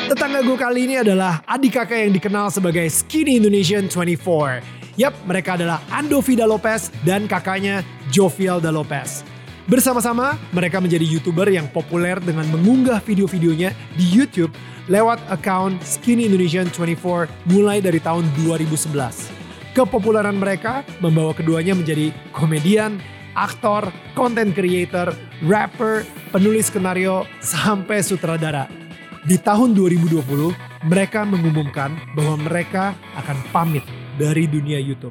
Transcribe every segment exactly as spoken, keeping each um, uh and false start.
Tetangga gue kali ini adalah adik kakak yang dikenal sebagai Skinny Indonesian dua puluh empat. Yap, mereka adalah Ando Vida Lopez dan kakaknya Jovialda Lopez. Bersama-sama, mereka menjadi YouTuber yang populer dengan mengunggah video-videonya di YouTube lewat account Skinny Indonesian dua puluh empat mulai dari tahun dua ribu sebelas. Kepopuleran mereka membawa keduanya menjadi komedian, aktor, content creator, rapper, penulis skenario, sampai sutradara. Di tahun dua ribu dua puluh, mereka mengumumkan bahwa mereka akan pamit dari dunia YouTube.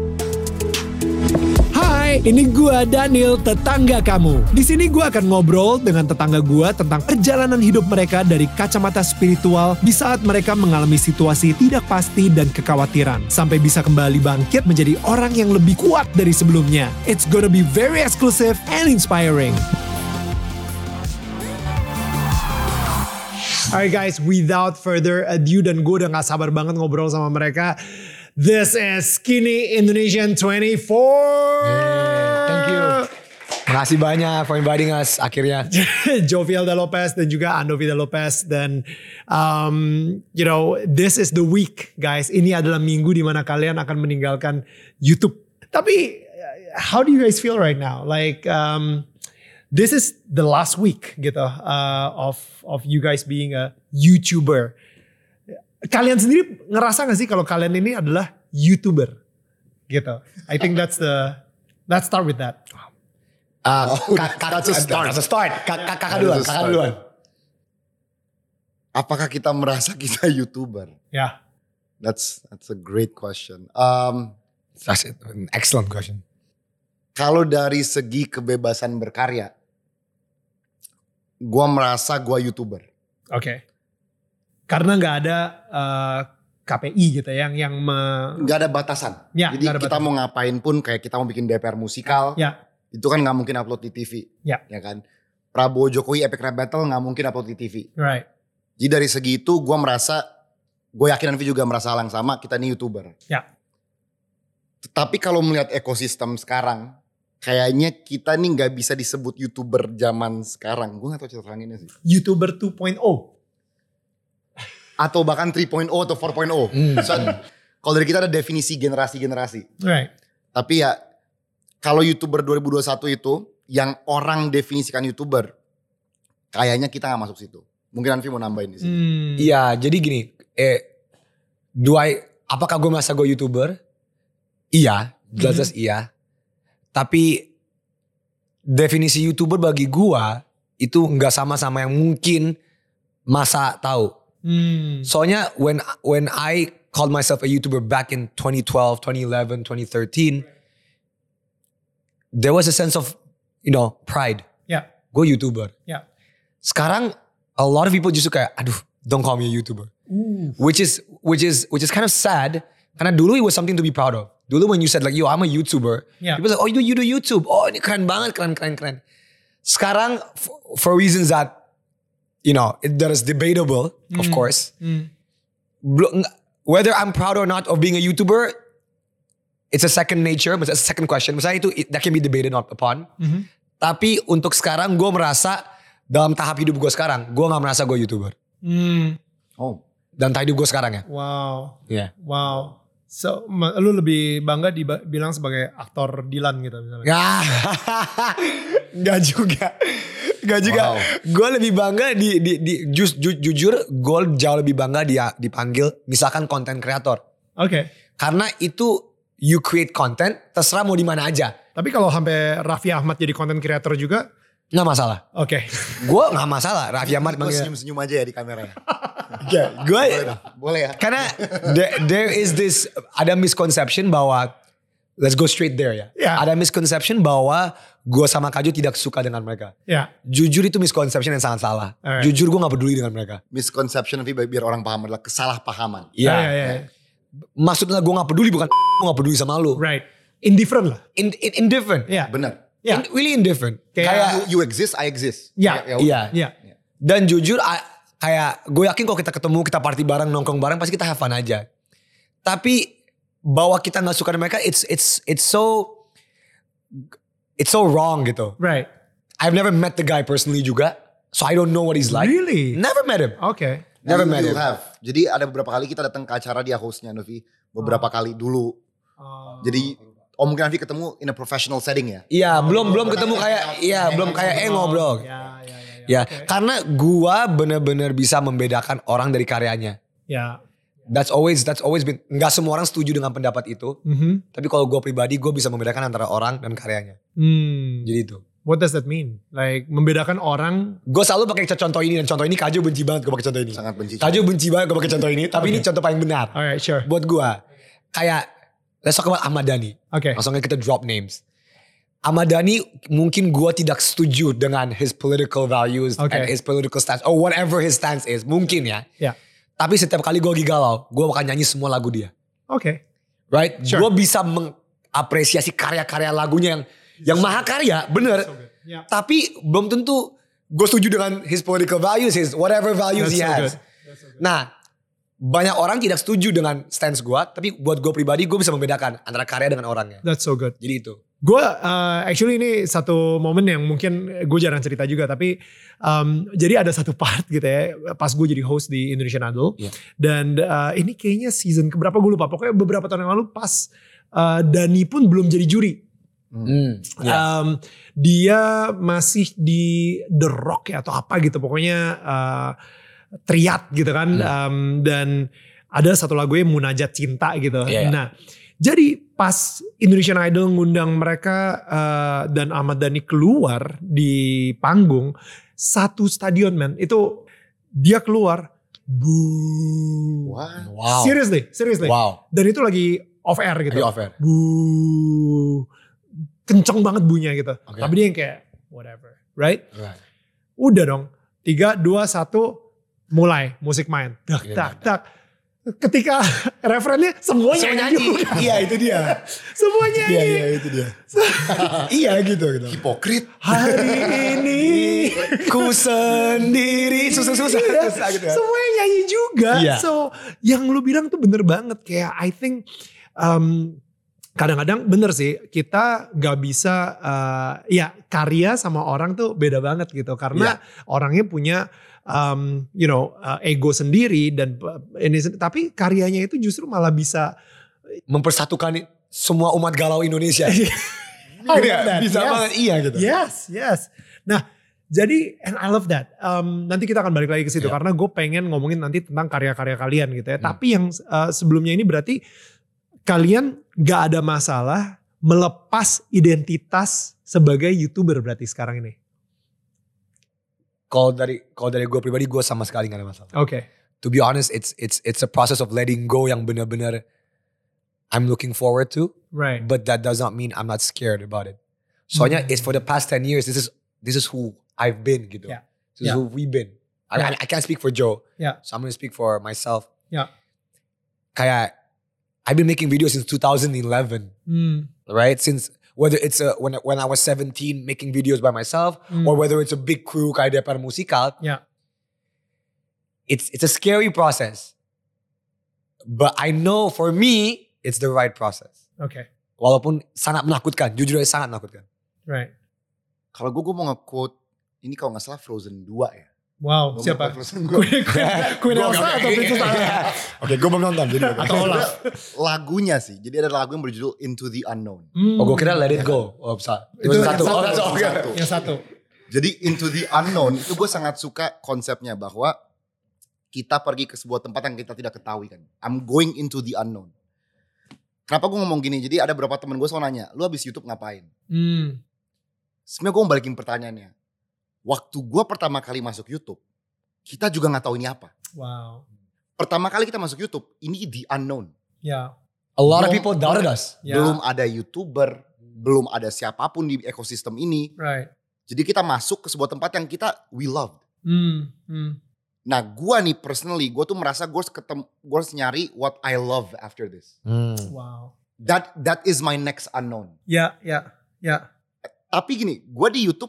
Hai, ini gua Daniel, tetangga kamu. Di sini gua akan ngobrol dengan tetangga gua tentang perjalanan hidup mereka dari kacamata spiritual di saat mereka mengalami situasi tidak pasti dan kekhawatiran, sampai bisa kembali bangkit menjadi orang yang lebih kuat dari sebelumnya. It's gonna be very exclusive and inspiring. Alright guys, without further ado, dan gue udah gak sabar banget ngobrol sama mereka. This is Skinny Indonesian dua puluh empat. Hey, thank you. Makasih banyak for inviting us akhirnya. Jovialda Lopez dan juga Ando Vida Lopez. Dan um, you know, this is the week guys. Ini adalah minggu dimana kalian akan meninggalkan YouTube. Tapi how do you guys feel right now? Like um, this is the last week gitu uh, of of you guys being a YouTuber. Kalian sendiri ngerasa gak sih kalau kalian ini adalah YouTuber gitu? I think that's the, let's start with that. Uh, oh, kak, kak, that's a start. That's a start. Kakak kak, duluan, kakak duluan. Apakah kita merasa kita YouTuber? Ya. Yeah. That's that's a great question. Um, That's an excellent question. Kalau dari segi kebebasan berkarya, gua merasa gua YouTuber. Oke. Okay. Karena nggak ada uh, K P I gitu yang yang me... nggak ada batasan. Ya, Jadi ada kita batasan. mau ngapain pun, kayak kita mau bikin D P R musikal, ya. Itu kan nggak mungkin upload di T V, ya, ya kan. Prabowo Jokowi Epic Rap Battle nggak mungkin upload di T V. Right. Jadi dari segi itu gue merasa, gue yakin Anvi juga merasa hal yang sama, kita ini YouTuber. Ya. Tapi kalau melihat ekosistem sekarang, kayaknya kita nih nggak bisa disebut YouTuber zaman sekarang. Gue gak tahu cara teranginnya sih. YouTuber dua titik nol. Atau bahkan tiga titik nol atau empat titik nol. Mm. So, kalau dari kita ada definisi generasi-generasi. Right. Tapi ya kalau YouTuber dua ribu dua puluh satu itu yang orang definisikan YouTuber, kayaknya kita gak masuk situ. Mungkin Anvi mau nambahin di sini. Hmm. Iya, jadi gini. Eh, do I, apakah gue merasa gue YouTuber? Iya, jelas-jelas Hmm. iya. Tapi definisi YouTuber bagi gue itu gak sama sama yang mungkin masa tahu. Hmm. Soalnya when when I called myself a YouTuber back in twenty twelve, twenty eleven, twenty thirteen, there was a sense of, you know, pride. Ya. Gue YouTuber. Ya. Sekarang a lot of people justru kayak, aduh, don't call me a YouTuber. Uh. Which is which is which is kind of sad. Karena dulu it was something to be proud of. Dulu when you said like, yo, I'm a YouTuber, Yeah. people like, oh, you do you do YouTube. Oh, ini keren banget, keren keren keren. Sekarang for, for reasons that, you know, it, that is debatable, mm. of course. Mm. Whether I'm proud or not of being a YouTuber, it's a second nature, it's a second question. Misalnya itu that can be debated upon. Mm-hmm. Tapi untuk sekarang gue merasa dalam tahap hidup gue sekarang, gue gak merasa gue YouTuber. Mm. Oh. Dan tahap hidup gue sekarang ya. Wow. Iya. Yeah. Wow. So, lu lebih bangga dibilang sebagai aktor Dilan gitu misalnya. Ya, gak juga. Gak juga. Wow. Gue lebih bangga di, di, di ju, ju, jujur gue jauh lebih bangga dia dipanggil misalkan content creator. Oke. Okay. Karena itu you create content terserah mau di mana aja. Tapi kalau sampai Raffi Ahmad jadi content creator juga nggak masalah. Oke. Okay. Gue nggak masalah. Raffi Ahmad Gue manggil. senyum-senyum aja ya di kameranya. Ya, gue boleh ya. Karena there, there is this ada misconception bahwa let's go straight there ya. Yeah. Ada misconception bahwa gue sama Kak Jo tidak suka dengan mereka. Ya. Yeah. Jujur itu misconception yang sangat salah. Alright. Jujur gue gak peduli dengan mereka. Misconception tapi biar orang paham adalah kesalahpahaman. Iya. Yeah, yeah, yeah. Maksudnya gue gak peduli bukan gue gak peduli sama lu. Right. Indifferent lah. In, in, indifferent. Iya. Yeah. Benar. Yeah. In, really indifferent. Kayak- Kayak You, you exist, I exist. Ya. Ya, ya iya. Iya. Dan jujur a- kayak gue yakin kalau kita ketemu kita party bareng nongkrong bareng pasti kita have fun aja. Tapi bahwa kita gak suka dengan mereka it's it's it's so it's so wrong gitu. Right. I've never met the guy personally juga. So I don't know what he's like. Really? Never met him. Oke. Okay. Never You- met you him. have. Jadi ada beberapa kali kita datang ke acara dia hostnya Novi. Beberapa kali dulu. Oh. Jadi oh mungkin Novi ketemu in a professional setting ya. Iya, belum belum ketemu kayak iya, belum kayak Engo, Bro. Ya, ya, ya. Ya, Oke. karena gua bener-bener bisa membedakan orang dari karyanya. Ya. That's always that's always been, nggak semua orang setuju dengan pendapat itu. Mhm. Tapi kalau gue pribadi, gue bisa membedakan antara orang dan karyanya. Hmm. Jadi itu. What does that mean? Like membedakan orang. Gue selalu pakai contoh ini dan contoh ini Kaju benci banget gue pakai contoh ini. Sangat benci. Kaju benci banget gue pakai contoh ini, tapi ini contoh paling benar. Alright, sure. Buat gue, kayak let's talk about Ahmad Dhani. Oke. Langsung aja kita drop names. Ahmad Dhani mungkin gue tidak setuju dengan his political values Okay. and his political stance or whatever his stance is. Mungkin ya. Ya. Tapi setiap kali gue lagi galau, gue bakal nyanyi semua lagu dia. Oke. Right? Sure. Gue bisa mengapresiasi karya-karya lagunya yang yang mahakarya, bener. So good. Yeah. Tapi belum tentu gue setuju dengan his political values, his whatever values That's he so has. good. That's so good. Nah, banyak orang tidak setuju dengan stance gue, tapi buat gue pribadi gue bisa membedakan antara karya dengan orangnya. That's so good. Jadi itu. Gue uh, actually ini satu momen yang mungkin gue jarang cerita juga, tapi um, jadi ada satu part gitu ya pas gue jadi host di Indonesian Idol. Iya. Dan uh, ini kayaknya season keberapa gue lupa, pokoknya beberapa tahun yang lalu pas uh, Dani pun belum jadi juri. Hmm. Ya. Um, dia masih di The Rock ya atau apa gitu, pokoknya uh, triat gitu kan. Hmm. Um, dan ada satu lagunya Munajat Cinta gitu. Iya, iya. Nah, jadi pas Indonesian Idol ngundang mereka uh, dan Ahmad Dhani keluar di panggung, satu stadion man itu dia keluar, buuuuh. Wah. Wow. Seriously, seriously. Wow. Dan itu lagi off air gitu. Lagi off air. Buuuuh. Kenceng banget bunyinya gitu. Okay. Tapi dia yang kayak whatever, right? Right. Udah dong. Tiga, dua, satu, mulai musik main. Tak, Iya, tak, tak. Ketika referennya semua Semua nyanyi. nyanyi. juga. Iya itu dia. Semua nyanyi. Iya iya itu dia. Iya gitu gitu. Hipokrit. Hari ini. Ku sendiri susah-susah. Iya, Susah gitu ya. semuanya nyanyi juga. Iya. So yang lu bilang tuh bener banget. Kayak I think um, kadang-kadang bener sih kita gak bisa uh, ya karya sama orang tuh beda banget gitu. Karena orangnya punya um, you know uh, ego sendiri dan uh, ini sen- tapi karyanya itu justru malah bisa Mempersatukan semua umat galau Indonesia. I love Iya, that. bisa Yes. banget iya gitu. Yes, yes. Nah, jadi and I love that. Um, nanti kita akan balik lagi ke situ Yeah. karena gue pengen ngomongin nanti tentang karya-karya kalian gitu ya. Hmm. Tapi yang uh, sebelumnya ini berarti kalian gak ada masalah melepas identitas sebagai YouTuber berarti sekarang ini. Kalau dari kalau dari gue pribadi gue sama sekali gak ada masalah. Oke. To be honest, it's it's it's a process of letting go yang benar-benar I'm looking forward to, Right. but that does not mean I'm not scared about it. Soalnya Hmm. it's for the past ten years. This is this is who I've been gitu. Yeah. This is Yeah. who we've been. I, Yeah. I, I can't speak for Joe. Yeah. So I'm gonna speak for myself. Yeah. Kayak I've been making videos since two thousand eleven, Hmm. right? Since whether it's a, when when I was seventeen making videos by myself, Hmm. or whether it's a big crew kayak Depar Musikal, Yeah. it's it's a scary process. But I know for me it's the right process. Oke. Walaupun sangat menakutkan, jujur aja sangat menakutkan. Right. Kalau gue gue mau nge-quote ini kalau nggak salah Frozen dua ya. Wow. Gua mau Siapa? nge-quote Frozen dua. Queen, Queen, Queen Gua- Elsa oke, atau oke, Princess oke. Anna? Oke, gue belum nonton jadi. Atau Olaf? Lagunya sih. Jadi ada lagu yang berjudul Into the Unknown. Hmm. Oh, gue kira Let It Go. Oh, bisa. Itu Itu yang satu. satu. Oh, satu. Oke. Satu. Yang satu. Jadi Into the Unknown itu gue sangat suka konsepnya bahwa kita pergi ke sebuah tempat yang kita tidak ketahui kan. I'm going into the unknown. Kenapa gue ngomong gini? Jadi ada beberapa temen gue selalu nanya, lu habis YouTube ngapain? Hmm. Sebenarnya gue mau balikin pertanyaannya. Waktu gue pertama kali masuk YouTube, kita juga gak tahu ini apa. Wow. Pertama kali kita masuk YouTube, ini the unknown. Ya. A lot of Belum- people doubted us. Ya. Belum ada YouTuber, belum ada siapapun di ekosistem ini. Right. Jadi kita masuk ke sebuah tempat yang kita we love. Hmm. Hmm. Nah gue nih personally, gue tuh merasa gue harus ketemu, gue harus nyari what I love after this. Hmm. Wow. That that is my next unknown. Ya, ya, ya. Tapi gini, gue di YouTube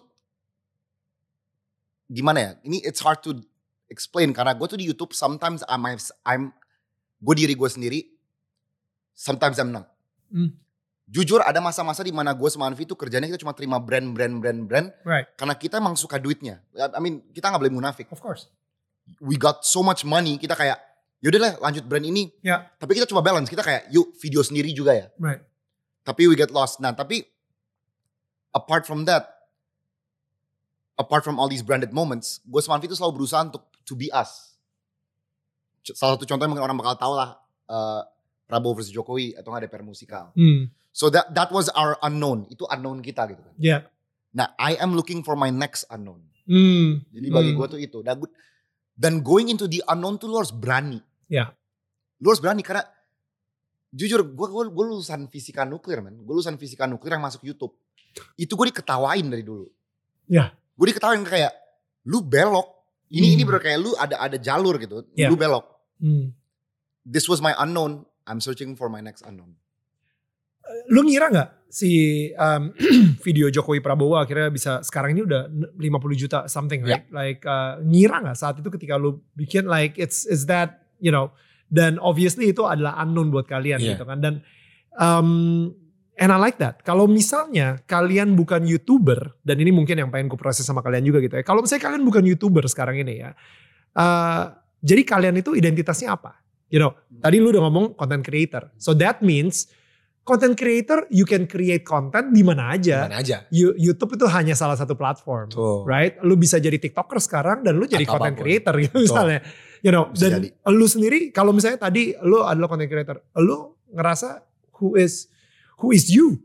gimana ya? Ini it's hard to explain karena gue tuh di YouTube sometimes I'm I'm gue diri gue sendiri, sometimes I'm not. Hmm. Jujur ada masa-masa di mana gue sama Anvi tuh kerjanya kita cuma terima brand brand brand brand Right. karena kita emang suka duitnya. I mean kita nggak boleh munafik. Of course. we got so much money, kita kayak yaudah lah lanjut brand ini. Ya. Tapi kita coba balance, kita kayak yuk video sendiri juga ya. Right. Tapi we get lost. Nah tapi apart from that, apart from all these branded moments, gue sama Anvi itu selalu berusaha untuk to be us. Salah satu contohnya mungkin orang bakal tahu lah, uh, Prabowo versus Jokowi atau nggak D P R musikal. Hmm. So that that was our unknown, itu unknown kita gitu kan. Yeah. Nah I am looking for my next unknown. Hmm. Jadi bagi hmm. gue tuh itu. Dan, dan going into the unknown tuh lu harus berani. Ya. Yeah. Lu harus berani karena jujur gue gue, gue lulusan fisika nuklir man. Gue lulusan fisika nuklir yang masuk YouTube. Itu gue diketawain dari dulu. Ya. Yeah. Gue diketawain kayak lu belok. Ini hmm. ini bener kayak lu ada ada jalur gitu. Yeah. Lu belok. Hmm. This was my unknown. I'm searching for my next unknown. Lu ngira gak si um, video Jokowi Prabowo akhirnya bisa sekarang ini udah lima puluh juta something right? Yeah. Like uh, ngira gak saat itu ketika lu bikin like it's is that you know, dan obviously itu adalah unknown buat kalian yeah. gitu kan. Dan um, and I like that. Kalau misalnya kalian bukan YouTuber, dan ini mungkin yang pengen ku proses sama kalian juga gitu ya. Kalau misalnya kalian bukan YouTuber sekarang ini ya, uh, jadi kalian itu identitasnya apa? You know, tadi lu udah ngomong content creator. So that means content creator, you can create content di mana aja. Dimana aja. You, YouTube itu hanya salah satu platform, Tuh. right? Lu bisa jadi TikToker sekarang dan lu jadi Atau content apapun. creator gitu Tuh. misalnya. You know, bisa dan jadi. Lu sendiri kalau misalnya tadi lu adalah content creator, lu ngerasa who is who is you?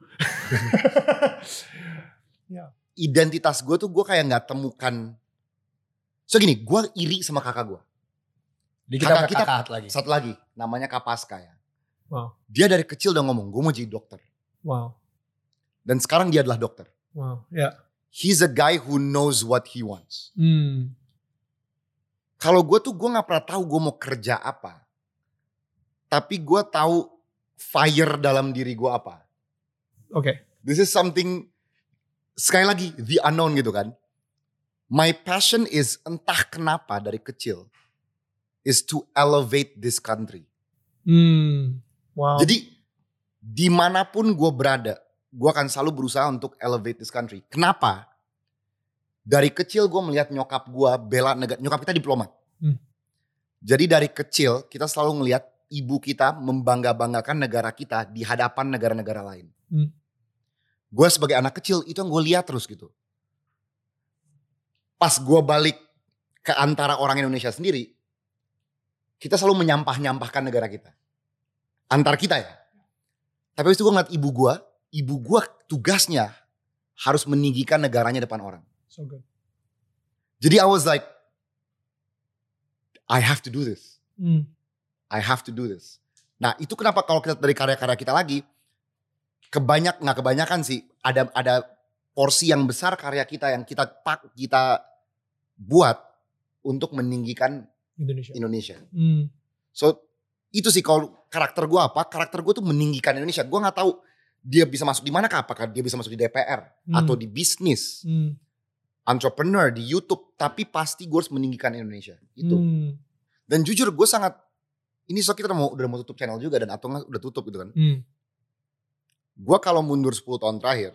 yeah. Identitas gue tuh gue kayak nggak temukan. So gini, gue iri sama kakak gue. Di kita kakak kita kakak lagi. Satu lagi, namanya Kapaska ya. Wow. Dia dari kecil udah ngomong, gue mau jadi dokter. Wow. Dan sekarang dia adalah dokter. Wow, ya. Yeah. He's a guy who knows what he wants. Hmm. Kalau gue tuh gue nggak pernah tahu gue mau kerja apa. Tapi gue tahu fire dalam diri gue apa. Oke. Okay. This is something, sekali lagi, the unknown gitu kan. My passion is entah kenapa dari kecil. Is to elevate this country. Hmm, wow. Jadi dimanapun gue berada, gue akan selalu berusaha untuk elevate this country. Kenapa? Dari kecil gue melihat nyokap gue bela negara, nyokap kita diplomat. Hmm. Jadi dari kecil kita selalu ngelihat ibu kita membangga-banggakan negara kita di hadapan negara-negara lain. Hmm. Gue sebagai anak kecil itu yang gue lihat terus gitu. Pas gue balik ke antara orang Indonesia sendiri, kita selalu menyampah-nyampahkan negara kita. Antar kita ya. Tapi habis itu gue ngeliat ibu gue. Ibu gue tugasnya harus meninggikan negaranya depan orang. So good. Jadi I was like, I have to do this. Mm. I have to do this. Nah itu kenapa kalau kita dari karya-karya kita lagi. Kebanyak, gak kebanyakan sih. Ada ada porsi yang besar karya kita yang kita pak kita buat untuk meninggikan Indonesia. Indonesia. Hmm. So itu sih kalau karakter gue apa? Karakter gue tuh meninggikan Indonesia. Gue nggak tahu dia bisa masuk di mana? Apakah dia bisa masuk di D P R hmm. atau di bisnis, hmm. entrepreneur di YouTube? Tapi pasti gue harus meninggikan Indonesia. Itu. Hmm. Dan jujur gue sangat ini so kita udah mau udah mau tutup channel juga dan atau nggak udah tutup gitu kan? Hmm. Gue kalau mundur sepuluh tahun terakhir,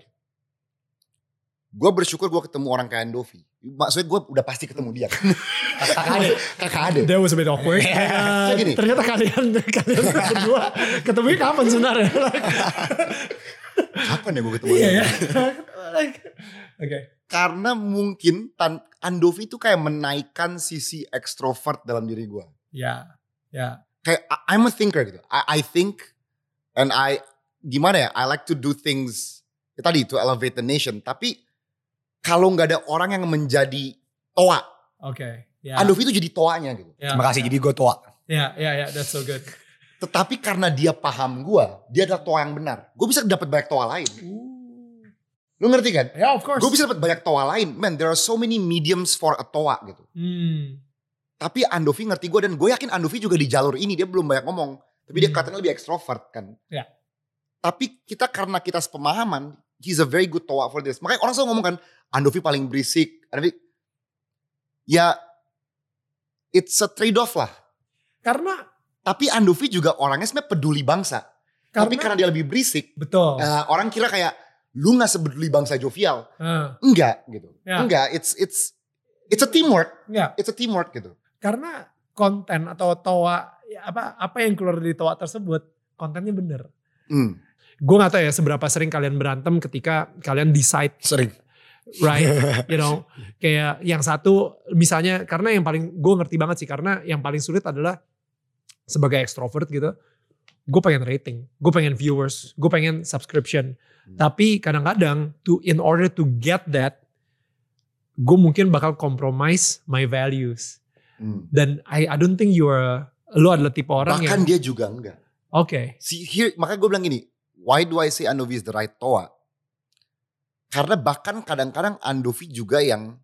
gue bersyukur gue ketemu orang kayak Andovi. Maksudnya gue udah pasti ketemu dia. Kakak Ade. Kakak Ade. That was a bit awkward. Uh, ternyata kalian kalian berdua ketemunya kapan sebenarnya? Kapan ya gue ketemu dia? Iya ya. Oke. Karena mungkin Tan Andovi itu kayak menaikkan sisi ekstrovert dalam diri gue. Ya. Ya. Kayak I'm a thinker gitu. I, I think and I gimana ya? I like to do things ya tadi to elevate the nation. Tapi kalau nggak ada orang yang menjadi toa. Oke. Okay, yeah. Andovi itu jadi toanya gitu. Yeah, Terima kasih yeah. jadi gue toa. Ya, yeah, ya, yeah, ya, yeah, that's so good. Tetapi karena dia paham gue, dia adalah toa yang benar. Gue bisa dapat banyak toa lain. Ooh. Lu ngerti kan? Ya, yeah, of course. Gue bisa dapat banyak toa lain. Man, there are so many mediums for a toa gitu. Hmm. Tapi Andovi ngerti gue dan gue yakin Andovi juga di jalur ini dia belum banyak ngomong. Tapi hmm. dia katanya lebih ekstrovert kan. Ya. Yeah. Tapi kita karena kita sepemahaman, he's a very good toa for this. Makanya orang selalu ngomong kan, Andovi paling berisik. Andovi, ya it's a trade off lah. Karena. Tapi Andovi juga orangnya sebenarnya peduli bangsa. Karena, tapi karena dia lebih berisik. Betul. Uh, orang kira kayak, lu gak sebeduli bangsa jovial. Uh. Enggak gitu. Yeah. Enggak, it's it's it's a teamwork. Yeah. It's a teamwork gitu. karena konten atau toa apa apa yang keluar dari toa tersebut kontennya bener. Hmm. Gue gak tahu ya seberapa sering kalian berantem ketika kalian decide. Sering. Right, you know, kayak yang satu misalnya karena yang paling gue ngerti banget sih karena yang paling sulit adalah sebagai extrovert gitu, gue pengen rating, gue pengen viewers, gue pengen subscription, hmm. tapi kadang-kadang to in order to get that, gue mungkin bakal compromise my values, hmm. dan I I don't think you're lo adalah tipe orang bahkan yang dia juga enggak. Oke. Okay. See here, makanya gue bilang gini, why do I say Andovi is the right toa? Karena bahkan kadang-kadang Andovi juga yang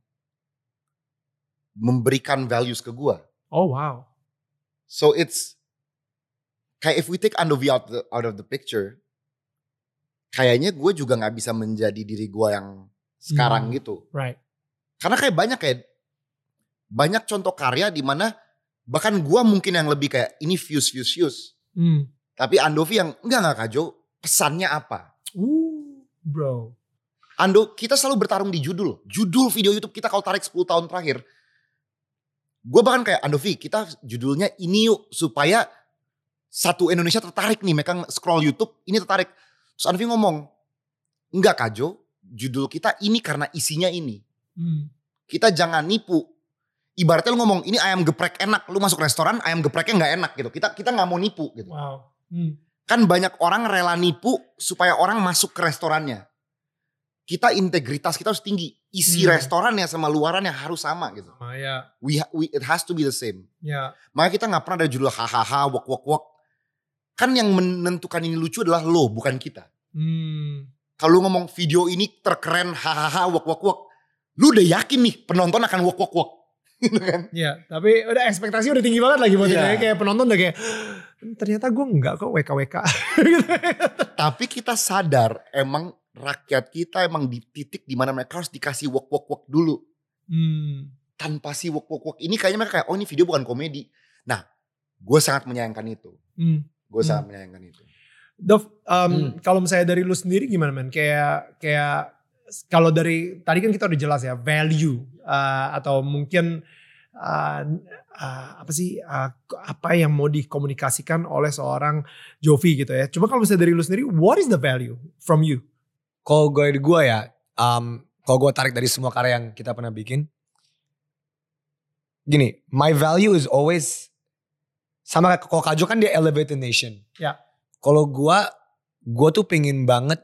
memberikan values ke gue. Oh wow. So it's kayak if we take Andovi out the, out of the picture, kayaknya gue juga nggak bisa menjadi diri gue yang sekarang hmm, gitu. Right. Karena kayak banyak kayak banyak contoh karya di mana bahkan gue mungkin yang lebih kayak ini views views views. Hmm. Tapi Andovi yang enggak enggak Kak Jo, pesannya apa? Uh, bro. Ando, kita selalu bertarung di judul. Judul video YouTube kita kalau tarik sepuluh tahun terakhir. Gue bahkan kayak Andovi, kita judulnya ini yuk. Supaya satu Indonesia tertarik nih. Mereka scroll YouTube, ini tertarik. Terus Andovi ngomong, enggak Kak Jo, judul kita ini karena isinya ini. Hmm. Kita jangan nipu. Ibaratnya lu ngomong, ini ayam geprek enak. Lu masuk restoran, ayam gepreknya gak enak gitu. Kita kita gak mau nipu gitu. Wow. Hmm. Kan banyak orang rela nipu supaya orang masuk ke restorannya. Kita integritas kita harus tinggi. Isi hmm. restorannya sama luarannya harus sama gitu. Oh, yeah. We, we it has to be the same. Yeah. Makanya kita nggak pernah ada judul hahaha wak wak wak. Kan yang menentukan ini lucu adalah lo, bukan kita. Hmm. Kalau ngomong video ini terkeren hahaha wak wak wak, lu udah yakin nih penonton akan wak wak wak. Gitu kan? Iya, tapi udah ekspektasi udah tinggi banget lagi buat yeah. kita. Kayak penonton udah kayak ternyata gue enggak kok W K W K. Tapi kita sadar emang rakyat kita emang di titik dimana mereka harus dikasih wok wok wok dulu. Hmm. Tanpa si wok wok wok ini kayaknya mereka kayak oh ini video bukan komedi. Nah gue sangat menyayangkan itu. Hmm. Gue sangat hmm. menyayangkan itu. Dov, um, hmm. kalau misalnya dari lu sendiri gimana man? Kayak kayak kalau dari tadi kan kita udah jelas ya value uh, atau mungkin uh, uh, apa sih uh, apa yang mau dikomunikasikan oleh seorang Jovi gitu ya. Cuma kalau misalnya dari lu sendiri, what is the value from you? Kalau gue dari gue ya, um, kalau gue tarik dari semua karya yang kita pernah bikin, gini, my value is always sama kayak kalau Kak Jo kan dia elevate the nation. Ya. Kalau gue, gue tuh pengen banget,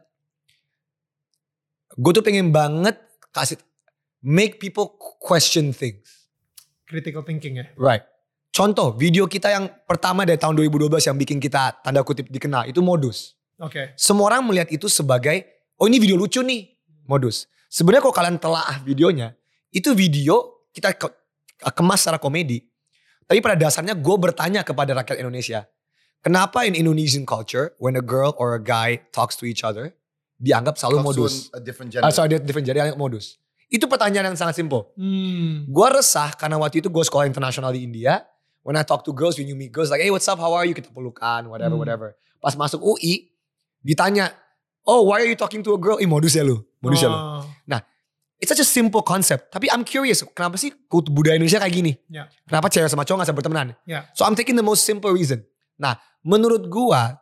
gue tuh pengen banget kasih make people question things. Critical thinking ya. Right. Contoh video kita yang pertama dari tahun dua ribu dua belas yang bikin kita tanda kutip dikenal itu Modus. Oke. Okay. Semua orang melihat itu sebagai oh ini video lucu nih, Modus. Sebenarnya kalau kalian telaah videonya, itu video kita ke, kemas secara komedi. Tapi pada dasarnya gue bertanya kepada rakyat Indonesia, kenapa in Indonesian culture, when a girl or a guy talks to each other, dianggap selalu talks modus. A different gender. Ah, sorry, different gender, modus. Itu pertanyaan yang sangat simpel. Hmm. Gue resah karena waktu itu gue sekolah internasional di India. When I talk to girls, when you meet girls, like, hey what's up, how are you? Kita pelukan, whatever, hmm. whatever. Pas masuk U I, ditanya, oh, why are you talking to a girl? Ih, modus ya lu. Modus ya lu. Oh. Nah, it's such a simple concept. Tapi I'm curious, kenapa sih budaya Indonesia kayak gini? Yeah. Kenapa cewek sama cowok gak bisa bertemanan? Yeah. So I'm taking the most simple reason. Nah, menurut gua,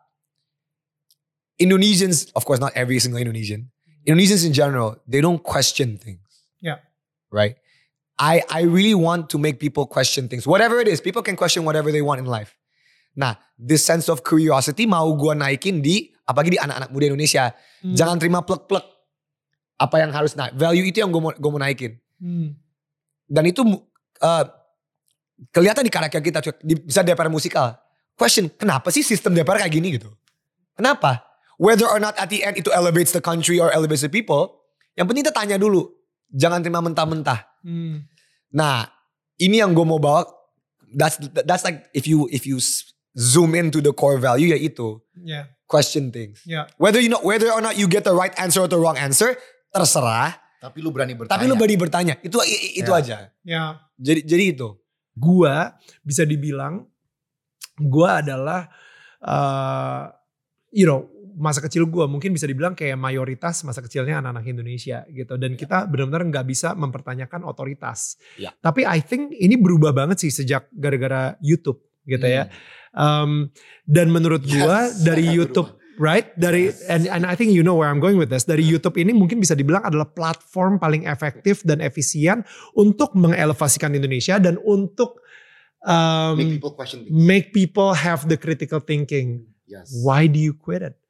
Indonesians, of course not every single Indonesian, Indonesians in general, they don't question things. Yeah. Right? I, I really want to make people question things. Whatever it is, people can question whatever they want in life. Nah, this sense of curiosity mau gua naikin di apalagi di anak-anak muda Indonesia. Hmm. Jangan terima plek-plek. Apa yang harus naik. Value itu yang gue mau, gue mau naikin. Hmm. Dan itu uh, kelihatan di karakter kita. Bisa D P R musikal. Question, kenapa sih sistem D P R kayak gini gitu? Kenapa? Whether or not at the end itu elevates the country or elevates the people. Yang penting kita tanya dulu. Jangan terima mentah-mentah. Hmm. Nah, ini yang gue mau bawa. That's that's like if you if you zoom into the core value ya itu. Yeah. Question things. Yeah. Whether you know whether or not you get the right answer or the wrong answer, terserah. Tapi lu berani bertanya. Tapi lu berani bertanya. Itu itu yeah. aja. Yeah. Jadi jadi itu. Gua bisa dibilang gua adalah uh, you know, masa kecil gue mungkin bisa dibilang kayak mayoritas masa kecilnya anak-anak Indonesia gitu. Dan kita benar-benar nggak bisa mempertanyakan otoritas. Ya. Tapi I think ini berubah banget sih sejak gara-gara YouTube gitu ya. Um, dan menurut gue Yes. dari YouTube, right? Dari and, and I think you know where I'm going with this. Dari YouTube ini mungkin bisa dibilang adalah platform paling efektif dan efisien untuk mengelevasikan Indonesia dan untuk um, Make people question things. make people have the critical thinking. Yes. Why do you quit it?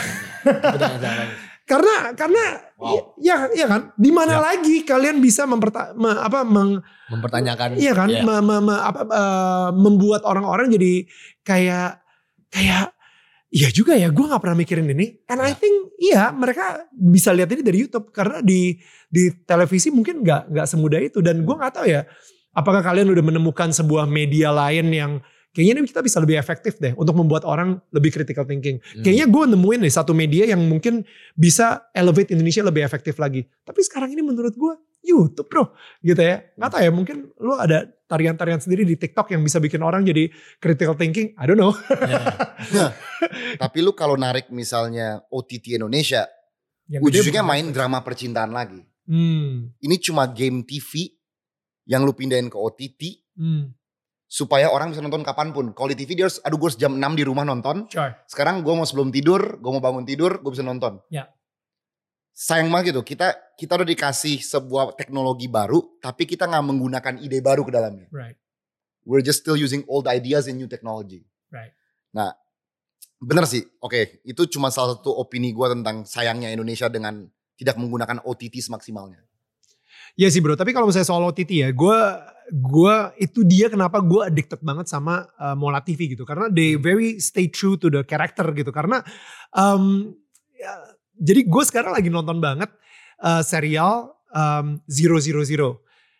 Karena karena Wow. ya ya kan, di mana Ya. lagi kalian bisa memperta, me- apa meng, Mempertanyakan. iya kan, Ya. me- me- me- apa, eh, membuat orang-orang jadi kayak kayak iya juga ya, gue nggak pernah mikirin ini. And I Ya. think iya mereka bisa lihat ini dari YouTube karena di di televisi mungkin nggak nggak semudah itu. Dan gue nggak tahu ya, apakah kalian udah menemukan sebuah media lain yang kayaknya ini kita bisa lebih efektif deh untuk membuat orang lebih critical thinking. Hmm. Kayaknya gue nemuin nih satu media yang mungkin bisa elevate Indonesia lebih efektif lagi. Tapi sekarang ini menurut gue YouTube bro, gitu ya. Nggak tahu ya, mungkin lu ada tarian-tarian sendiri di TikTok yang bisa bikin orang jadi critical thinking. I don't know. Ya. Tapi lu kalau narik misalnya O T T Indonesia, Yang gede ujungnya bukan main Netflix. drama percintaan lagi. Hmm. Ini cuma game T V yang lu pindahin ke O T T Hmm. supaya orang bisa nonton kapanpun. Kalau di T V dia harus, aduh gue harus jam enam di rumah nonton. Sure. Sekarang gue mau sebelum tidur, gue mau bangun tidur, gue bisa nonton. Ya. Sayang banget gitu, kita kita udah dikasih sebuah teknologi baru, tapi kita nggak menggunakan ide baru ke dalamnya. Right. We're just still using old ideas in new technology. Right. Nah, bener sih. Oke, itu cuma salah satu opini gue tentang sayangnya Indonesia dengan tidak menggunakan O T T semaksimalnya. Iya sih bro, tapi kalau misalnya soal O T T ya, gue gue itu dia kenapa gue addicted banget sama uh, Mola T V gitu, karena they very stay true to the character gitu, karena um, ya, jadi gue sekarang lagi nonton banget uh, serial um, zero zero zero,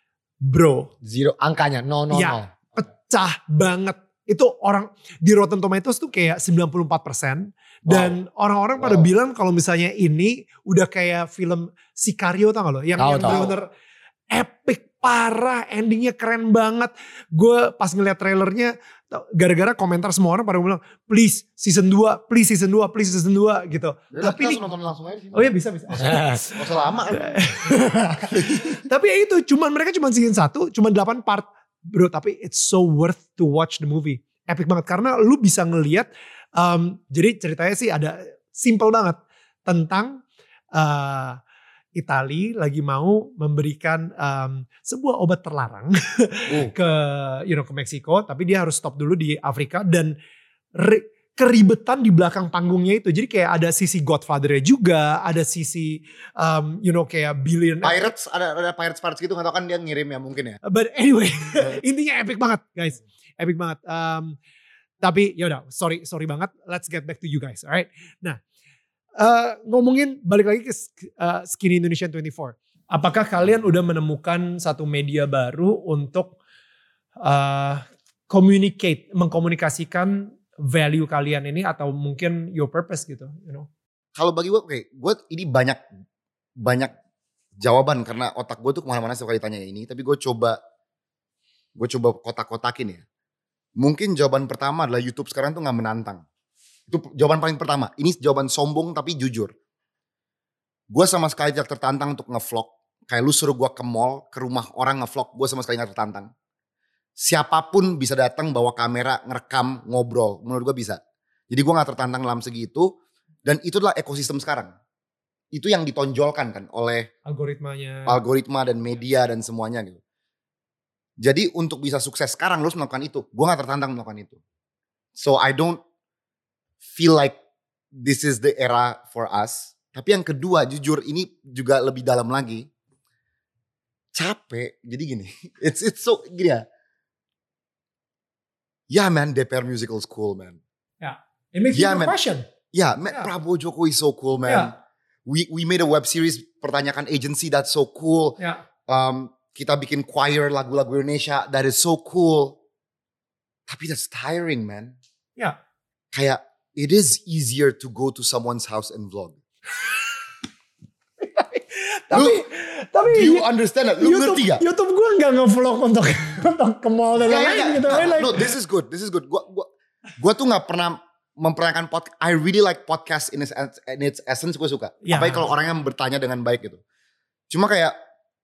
bro, Zero angkanya no no Ya. no. pecah banget. Itu orang di Rotten Tomatoes tuh kayak sembilan puluh empat persen. Dan orang-orang pada Wow. bilang kalau misalnya ini udah kayak film Sicario tau gak lo? Yang, Tahu, yang tahu. bener-bener epic parah, endingnya keren banget. Gue pas ngeliat trailernya, tau, gara-gara komentar semua orang pada bilang, please season dua, please season dua, please season dua gitu. Tapi ini, nonton langsung aja sih. oh iya bisa bisa. Gak usah lama kan. Tapi ya itu, cuman mereka cuma season satu, cuma delapan part. Bro, tapi it's so worth to watch the movie. Epic banget, karena lu bisa ngelihat, um, jadi ceritanya sih ada simple banget. Tentang uh, Itali lagi mau memberikan um, sebuah obat terlarang Uh. ke you know ke Meksiko, tapi dia harus stop dulu di Afrika dan re- keribetan di belakang panggungnya itu. Jadi kayak ada sisi Godfather-nya juga, ada sisi um, you know kayak billion. Pirates, ada ada pirates pirates gitu, gak tau kan dia ngirim ya mungkin ya. But anyway, intinya epic banget guys, epic banget. Um, tapi yaudah, sorry sorry banget. Let's get back to you guys, alright. Nah, uh, ngomongin balik lagi ke uh, Skinny Indonesian dua puluh empat. Apakah kalian udah menemukan satu media baru untuk uh, communicate, mengkomunikasikan value kalian ini atau mungkin your purpose gitu, you know? Kalau bagi gue, oke, gue ini banyak banyak jawaban karena otak gue tuh kemana-mana setiap kali ditanya ini. Tapi gue coba gue coba kotak-kotakin ya. Mungkin jawaban pertama adalah YouTube sekarang tuh nggak menantang. Itu jawaban paling pertama. Ini jawaban sombong tapi jujur. Gue sama sekali tidak tertantang untuk ngevlog. Kayak lu suruh gue ke mall, ke rumah orang ngevlog, gue sama sekali gak tertantang. Siapapun bisa datang bawa kamera, ngerekam, ngobrol. Menurut gue bisa. Jadi gue gak tertantang dalam segi itu. Dan itu adalah ekosistem sekarang. Itu yang ditonjolkan kan oleh Algoritmanya. algoritma dan media dan semuanya gitu. Jadi untuk bisa sukses sekarang lu harus melakukan itu. Gue gak tertantang melakukan itu. So I don't feel like this is the era for us. Tapi yang kedua jujur ini juga lebih dalam lagi. Capek. Jadi gini. It's it's so gini ya. Yeah man, D P R Musical is cool man. It makes Yeah, you man. question. Yeah, man, Yeah. Prabowo Jokowi is so cool man. Yeah. We we made a web series pertanyakan agency that's so cool. Ya. Um, kita bikin choir lagu-lagu Indonesia that is so cool. Tapi that's tiring man. Ya. Kayak it is easier to go to someone's house and vlog. Tapi tapi Do you understand that? Lu YouTube, ngerti gak? YouTube gue nggak nge-vlog untuk untuk ke mall dan Nggak, lain-lain nggak, gitu. nggak. Like, No, this is good. This is good. Gua gua gua tuh nggak pernah memperkenalkan podcast. I really like podcast in its, in its essence, gue suka. Ya. Apalagi kalau orang yang bertanya dengan baik gitu. Cuma kayak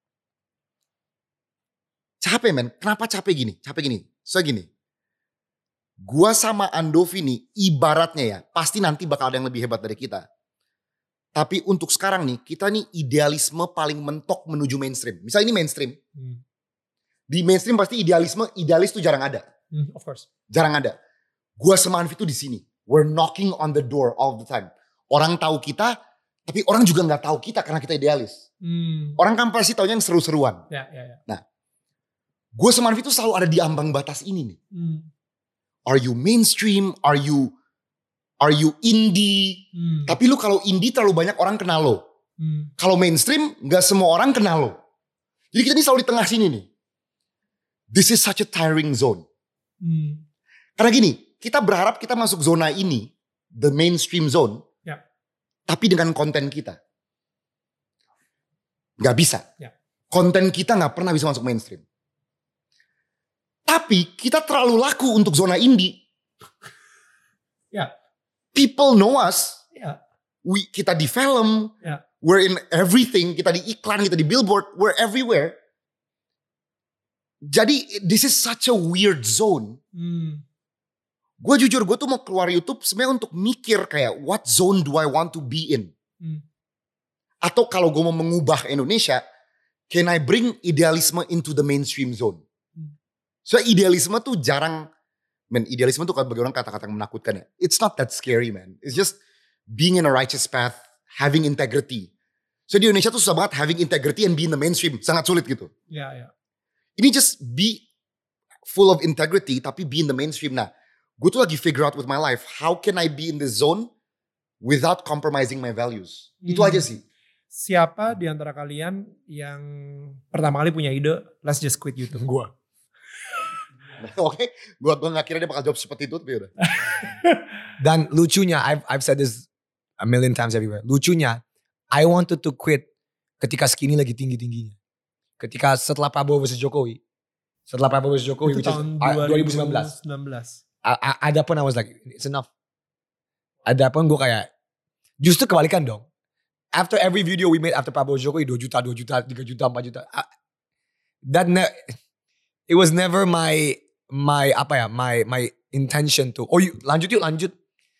capek men. Kenapa capek gini? Capek gini. So gini. Gua sama Andovi nih ibaratnya ya. Pasti nanti bakal ada yang lebih hebat dari kita. Tapi untuk sekarang nih, kita nih idealisme paling mentok menuju mainstream. Misalnya ini mainstream. Hmm. Di mainstream pasti idealisme, idealis tuh jarang ada. Hmm, of course. Jarang ada. Gua sama Anvi tuh di sini. We're knocking on the door all the time. Orang tahu kita, tapi orang juga nggak tahu kita karena kita idealis. Hmm. Orang kan pasti taunya yang seru-seruan. Ya, ya, ya. Nah, gue sama Anvi tuh selalu ada di ambang batas ini nih. Hmm. Are you mainstream? Are you are you indie? Hmm. Tapi lu kalau indie terlalu banyak orang kenal lo. Hmm. Kalau mainstream nggak semua orang kenal lo. Jadi kita nih selalu di tengah sini nih. This is such a tiring zone. Hmm. Karena gini, kita berharap kita masuk zona ini, the mainstream zone, Ya. tapi dengan konten kita. Gak bisa. Ya. Konten kita gak pernah bisa masuk mainstream. Tapi kita terlalu laku untuk zona indie. Ya. People know us. Ya. We, kita di film. Ya. We're in everything. Kita di iklan, kita di billboard. We're everywhere. Jadi this is such a weird zone. Hmm. Gue jujur, gue tuh mau keluar YouTube sebenarnya untuk mikir kayak what zone do I want to be in. Hmm. Atau kalau gue mau mengubah Indonesia, can I bring idealisme into the mainstream zone? Hmm. So idealisme tuh jarang, man idealisme tuh bagi orang kata-kata yang menakutkan ya. It's not that scary man. It's just being in a righteous path, having integrity. So di Indonesia tuh susah banget having integrity and be in the mainstream. Sangat sulit gitu. Ya, ya. Ini just be full of integrity tapi be in the mainstream. Nah, gue tuh lagi figure out with my life, how can I be in this zone without compromising my values. Hmm. Itu aja sih. Siapa di antara kalian yang pertama kali punya ide, let's just quit YouTube? Gue. Oke, gue gue gak kira dia bakal jawab seperti itu, tapi udah. Dan lucunya, I've, I've said this a million times everywhere. Lucunya, I wanted to quit ketika Skinny lagi tinggi-tingginya. Ketika setelah Prabowo versus Jokowi. Setelah Prabowo versus Jokowi, Itu which is tahun dua ribu sembilan belas. Ada pun I was like, it's enough. Ada pun gue kayak, justru kebalikan dong. After every video we made after Prabowo Jokowi, dua juta, dua juta, tiga juta, empat juta. That ne- it was never my, my apa ya, my my intention to, oh yuk, lanjut yuk, lanjut.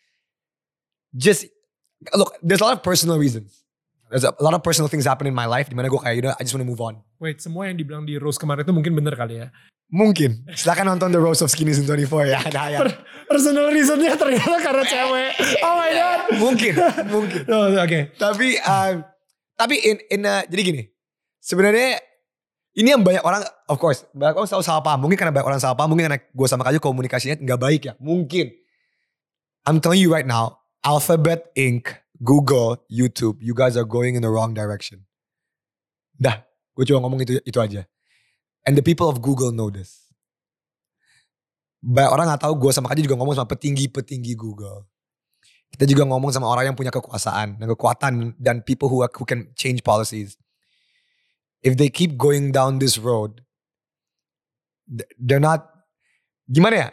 Just, look, there's a lot of personal reasons. There's a lot of personal things happen in my life, dimana gue kayak, you know, I just want to move on. Wait, semua yang dibilang di Rose kemarin itu mungkin bener kali ya? Mungkin. Silakan nonton The Rose of Skinny Season twenty-four ya. Nah, ya. Per- personal reasonnya ternyata karena cewek. Oh my god. Mungkin, mungkin. Oh, Oke. Okay. Tapi, um, tapi in, in uh, jadi gini. Sebenarnya ini yang banyak orang, of course, banyak orang selalu salah paham. Mungkin karena banyak orang salah paham, mungkin karena gue sama Kaju komunikasinya nggak baik ya. Mungkin. I'm telling you right now, Alphabet Incorporated, Google, YouTube, you guys are going in the wrong direction. Dah, gue cuma ngomong itu itu aja. And the people of Google know this. Banyak orang gak tahu, gue sama Kaju juga ngomong sama petinggi-petinggi Google. Kita juga ngomong sama orang yang punya kekuasaan dan kekuatan dan people who, are, who can change policies. If they keep going down this road, they're not, gimana ya?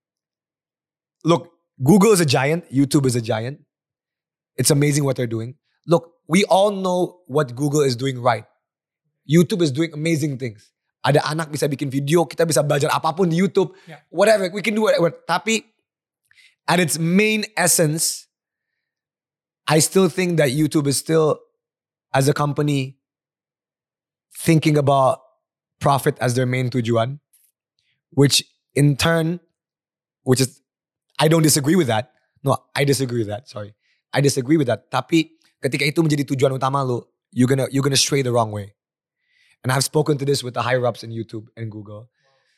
Look, Google is a giant, YouTube is a giant. It's amazing what they're doing. Look, we all know what Google is doing right. YouTube is doing amazing things. Ada anak bisa bikin video, kita bisa belajar apapun di YouTube. Yeah. Whatever, we can do whatever. Tapi at its main essence, I still think that YouTube is still, as a company, thinking about profit as their main tujuan. Which in turn, which is, I don't disagree with that. No, I disagree with that, sorry. I disagree with that. Tapi ketika itu menjadi tujuan utama lu, you're gonna you're gonna stray the wrong way. And I've spoken to this with the higher ups in YouTube and Google.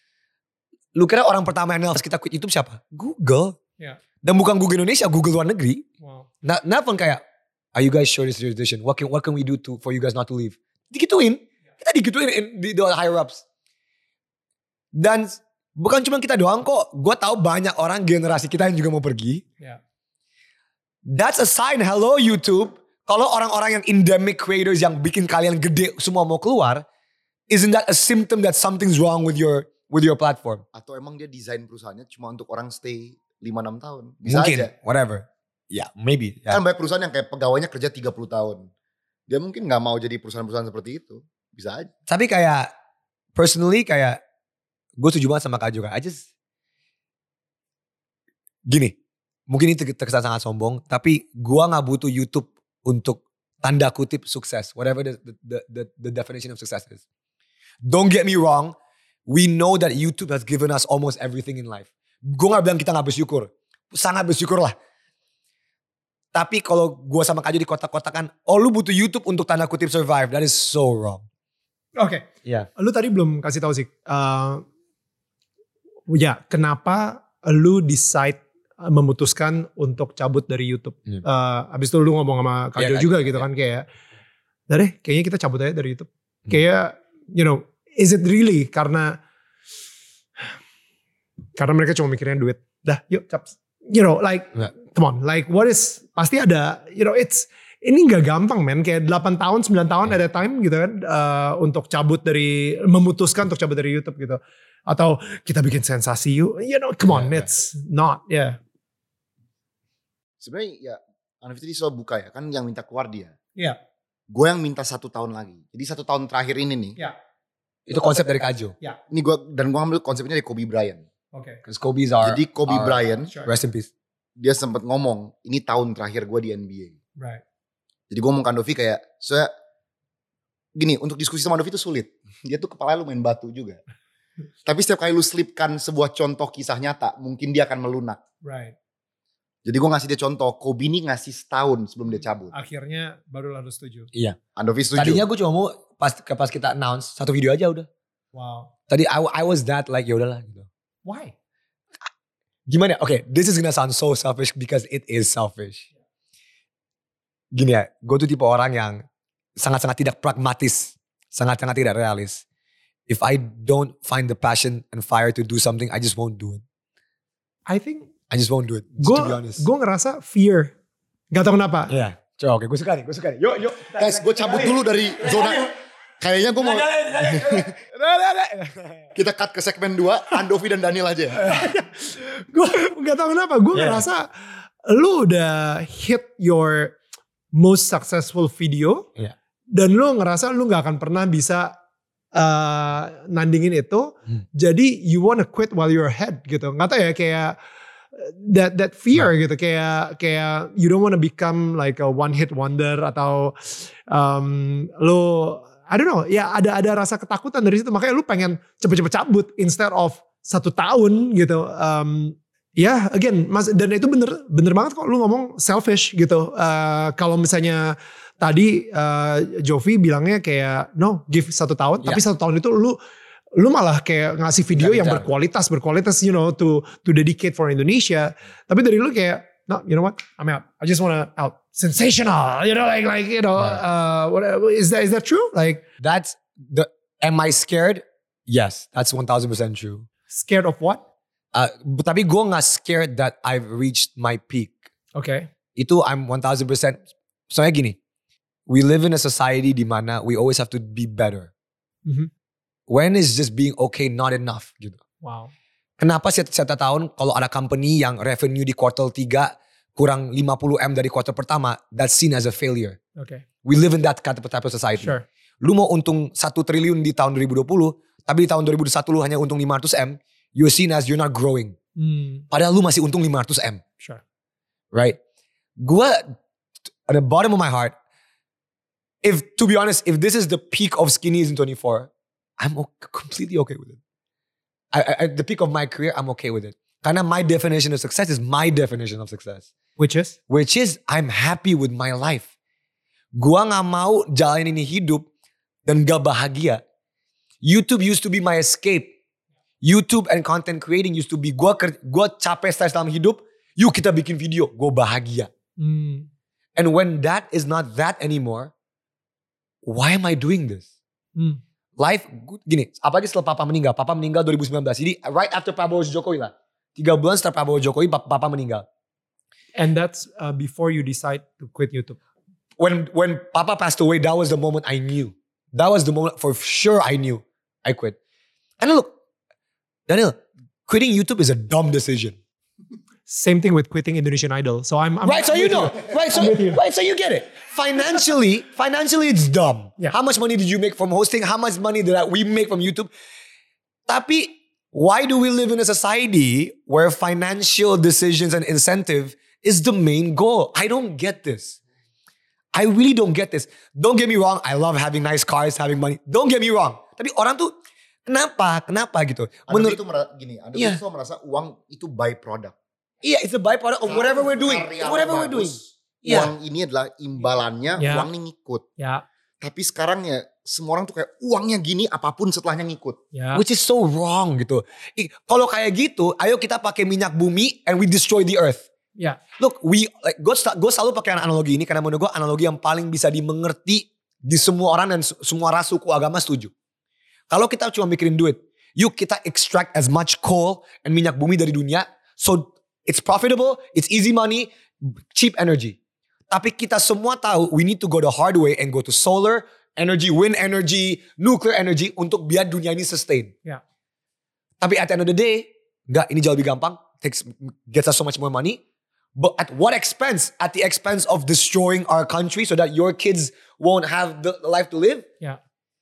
Lu kira orang pertama yang harus kita quit YouTube siapa? Google. Yeah. Dan bukan Google Indonesia, Google luar negeri. Wow. Nah, nelfon kayak, are you guys sure this is your decision? What can what can we do to for you guys not to leave? Digituin. Kita digituin in, di the higher ups. Dan bukan cuma kita doang kok. Gue tahu banyak orang generasi kita yang juga mau pergi. Yeah. That's a sign, hello YouTube. Kalau orang-orang yang endemic creators yang bikin kalian gede semua mau keluar, isn't that a symptom that something's wrong with your with your platform. Atau emang dia desain perusahaannya cuma untuk orang stay lima enam tahun. Bisa Mungkin, aja. whatever. Ya, yeah, maybe. Yeah. Kan banyak perusahaan yang kayak pegawainya kerja tiga puluh tahun. Dia mungkin gak mau jadi perusahaan-perusahaan seperti itu. Bisa aja. Tapi kayak, personally kayak, gue setuju banget sama Kak juga. I just, gini, mungkin ini terkesan sangat sombong, tapi gue gak butuh YouTube untuk tanda kutip sukses. Whatever the, the, the, the definition of success is. Don't get me wrong, we know that YouTube has given us almost everything in life. Gue gak bilang kita gak bersyukur. Sangat bersyukur lah. Tapi kalau gue sama Kak Jo di kotak-kotakan, oh lu butuh YouTube untuk tanda kutip survive. That is so wrong. Oke. Okay. Iya. Yeah. Lu tadi belum kasih tahu sih. Uh, ya, kenapa lu decide memutuskan untuk cabut dari YouTube? Yeah. Uh, abis itu lu ngomong sama Kak Jo yeah, juga yeah, gitu yeah. kan kayak, dari kayaknya kita cabut aja dari YouTube. Hmm. Kayak, you know, is it really karena karena mereka cuma mikirin duit. Dah, yuk caps. You know, like, yeah. come on, like what is, pasti ada, you know, it's, ini gak gampang men, kayak delapan tahun, sembilan tahun yeah. at a time gitu kan, uh, untuk cabut dari, memutuskan untuk cabut dari YouTube gitu. Atau kita bikin sensasi, you, you know, come on, yeah, it's yeah. not, ya. Yeah. Sebenarnya ya, Andovi tadi soal buka ya, kan yang minta keluar dia. Iya. Yeah. Gue yang minta satu tahun lagi. Jadi satu tahun terakhir ini nih. Iya. Yeah. Itu konsep dari Kak Jo. Iya. Yeah. Ini gue, dan gue ambil konsepnya dari Kobe Bryant. Oke. Okay. Because Kobe's are. Jadi Kobe are, Bryant, sure. rest in peace. Dia sempat ngomong, ini tahun terakhir gue di N B A. Right. Jadi gue ngomong ke Andovi kayak, saya gini, untuk diskusi sama Andovi itu sulit. Dia tuh kepala lu main batu juga. Tapi setiap kali lu selipkan sebuah contoh kisah nyata, mungkin dia akan melunak. Right. Jadi gue ngasih dia contoh, Kobe ini ngasih setahun sebelum dia cabut. Akhirnya baru lalu setuju. Iya. Andovi setuju. Tadinya gue cuma mau pas pas kita announce satu video aja udah. Wow. Tadi I, I was that like ya udahlah gitu. Why? Gimana? Oke, okay, this is gonna sound so selfish because it is selfish. Gini ya, gue tuh tipe orang yang sangat-sangat tidak pragmatis, sangat-sangat tidak realis. If I don't find the passion and fire to do something, I just won't do it. I think I just won't do it. Gue to be honest. Gue ngerasa fear. Gak tau kenapa. Iya. Yeah. Coba oke, gue suka nih, gue suka nih. Yuk, yuk. Guys, gue cabut dulu dari zona. Kayaknya gue mau. Kita cut ke segmen dua, Andovi dan Daniel aja. Gue gak tau kenapa. Gue yeah. ngerasa lu udah hit your most successful video. Yeah. Dan lu ngerasa lu gak akan pernah bisa uh, nandingin itu. Hmm. Jadi you wanna quit while you're ahead gitu. Gak tau ya kayak that that fear nah. gitu. Kayak kayak you don't wanna become like a one hit wonder. Atau um, lu I don't know, ya ada ada rasa ketakutan dari situ, makanya lu pengen cepet-cepet cabut instead of satu tahun gitu. Um, ya, yeah, again, mas, dan itu bener bener banget kok lu ngomong selfish gitu. Uh, kalau misalnya tadi uh, Jovi bilangnya kayak no, give satu tahun, yeah. tapi satu tahun itu lu lu malah kayak ngasih video Gak yang bicara. berkualitas, berkualitas, you know, to to dedicate for Indonesia. Tapi dari lu kayak no, you know what? I'm out. I just wanna out. Sensational, you know, like, like, you know, uh, what, is that, is that true? Like, that's the, am I scared? Yes, that's one thousand percent true. Scared of what? Uh, tapi gue gak scared that I've reached my peak. Okay. Itu I'm one thousand percent. Soalnya gini, we live in a society di mana we always have to be better. Mm-hmm. When is just being okay not enough gitu. Wow. Kenapa setiap tahun kalau ada company yang revenue di kuartal tiga kurang lima puluh M dari kuartal pertama, that's seen as a failure. Okay. We live in that type of society. Sure. Lu mau untung satu triliun di tahun dua ribu dua puluh, tapi di tahun dua ribu dua puluh satu lu hanya untung lima ratus M, you're seen as you're not growing. Hmm. Padahal lu masih untung lima ratus M. Sure. Right? Gua, at the bottom of my heart, if to be honest, if this is the peak of Skinnies in twenty-four, I'm completely okay with it. I, I, at the peak of my career, I'm okay with it. Karena my definition of success is my definition of success. Which is? Which is I'm happy with my life. Gua gak mau jalanin ini hidup dan gak bahagia. YouTube used to be my escape. YouTube and content creating used to be gua gua capek stres dalam hidup. Yuk kita bikin video. Gua bahagia. Hmm. And when that is not that anymore, why am I doing this? Hmm. Life gini. Apalagi setelah Papa meninggal. Papa meninggal dua ribu sembilan belas. Jadi right after Prabowo Jokowi lah. Tiga bulan setelah Prabowo Jokowi, Papa meninggal. And that's uh, before you decide to quit YouTube. When when Papa passed away, that was the moment I knew. That was the moment for sure I knew I quit. And look, Daniel, quitting YouTube is a dumb decision. Same thing with quitting Indonesian Idol. So I'm, I'm Right, so I'm you with know. Right, so I'm with you. right, so you get it. Financially, financially it's dumb. Yeah. How much money did you make from hosting? How much money did I, we make from YouTube? Tapi, why do we live in a society where financial decisions and incentive is the main goal? I don't get this. I really don't get this. Don't get me wrong, I love having nice cars, having money. Don't get me wrong. Tapi orang tuh, kenapa? Kenapa gitu? Anda itu mera- gini, Anda Iya. itu merasa uang itu byproduct. Iya, it's a byproduct of whatever we're doing. Karya Whatever we're doing. bagus, Iya. Uang ini adalah imbalannya, Ya. uang ini ngikut. Ya, Tapi sekarang ya semua orang tuh kayak uangnya gini apapun setelahnya ngikut. ya. Which is so wrong gitu. I- Kalau kayak gitu, ayo kita pakai minyak bumi and we destroy the earth. Ya. Look, we like gue gue selalu pakai analogi ini karena menurut gue analogi yang paling bisa dimengerti di semua orang dan su- semua ras, suku, agama setuju. Kalau kita cuma mikirin duit, yuk kita extract as much coal and minyak bumi dari dunia, so it's profitable, it's easy money, cheap energy. Tapi kita semua tahu we need to go the hard way and go to solar energy, wind energy, nuclear energy untuk biar dunia ini sustain. Ya. Tapi at the end of the day, enggak, ini jauh lebih gampang, takes gets us so much more money. But at what expense? At the expense of destroying our country so that your kids won't have the life to live? Ya.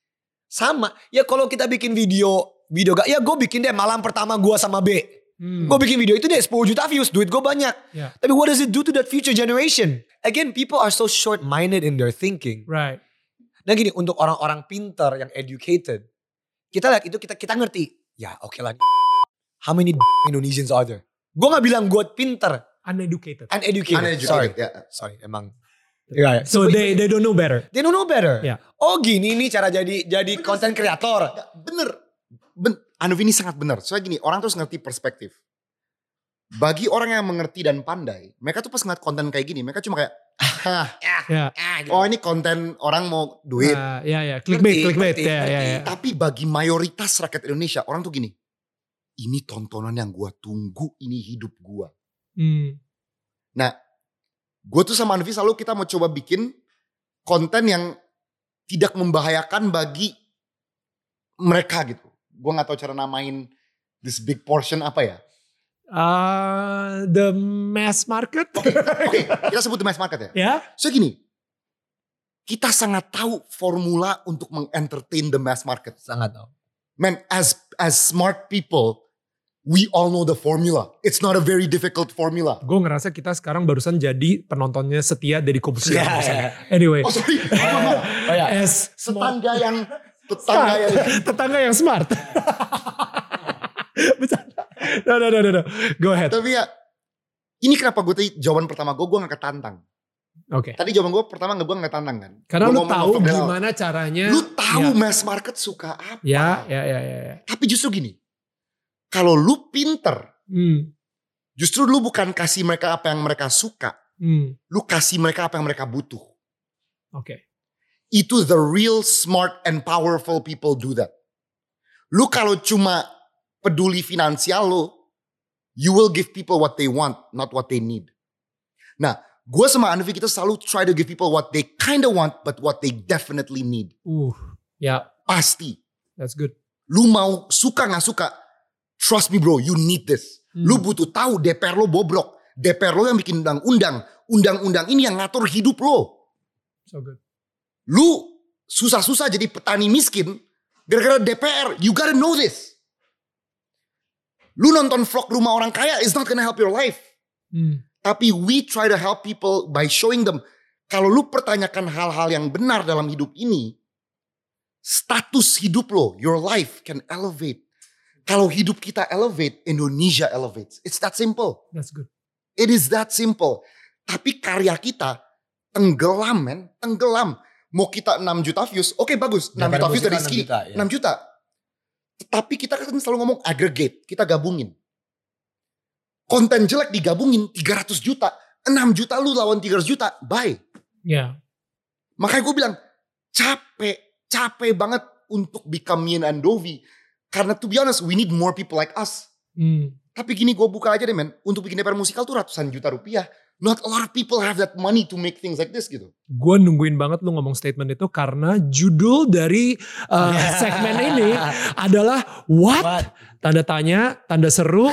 Sama. Ya kalau kita bikin video, video gak, ya gue bikin deh malam pertama gue sama B. Hmm. Gue bikin video itu deh sepuluh juta views, duit gue banyak. Ya. Tapi what does it do to that future generation? Again, people are so short-minded in their thinking. Right. Nah gini, untuk orang-orang pintar yang educated, kita lihat itu, kita kita ngerti. Ya oke lah. How many Indonesians are there? Gue gak bilang gue pintar. Uneducated. Uneducated. Uneducated, Sorry. ya. Sorry, emang. Ya, ya. So they they don't know better. They don't know better. Ya. Oh gini nih cara jadi jadi content creator. Nggak, bener. Ben, Anovi ini sangat benar. Soalnya gini, orang terus ngerti perspektif. Bagi orang yang mengerti dan pandai, mereka tuh pas ngeliat konten kayak gini, mereka cuma kayak, ah, Ya. oh ini konten orang mau duit. Uh, ya ya. Clickbait, Ngerti, clickbait. ngerti, Ya ya ngerti. ya. Tapi bagi mayoritas rakyat Indonesia, orang tuh gini, ini tontonan yang gua tunggu, ini hidup gua. Hmm. Nah, gue tuh sama Anovi selalu kita mau coba bikin konten yang tidak membahayakan bagi mereka gitu. Gue gak tahu cara namain this big portion apa ya. Uh, the mass market. Oke, oke, kita sebut the mass market ya. Ya. So gini, kita sangat tahu formula untuk mengentertain the mass market. Sangat tau. Man, as as smart people, we all know the formula. It's not a very difficult formula. Gue ngerasa kita sekarang barusan jadi penontonnya setia dari Komputer. Ya, ya. Anyway. Oh sorry, Oh ya. As small- tetangga yang tetangga yang tetangga yang smart. Bercanda. No, no, no, no, no. Go ahead. Tapi ya, ini kenapa gue tadi jawaban pertama gue, gue gak ketantang. Oke. Tadi jawaban gue pertama gak gue gak ketantang kan. Karena Gua lu ngomong tahu over the- gimana caranya. Lu tahu Ya. mass market suka apa. Ya, ya, ya, ya. ya. Tapi justru gini, kalau lu pinter, Hmm. justru lu bukan kasih mereka apa yang mereka suka. Hmm. Lu kasih mereka apa yang mereka butuh. Oke. Itu the real smart and powerful people do that. Lu kalau cuma peduli finansial lu, you will give people what they want, not what they need. Nah, gue sama Anovi kita selalu try to give people what they kinda want, but what they definitely need. Uh. Ya, Pasti. that's good. Lu mau suka gak suka, trust me bro, you need this. Hmm. Lu butuh tahu D P R lo bobrok. D P R lo yang bikin undang-undang. Undang-undang ini yang ngatur hidup lo. So good. Lu susah-susah jadi petani miskin gara-gara D P R. You gotta know this. Lu nonton vlog rumah orang kaya is not gonna help your life. Hmm. Tapi we try to help people by showing them. Kalau lu pertanyakan hal-hal yang benar dalam hidup ini, status hidup lo, your life can elevate. Kalau hidup kita elevate, Indonesia elevates. It's that simple. That's good. It is that simple. Tapi karya kita tenggelam men, tenggelam. Mau kita enam juta views, oke bagus. enam juta Daripada views dari musik kan Ski, enam juta, ya. enam juta. Tapi kita kan selalu ngomong aggregate, kita gabungin. Konten jelek digabungin tiga ratus juta. enam juta lu lawan tiga ratus juta, bye. Ya. Makanya gue bilang, capek, capek banget untuk become me and Andovi. Karena to be honest, we need more people like us. Hmm. Tapi gini gue buka aja deh men, untuk bikin D P R musikal tuh ratusan juta rupiah. Not a lot of people have that money to make things like this gitu. Gue nungguin banget lu ngomong statement itu karena judul dari uh, segmen ini adalah what? What? Tanda tanya, tanda seru.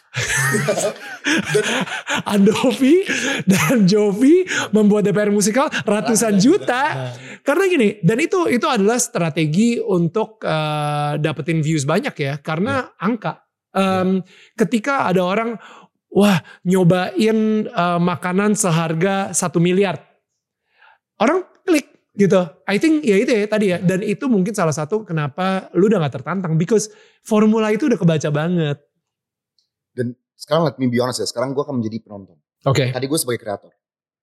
Andovi dan Jovi membuat D P R musikal ratusan juta. Karena gini, dan itu itu adalah strategi untuk uh, dapetin views banyak ya, karena yeah. angka. Um, yeah. Ketika ada orang, wah nyobain uh, makanan seharga satu miliar, orang klik gitu. I think ya itu ya tadi ya, dan itu mungkin salah satu kenapa lu udah gak tertantang, because formula itu udah kebaca banget. Dan sekarang let me be honest ya, sekarang gue akan menjadi penonton. Oke. Okay. Tadi gue sebagai kreator.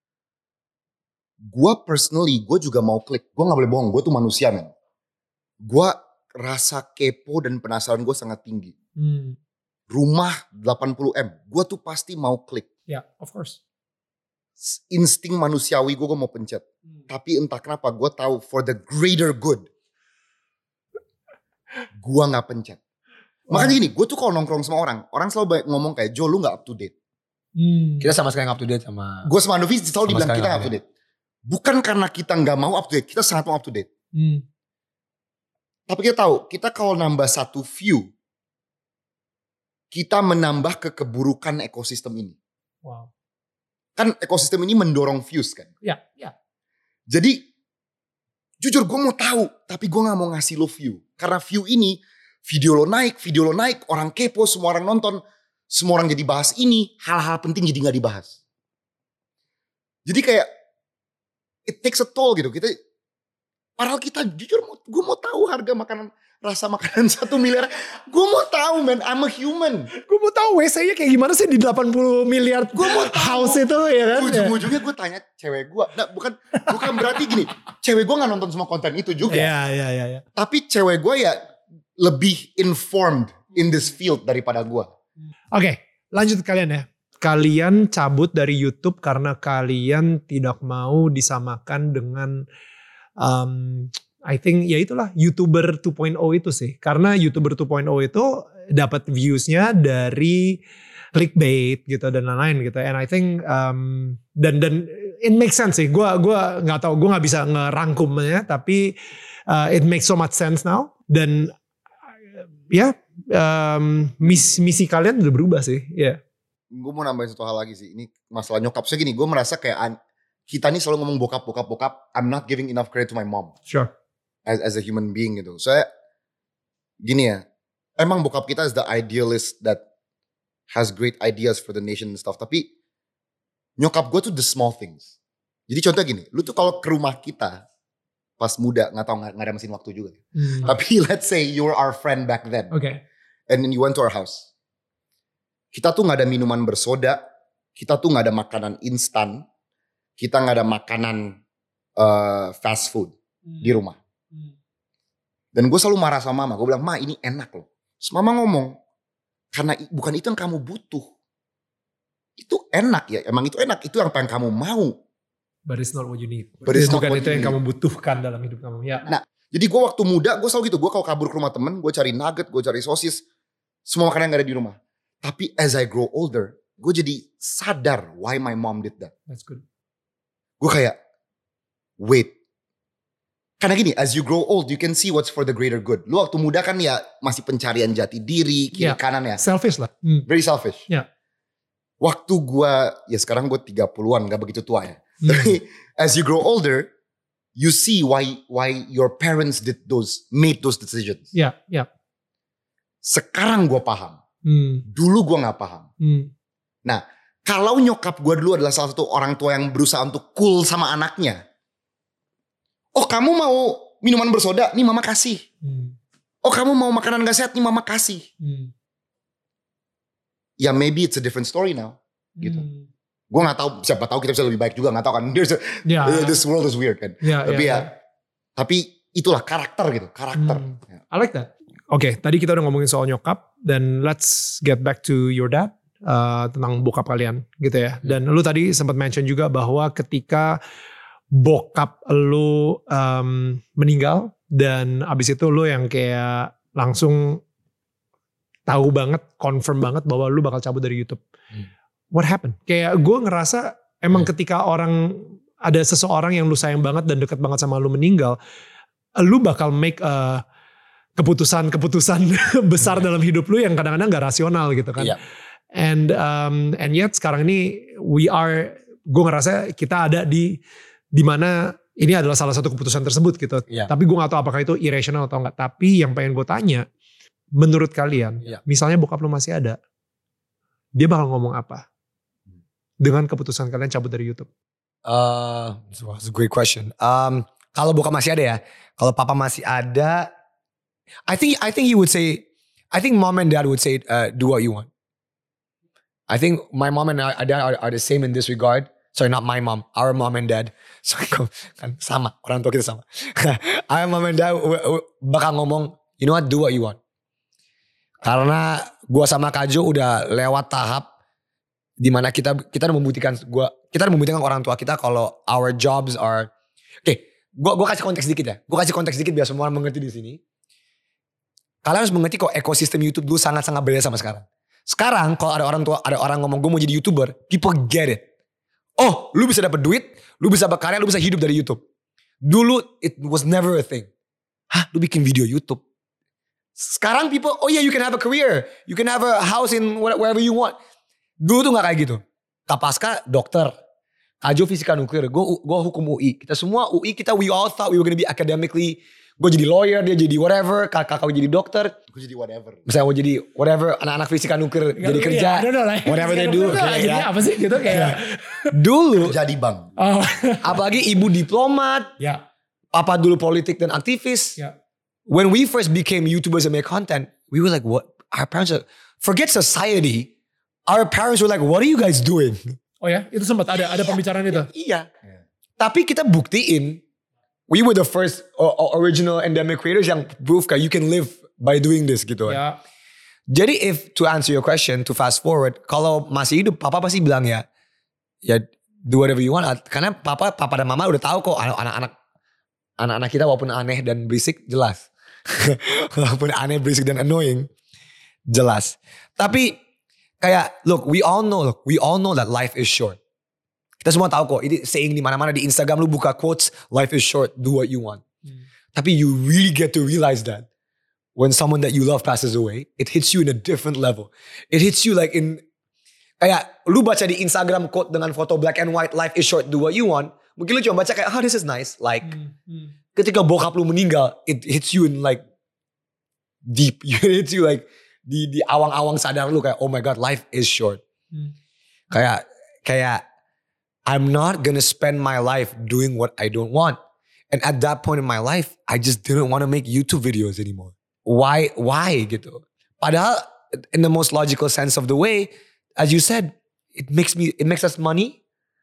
Gue personally, gue juga mau klik. Gue gak boleh bohong, gue tuh manusia men. Gue rasa kepo dan penasaran gue sangat tinggi. Hmm. Rumah delapan puluh M, gue tuh pasti mau klik. Ya, yeah, of course. Insting manusiawi gue, gue mau pencet. Hmm. Tapi entah kenapa gue tahu for the greater good, gue gak pencet. Wow. Makanya gini, gue tuh kalau nongkrong sama orang, orang selalu ngomong kayak, Jo lu gak up to date. Hmm. Kita sama sekali gak up to date sama... Gue sama Andovi selalu dibilang kita gak up to date. Bukan karena kita gak mau up to date, kita sangat mau up to date. Hmm. Tapi kita tahu, kita kalau nambah satu view, kita menambah kekeburukan ekosistem ini. Wow. Kan ekosistem ini mendorong views kan. Ya, ya. Jadi, jujur gue mau tahu, tapi gue gak mau ngasih lo view. Karena view ini, video lo naik, video lo naik, orang kepo, semua orang nonton, semua orang jadi bahas ini, hal-hal penting jadi gak dibahas. Jadi kayak, it takes a toll gitu. Kita, padahal kita jujur, gue mau tahu harga makanan, rasa makanan satu miliar. Gue mau tahu man, I'm a human. Gue mau tahu W C-nya kayak gimana sih di delapan puluh miliar gue mau tahu. House itu ya kan. Ujung-ujungnya gue tanya cewek gue. Nah, bukan bukan berarti gini, cewek gue gak nonton semua konten itu juga. Iya, iya, iya. Ya. Tapi cewek gue ya lebih informed in this field daripada gue. Oke, okay, lanjut kalian ya. Kalian cabut dari YouTube karena kalian tidak mau disamakan dengan um, I think ya itulah YouTuber dua titik nol itu sih. Karena YouTuber dua titik nol itu dapat viewsnya dari clickbait gitu dan lain-lain gitu. And I think um, dan dan it makes sense sih. Gue gua nggak tahu, gue nggak bisa ngerangkumnya, tapi uh, it makes so much sense now. Dan ya um, misi, misi kalian udah berubah sih. Ya. Yeah. Gue mau nambahin satu hal lagi sih. Ini masalah nyokap. Saya gini, gue merasa kayak kita nih selalu ngomong bokap, bokap, bokap. I'm not giving enough credit to my mom. Sure. As, as a human being gitu. Saya gini ya, emang bokap kita is the idealist that has great ideas for the nation and stuff. Tapi nyokap gue tuh the small things. Jadi contoh gini, lu tuh kalau ke rumah kita pas muda, nggak tahu nggak ada mesin waktu juga. Hmm. Tapi let's say you were our friend back then. Okay. And then you went to our house. Kita tuh nggak ada minuman bersoda, kita tuh nggak ada makanan instan, kita nggak ada makanan uh, fast food hmm. di rumah. Dan gue selalu marah sama mama. Gue bilang, ma ini enak loh. Terus mama ngomong, karena bukan itu yang kamu butuh. Itu enak ya. Emang itu enak. Itu yang pengen kamu mau. But it's not what you need. But it's bukan not itu yang need. kamu butuhkan dalam hidup kamu. Ya. Nah, jadi gue waktu muda, gue selalu gitu. Gue kalau kabur ke rumah temen, gue cari nugget, gue cari sosis. Semua makanan yang gak ada di rumah. Tapi as I grow older, gue jadi sadar why my mom did that. That's good. Gue kayak, wait. Karena gini, as you grow old, you can see what's for the greater good. Lu waktu muda kan ya masih pencarian jati diri, kiri yeah. kanan ya. Selfish lah. Hmm. Very selfish. Yeah. Waktu gue, ya sekarang gue tiga puluhan, gak begitu tua ya. Hmm. Tapi as you grow older, you see why why your parents did those, made those decisions. Yeah, yeah. Sekarang gue paham. Hmm. Dulu gue gak paham. Hmm. Nah, kalau nyokap gue dulu adalah salah satu orang tua yang berusaha untuk cool sama anaknya. Oh kamu mau minuman bersoda, nih mama kasih. Hmm. Oh kamu mau makanan gak sehat, nih mama kasih. Hmm. Ya maybe it's a different story now. Gitu. Hmm. Gue gak tahu, siapa tahu kita bisa lebih baik juga, gak tahu kan. There's a, yeah, this yeah. world is weird kan. Yeah, tapi yeah, ya, yeah. tapi itulah karakter gitu, karakter. Hmm. I like that. Oke, okay, tadi kita udah ngomongin soal nyokap, dan let's get back to your dad. Uh, tentang bokap kalian gitu ya. Dan lu tadi sempat mention juga bahwa ketika bokap lu um, meninggal dan abis itu lu yang kayak langsung tahu banget, confirm banget bahwa lu bakal cabut dari YouTube. Hmm. What happened? Kayak gue ngerasa Emang ketika orang, ada seseorang yang lu sayang banget dan deket banget sama lu meninggal, lu bakal make a keputusan-keputusan besar dalam hidup lu yang kadang-kadang gak rasional gitu kan. Iya. And um, and yet sekarang ini we are, gue ngerasa kita ada di di mana ini adalah salah satu keputusan tersebut gitu. Iya. Tapi gue gak tahu apakah itu irrational atau enggak. Tapi yang pengen gue tanya, menurut kalian, Iya. misalnya bokap lu masih ada, dia bakal ngomong apa dengan keputusan kalian cabut dari YouTube? Uh, that's a great question. Um, kalau bokap masih ada ya, kalau papa masih ada, I think I think he would say, I think mom and dad would say, uh, do what you want. I think my mom and dad are, are the same in this regard. Sorry, not my mom, our mom and dad. Sorry, kan sama, orang tua kita sama. Our mom and dad bakal ngomong, you know what, do what you want. Karena gue sama Kajo udah lewat tahap dimana kita kita membuktikan gua kita membuktikan orang tua kita kalau our jobs are, oke, okay, gua gua kasih konteks dikit ya. Gua kasih konteks dikit biar semua orang mengerti di sini. Kalian harus mengerti kok ekosistem YouTube dulu sangat-sangat beda sama sekarang. Sekarang kalau ada orang tua, ada orang ngomong gue mau jadi YouTuber, people get it. Oh, lu bisa dapat duit, lu bisa berkarya, lu bisa hidup dari YouTube. Dulu it was never a thing. Hah, lu bikin video YouTube? Sekarang people, oh yeah, you can have a career, you can have a house in wherever you want. Dulu tuh gak kayak gitu. Kapaska dokter, Kajo fisika nuklir, gue gue hukum U I. Kita semua U I, kita we all thought we were gonna be academically. Gue jadi lawyer, dia jadi whatever, kakak kau jadi dokter. Gue jadi whatever. Misalnya gue jadi whatever, anak-anak fisika nuklir jadi kerja. Yeah, I don't know, like, whatever they do. Kayak ya. Apa sih gitu kayak. Dulu, Jadi bang. Oh. apalagi ibu diplomat, Ya. papa dulu politik dan aktivis. Ya. When we first became YouTubers and make content, we were like, what? Our parents are, forget society. Our parents were like, what are you guys doing? Oh ya, itu sempat ada ada pembicaraan itu. Iya. Tapi kita buktiin, we were the first uh, original endemic creators yang proof kayak you can live by doing this gitu. Ya. Jadi if to answer your question, to fast forward, kalau masih hidup, papa pasti bilang ya, ya do whatever you want. Karena papa, papa dan mama udah tahu kok anak-anak anak-anak kita walaupun aneh dan berisik jelas. Walaupun aneh, berisik dan annoying jelas. Tapi kayak look, we all know, look, we all know that life is short. Kita semua tahu kok, ini saying di mana-mana di Instagram lu buka quotes, life is short, do what you want. Hmm. Tapi you really get to realize that when someone that you love passes away, it hits you in a different level. It hits you like in, kayak lu baca di Instagram quote dengan foto black and white, life is short, do what you want. Mungkin lu cuma baca kayak, oh this is nice. Like, hmm. Hmm. ketika bokap lu meninggal, it hits you in like deep. It hits you like di di awang-awang sadar lu kayak, oh my god, life is short. Hmm. Kayak kayak I'm not gonna spend my life doing what I don't want. And at that point in my life, I just didn't want to make YouTube videos anymore. Why why gitu? Padahal in the most logical sense of the way, as you said, it makes me it makes us money.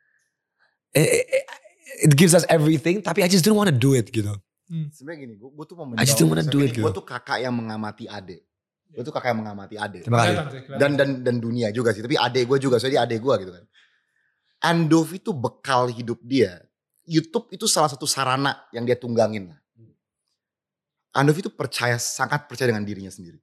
It, it, it gives us everything, tapi I just didn't want to do it gitu. Hmm. Sebenarnya gini, gue, gue tuh mau I just didn't want to do it gitu. Gue tuh kakak yang mengamati adik. Gue tuh kakak yang mengamati adik. Terima kasih. Dan dan dan dunia juga sih. Tapi adik gue juga, soalnya dia adik gue gitu kan. Andovi itu bekal hidup dia. YouTube itu salah satu sarana yang dia tunggangin lah. Andovi itu percaya, sangat percaya dengan dirinya sendiri.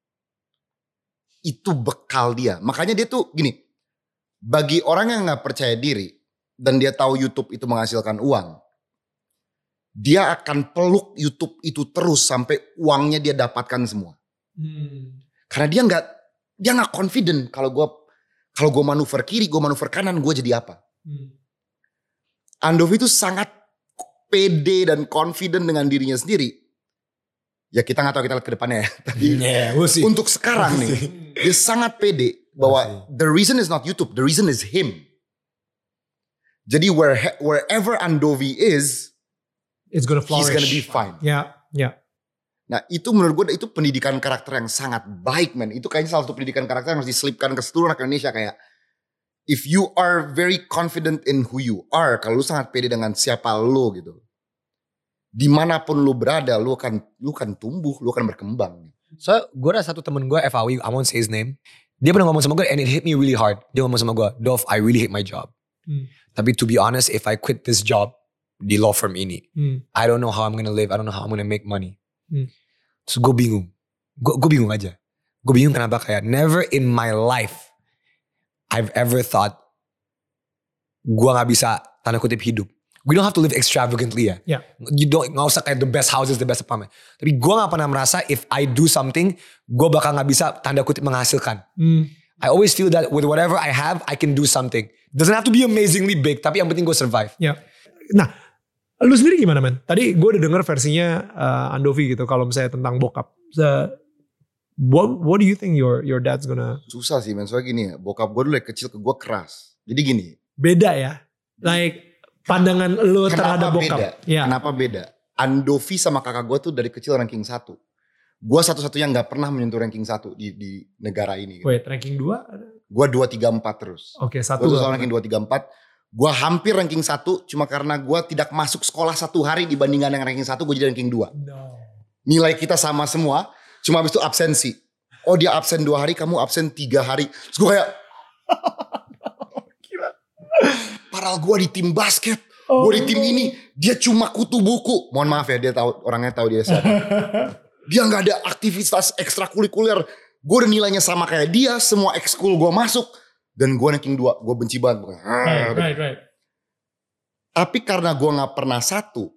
Itu bekal dia. Makanya dia tuh gini, bagi orang yang gak percaya diri dan dia tahu YouTube itu menghasilkan uang, dia akan peluk YouTube itu terus sampai uangnya dia dapatkan semua. Hmm. Karena dia gak, dia gak confident kalau gue Kalau gue manuver kiri, gue manuver kanan, gue jadi apa? Hmm. Andovi itu sangat pede dan confident dengan dirinya sendiri. Ya kita gak tahu, kita lihat ke depannya ya. Tapi yeah, we'll see. Untuk sekarang we'll nih, dia sangat pede bahwa the reason is not YouTube, the reason is him. Jadi where, wherever Andovi is, it's gonna flourish. He's gonna be fine. Ya, yeah, ya. Yeah. Nah itu menurut gue itu pendidikan karakter yang sangat baik men. Itu kayaknya salah satu pendidikan karakter yang harus diselipkan ke seluruh anak Indonesia. Kayak if you are very confident in who you are, kalau lu sangat pede dengan siapa lu gitu, dimanapun lu berada lu akan lu akan tumbuh, lu akan berkembang. So gue ada satu temen gue F A W, I won't say his name. Dia pernah ngomong sama gue and it hit me really hard. Dia ngomong sama gue, Dov, I really hate my job. Hmm. Tapi to be honest, if I quit this job di law firm ini, hmm. I don't know how I'm gonna live, I don't know how I'm gonna make money. Hmm. Terus gue bingung. Gue, gue bingung aja. Gue bingung kenapa kayak never in my life I've ever thought gue gak bisa tanda kutip hidup. We don't have to live extravagantly ya. Yeah. You don't, gak usah kayak the best houses, the best apartment. Tapi gue gak pernah merasa if I do something, gue bakal gak bisa tanda kutip menghasilkan. Hmm. I always feel that with whatever I have, I can do something. Doesn't have to be amazingly big, tapi yang penting gue survive. Ya. Nah, lu sendiri gimana, man? Tadi gue udah denger versinya uh, Andovi gitu, kalau misalnya tentang bokap. So, what what do you think your your dad's gonna? Susah sih, men. Soalnya gini ya, bokap gue dulu dari kecil ke gue keras. Jadi gini. Beda ya, like pandangan lu terhadap bokap. Beda? Ya. Kenapa beda? Andovi sama kakak gue tuh dari kecil ranking satu. Gue satu-satunya gak pernah menyentuh ranking satu di, di negara ini. Gitu. Wait, ranking dua? Gue dua, tiga, empat terus. Oke, okay, satu. Gue selalu ranking dua, tiga, empat. Gue hampir ranking satu, cuma karena gue tidak masuk sekolah satu hari dibandingkan yang ranking satu, gue jadi ranking dua. No. Nilai kita sama semua, cuma habis itu absensi. Oh dia absen dua hari, kamu absen tiga hari. Terus gue kayak... Padahal gue di tim basket, oh. gue di tim ini, dia cuma kutu buku. Mohon maaf ya, dia tahu, orangnya tahu dia siapa. Dia nggak ada aktivitas ekstrakurikuler. Gue udah nilainya sama kayak dia, semua ekskul gue masuk, dan gue ranking dua, gue benci banget. Right, right, right. Tapi karena gue nggak pernah satu,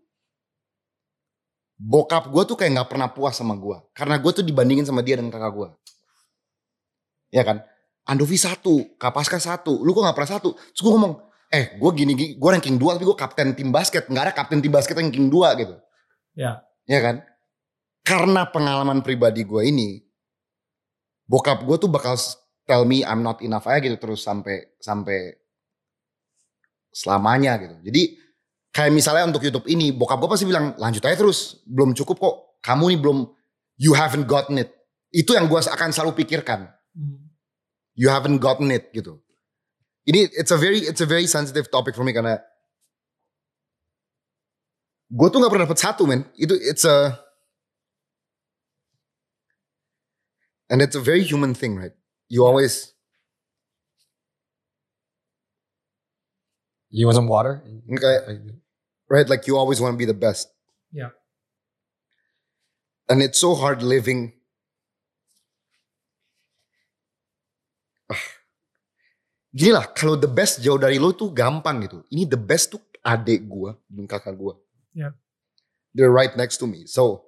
bokap gue tuh kayak nggak pernah puas sama gue, karena gue tuh dibandingin sama dia dan kakak gue. Ya kan? Andovi satu, Kapaska satu, lu kok gak pernah satu? Terus gue ngomong, eh gue gini, gini gue ranking dua tapi gue kapten tim basket. Gak ada kapten tim basket ranking dua gitu. Ya. Ya kan? Karena pengalaman pribadi gue ini, bokap gue tuh bakal tell me I'm not enough aja gitu terus sampai sampai selamanya gitu. Jadi kayak misalnya untuk YouTube ini, bokap gue pasti bilang lanjut aja terus, belum cukup kok. Kamu nih belum, you haven't gotten it. Itu yang gue akan selalu pikirkan. Hmm. You haven't gotten it gitu. Ini it's a very it's a very sensitive topic for me karena gue tuh nggak pernah dapet satu, men. Itu it's a and it's a very human thing, right? You always you want some water? Okay, right? Like you always want to be the best. Yeah. And it's so hard living. Gini lah, kalau the best jauh dari lo tuh gampang gitu. Ini the best tuh adik gue dan kakak gue. Yeah. They're right next to me. So,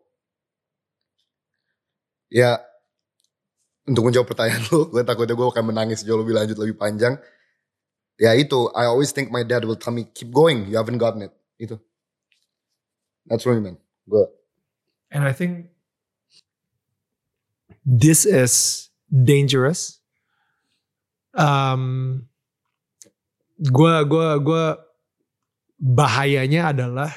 ya untuk menjawab pertanyaan lo, gue takutnya gue akan menangis jauh lebih lanjut, lebih panjang. Ya itu, I always think my dad will tell me, keep going, you haven't gotten it. Itu. That's really, man. Gue. And I think this is dangerous. Um, gua gua gua bahayanya adalah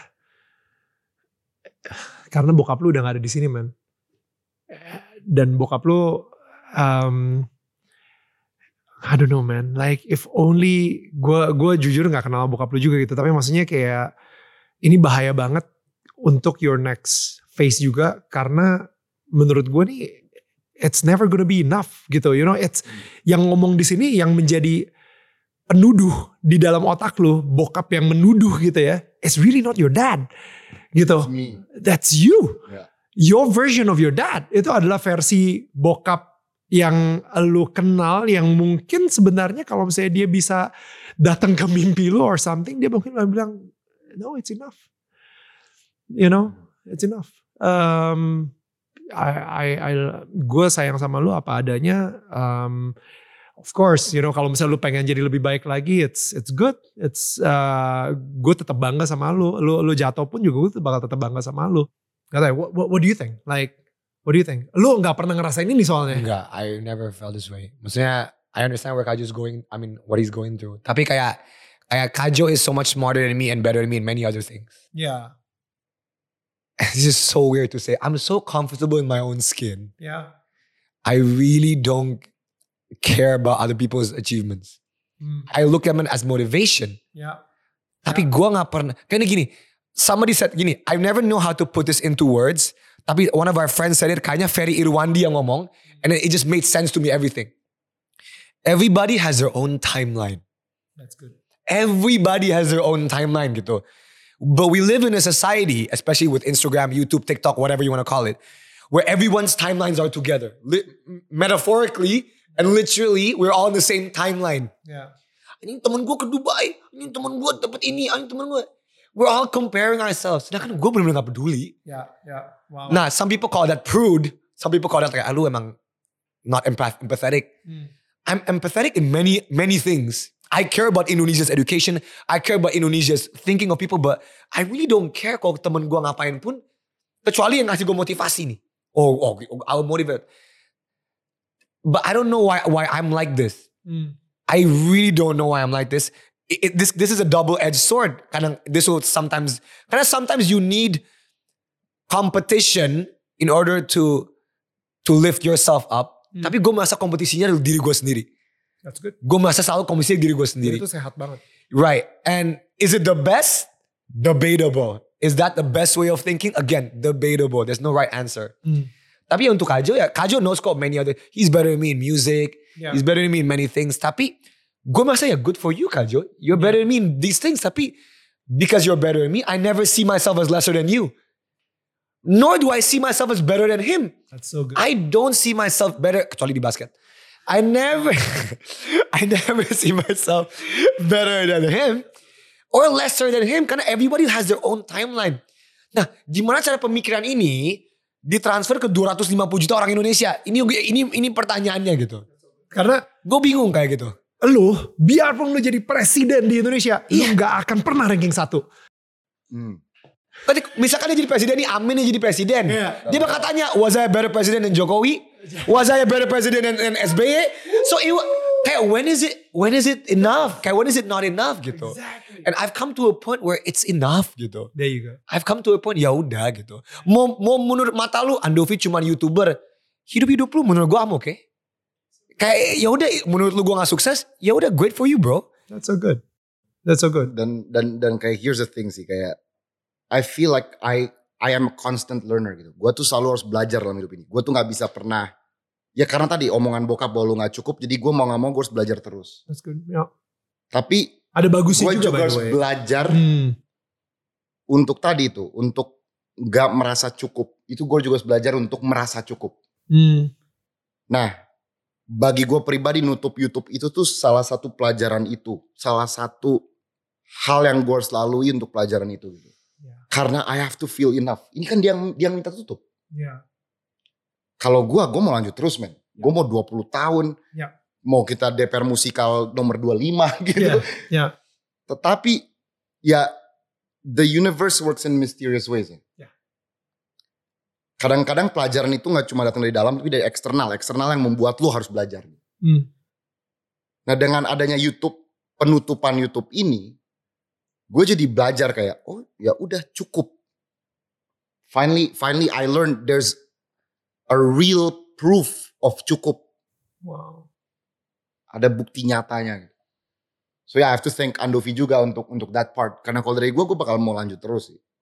karena bokap lu udah gak ada di sini, man. Dan bokap lu, um, I don't know, man. Like if only gua gua jujur nggak kenal bokap lu juga gitu. Tapi maksudnya kayak ini bahaya banget untuk your next phase juga karena menurut gua nih. It's never gonna be enough gitu, you know. It's yang ngomong di sini yang menjadi penuduh di dalam otak lu, bokap yang menuduh gitu ya. It's really not your dad, gitu. That's you. Yeah. Your version of your dad itu adalah versi bokap yang lu kenal, yang mungkin sebenarnya kalau misalnya dia bisa datang ke mimpi lu or something, dia mungkin bilang, no, it's enough, you know, it's enough. Um, I, I, I, gue sayang sama lu apa adanya. Um, of course, you know, kalau misalnya lu pengen jadi lebih baik lagi, it's it's good. It's uh, gue tetap bangga sama lu. Lu lu jatuh pun juga gue bakal tetap bangga sama lu. Gak tau, what, what, what do you think? Like, what do you think? Lu nggak pernah ngerasain ini soalnya? Enggak, I never felt this way. Maksudnya, I understand where Kajo's going. I mean, what he's going through. Tapi kayak, kayak Kajo is so much smarter than me and better than me in many other things. Yeah. This is so weird to say. I'm so comfortable in my own skin. Yeah. I really don't care about other people's achievements. Mm. I look at them as motivation. Yeah. Tapi yeah. gue gak pernah. Kayaknya gini. Somebody said gini. I never know how to put this into words. Tapi one of our friends said it. Kayaknya Ferry Irwandi yang ngomong. And it just made sense to me, everything. Everybody has their own timeline. That's good. Everybody has their own timeline gitu. But we live in a society, especially with Instagram, YouTube, TikTok, whatever you want to call it, where everyone's timelines are together. Li- metaphorically and literally, we're all in the same timeline. Yeah. Ini temen gue ke Dubai, ini temen gue dapet ini, ini temen gue. We're all comparing ourselves. Sedangkan gue bener-bener gak peduli. Ya, ya. Wow. Nah, some people call that prude. Some people call that kayak, ah, lu emang not empath- empathetic. Hmm. I'm empathetic in many, many things. I care about Indonesia's education. I care about Indonesia's thinking of people. But I really don't care kalau temen gue ngapain pun. Kecuali yang ngasih gue motivasi nih. Oh, oh, I'll motivate. But I don't know why why I'm like this. Hmm. I really don't know why I'm like this. It, it, this this is a double-edged sword. Kadang this will sometimes, karena sometimes you need competition in order to to lift yourself up. Hmm. Tapi gue merasa kompetisinya adalah diri gue sendiri. That's good. Gue merasa selalu kompetisi diri gue sendiri. Itu sehat banget. Right. And is it the best? Debatable. Is that the best way of thinking? Again, debatable. There's no right answer. Hmm. Tapi untuk Kajo ya, Kajo knows kok many other, he's better than me in music. Yeah. He's better than me in many things. Tapi gue merasa ya good for you Kajo. You're yeah. better than me in these things. Tapi because you're better than me, I never see myself as lesser than you. Nor do I see myself as better than him. That's so good. I don't see myself better, kecuali di basket. I never, I never see myself better than him or lesser than him. Karena everybody has their own timeline. Nah, gimana cara pemikiran ini ditransfer ke dua ratus lima puluh juta orang Indonesia? Ini ini ini pertanyaannya gitu. Karena gue bingung kayak gitu. Lu, biarpun lu jadi presiden di Indonesia, iya. lu gak akan pernah ranking satu. Hmm. Tadi misalkan dia jadi presiden nih, Amin yang jadi presiden. Yeah. Dia bakal tanya, was I a better president than Jokowi? Was I a better president than, than S B Y? So it, kayak when is it when is it enough? Kayak when is it not enough gitu. Exactly. And I've come to a point where it's enough gitu. There you go. I've come to a point, ya udah gitu. Mau mau menurut mata lu Andovi cuma YouTuber, hidup-hidup lu menurut gue am oke. Okay? Kayak ya udah menurut lu gue gak sukses, ya udah great for you bro. That's so good. That's so good. Dan dan dan kayak here's the thing sih, kayak I feel like I I am a constant learner gitu. Gue tuh selalu harus belajar dalam hidup ini. Gue tuh gak bisa pernah, ya karena tadi omongan bokap bahwa lu gak cukup, jadi gue mau gak mau gue harus belajar terus. That's good. Yeah. Tapi ada bagusnya juga, juga harus belajar hmm. untuk tadi itu, untuk gak merasa cukup. Itu gue juga harus belajar untuk merasa cukup. Hmm. Nah, bagi gue pribadi nutup YouTube itu tuh salah satu pelajaran itu. Salah satu hal yang gue harus lalui untuk pelajaran itu. Gitu. Yeah. Karena I have to feel enough. Ini kan dia, dia yang minta tutup. Yeah. Kalau gue, gue mau lanjut terus men. Yeah. Gue mau dua puluh tahun. Yeah. Mau kita D P R musikal nomor dua puluh lima gitu. Yeah. Yeah. Tetapi ya the universe works in mysterious ways ya. Yeah. Kadang-kadang pelajaran itu gak cuma datang dari dalam, tapi dari eksternal. Eksternal yang membuat lu harus belajar. Hmm. Nah dengan adanya YouTube, penutupan YouTube ini, gue jadi belajar kayak, oh ya udah cukup. Finally, finally I learned there's a real proof of cukup. Wow. Ada bukti nyatanya. So yeah, I have to thank Andovi juga untuk untuk that part. Karena kalau dari gue, gue bakal mau lanjut terus sih.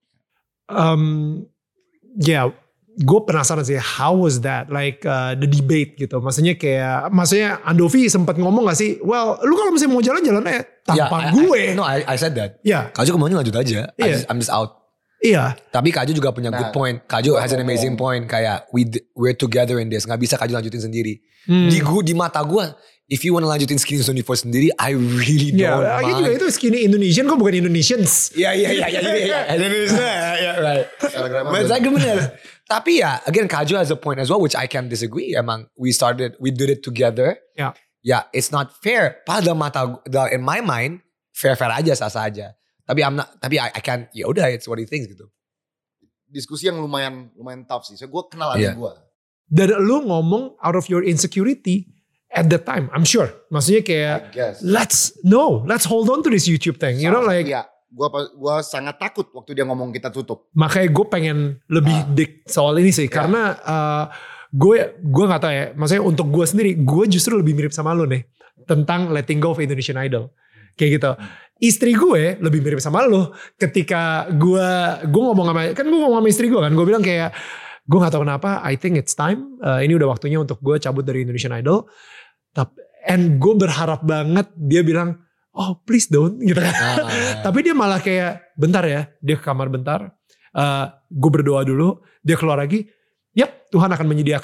Um, yeah. Gue penasaran sih, how was that? Like uh, the debate gitu. Maksudnya kayak, maksudnya Andovi sempat ngomong gak sih? Well, lu kalau misalnya mau jalan-jalan aja tanpa yeah, gue. I, I, no, I, I said that. Iya. Yeah. Kaju kemaunya lanjut aja. Yeah. I just, I'm just out. Iya. Yeah. Tapi Kaju juga punya nah, good point. Kaju has an amazing point. Kayak we we're together in this. Gak bisa Kaju lanjutin sendiri. Hmm. Di gua, di mata gue, if you wanna lanjutin Skinny twenty-four sendiri, I really don't yeah, mind. Juga itu Skinny Indonesian kok bukan Indonesians. Iya iya iya iya. Indonesia. Yeah, right. Saya bener. Tapi ya, again Kaju has a point as well, which I can disagree. Emang we started, we did it together. Ya. Yeah. Yeah, it's not fair. Pada mata, in my mind, fair-fair aja, sah-sah aja. Tapi I'm not, tapi I, I can't, ya udah, it's what he thinks gitu. Diskusi yang lumayan, lumayan tough sih. So gue kenal adik yeah. gue. Dan lu ngomong out of your insecurity at the time, I'm sure. Maksudnya kayak, let's, no, let's hold on to this YouTube thing. You know, like. Yeah. Gue gua sangat takut waktu dia ngomong kita tutup. Makanya gue pengen lebih uh, dik soal ini sih. Yeah. Karena uh, gue gue gak tahu ya. Maksudnya untuk gue sendiri, gue justru lebih mirip sama lo nih. Tentang letting go of Indonesian Idol. Kayak gitu. Istri gue lebih mirip sama lo. Ketika gue gue ngomong sama, kan gue ngomong sama istri gue kan. Gue bilang kayak, gue gak tahu kenapa, I think it's time. Uh, ini udah waktunya untuk gue cabut dari Indonesian Idol. And gue berharap banget dia bilang, oh please don't gitu kan. Ah. Tapi dia malah kayak bentar ya. Dia ke kamar bentar. Uh, gue berdoa dulu. Dia keluar lagi. Yap, Tuhan akan menyediakan.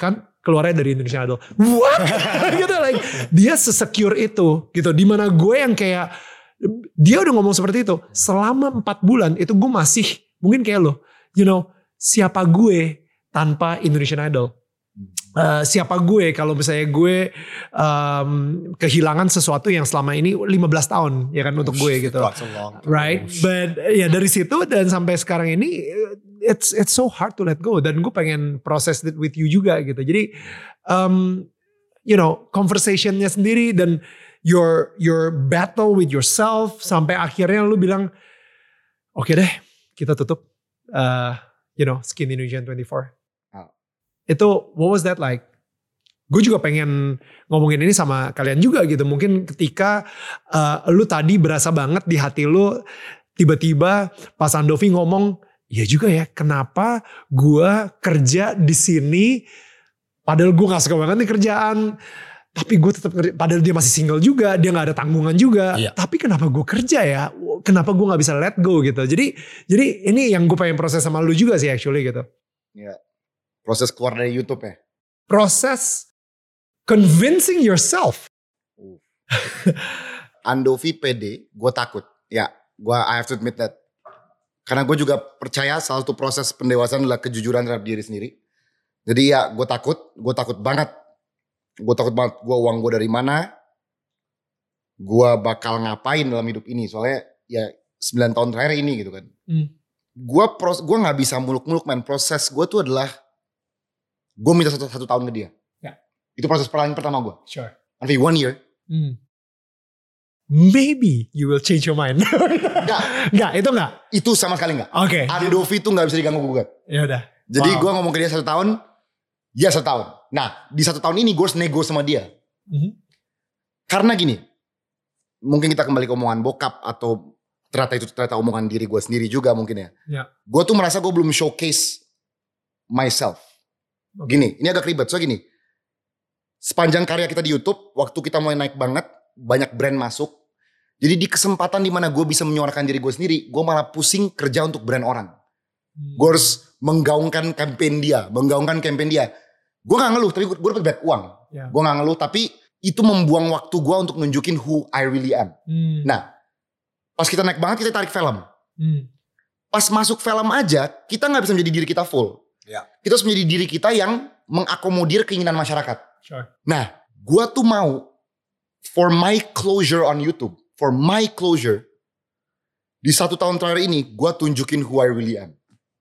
keluarnya dari Indonesian Idol. What? Gitu, like dia sesecure itu gitu. Dimana gue yang kayak dia udah ngomong seperti itu selama empat bulan itu gue masih mungkin kayak lo, you know, siapa gue tanpa Indonesian Idol? Uh, siapa gue kalau misalnya gue um, kehilangan sesuatu yang selama ini lima belas tahun ya kan untuk gue gitu, right? But ya dari situ dan sampai sekarang ini it's it's so hard to let go dan gue pengen process it with you juga gitu. Jadi um, you know conversationnya sendiri dan your your battle with yourself sampai akhirnya lu bilang oke okay deh kita tutup uh, you know Skinny Indonesian twenty-four. Itu what was that like? Gue juga pengen ngomongin ini sama kalian juga gitu. Mungkin ketika uh, lu tadi berasa banget di hati lu tiba-tiba pas Andovi ngomong, ya juga ya kenapa gue kerja di sini padahal gue gak suka banget nih kerjaan. Tapi gue tetap kerja, padahal dia masih single juga, dia gak ada tanggungan juga. Iya. Tapi kenapa gue kerja ya? Kenapa gue gak bisa let go gitu. Jadi jadi ini yang gue pengen proses sama lu juga sih actually gitu. Iya. Proses keluar dari YouTube ya? Proses convincing yourself. Uh. Andovi pede, gue takut. Ya, gue I have to admit that. Karena gue juga percaya salah satu proses pendewasaan adalah kejujuran terhadap diri sendiri. Jadi ya gue takut, gue takut banget. Gue takut banget gue uang gue dari mana. Gue bakal ngapain dalam hidup ini. Soalnya ya sembilan tahun terakhir ini gitu kan. Hmm. Gue gue gak bisa muluk-muluk man. Proses gue tuh adalah gue minta satu, satu tahun ke dia. Ya. Itu proses paling pertama gue. Sure. Nanti one year. Hmm. Maybe you will change your mind. Enggak. Enggak, itu enggak? Itu sama sekali enggak. Oke. Okay. Andovi itu gak bisa diganggu gugat. Ya udah. Jadi wow. Gue ngomong ke dia satu tahun. Ya satu tahun. Nah di satu tahun ini gue harus nego sama dia. Mm-hmm. Karena gini. Mungkin kita kembali ke omongan bokap. Atau ternyata itu ternyata omongan diri gue sendiri juga mungkin ya. Ya. Gue tuh merasa gue belum showcase myself. Gini, ini agak ribet. So gini, sepanjang karya kita di YouTube, waktu kita mulai naik banget, banyak brand masuk. Jadi di kesempatan dimana gue bisa menyuarakan diri gue sendiri, gue malah pusing kerja untuk brand orang. Hmm. Gue harus menggaungkan campaign dia, menggaungkan campaign dia. Gue gak ngeluh, tapi gue, gue dapat banyak uang. Yeah. Gue gak ngeluh, tapi itu membuang waktu gue untuk nunjukin who I really am. Hmm. Nah, pas kita naik banget, kita tarik film. Hmm. Pas masuk film aja, kita gak bisa menjadi diri kita full. Ya. Kita harus menjadi diri kita yang mengakomodir keinginan masyarakat. Sure. Nah, gue tuh mau for my closure on YouTube, for my closure di satu tahun terakhir ini, gue tunjukin who I really am.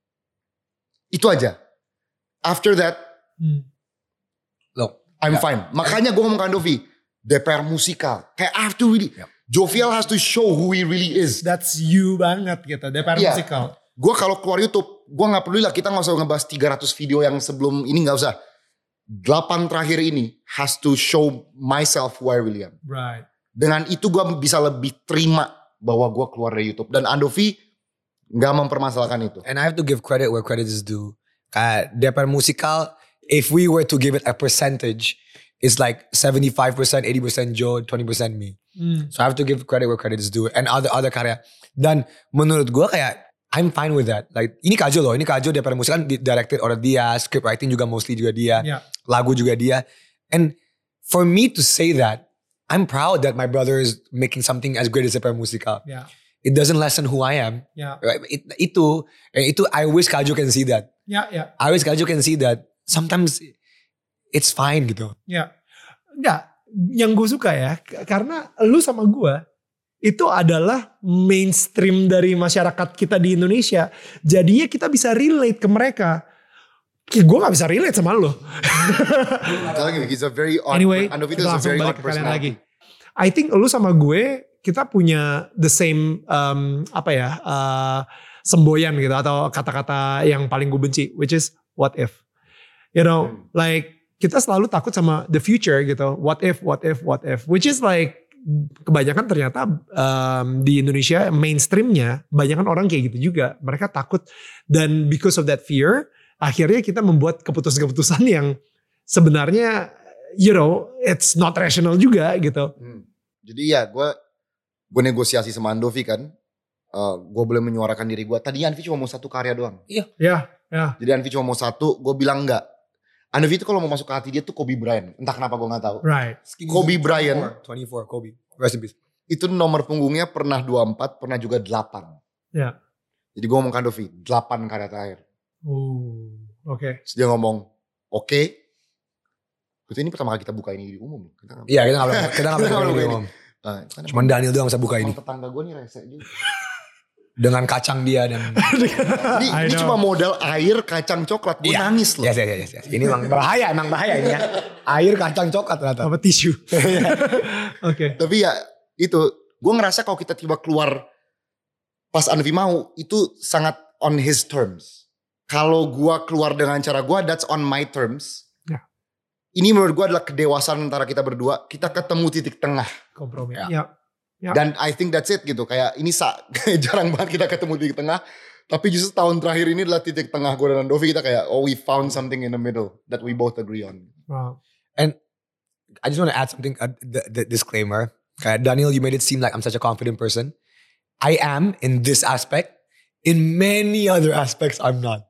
Itu aja. After that, hmm. look, I'm ya. fine. Makanya gue ngomong ke Andovi, D P R musikal, kayak I have to really, ya. Jovial has to show who he really is. That's you banget gitu, D P R ya. musikal. Gue kalau keluar YouTube, gue gak peduli lah kita gak usah ngebahas tiga ratus video yang sebelum ini, gak usah. delapan terakhir ini has to show myself who I really am. Right. Dengan itu gue bisa lebih terima bahwa gue keluar dari YouTube. Dan Andovi gak mempermasalahkan itu. And I have to give credit where credit is due. Kayak D P R musikal, if we were to give it a percentage, it's like seventy-five percent, eighty percent Joe, twenty percent me. Mm. So I have to give credit where credit is due. And other other karya. Dan menurut gue kayak, I'm fine with that. Like ini Kajo loh, ini Kajo D P R musik kan directed oleh dia, script writing juga mostly juga dia, yeah. lagu juga dia. And for me to say that, I'm proud that my brother is making something as great as D P R musikal. Yeah. It doesn't lessen who I am. Yeah. It, itu, itu I wish Kajo can see that. Yeah, yeah. I wish Kajo can see that. Sometimes it's fine gitu. Ya, yeah. Enggak. Yang gue suka ya, karena lu sama gue itu adalah mainstream dari masyarakat kita di Indonesia. Jadinya kita bisa relate ke mereka. Gue gak bisa relate sama lo. He's a very odd, anyway, kita langsung balik ke kalian lagi. I think lu sama gue, kita punya the same, um, apa ya, uh, semboyan gitu. Atau kata-kata yang paling gue benci. Which is, what if? You know, hmm. like, kita selalu takut sama the future gitu. What if, what if, what if. Which is like, kebanyakan ternyata um, di Indonesia mainstreamnya kebanyakan orang kayak gitu juga. Mereka takut dan because of that fear akhirnya kita membuat keputusan-keputusan yang sebenarnya you know it's not rational juga gitu. Hmm. Jadi ya gue gue negosiasi sama Andovi kan, uh, gue boleh menyuarakan diri gue. Tadinya Anvi cuma mau satu karya doang. Iya. Iya. Ya. Jadi Anvi cuma mau satu, gue bilang enggak. Andovi itu kalau mau masuk ke hati dia tuh Kobe Bryant. Entah kenapa gue gak tahu. Right. Kobe Bryant. dua puluh empat Kobe. Rest in peace. Itu nomor punggungnya pernah dua puluh empat, pernah juga delapan. Ya. Yeah. Jadi gue ngomong ke Andovi, delapan karya terakhir. Oh, oke. Okay. Terus dia ngomong, oke. Okay. Berarti ini pertama kali kita buka ini di umum. Iya, kita gak boleh. Kita gak boleh buka ini di umum. Nah, cuman Daniel doang bisa buka ini. Tetangga gue nih rese juga. Dengan kacang dia dan. ini ini cuma modal air kacang coklat. Gue yeah. nangis loh. Yes, yes, yes, yes. Ini emang bahaya, emang bahaya ini ya. Air kacang coklat ternyata. Apa tisu. Oke. Okay. Tapi ya itu, gue ngerasa kalau kita tiba keluar pas Andovi mau, itu sangat on his terms. Kalau gue keluar dengan cara gue, that's on my terms. Yeah. Ini menurut gue adalah kedewasaan antara kita berdua. Kita ketemu titik tengah. Kompromi. Ya. Yeah. Yeah. Dan I think that's it gitu. Kayak ini sa- jarang banget kita ketemu titik tengah. Tapi justru tahun terakhir ini adalah titik tengah gue dan Andovi. Kita kayak, oh we found something in the middle that we both agree on. Wow. And I just want to add something, uh, the, the disclaimer. Kayak Daniel, you made it seem like I'm such a confident person. I am in this aspect. In many other aspects, I'm not.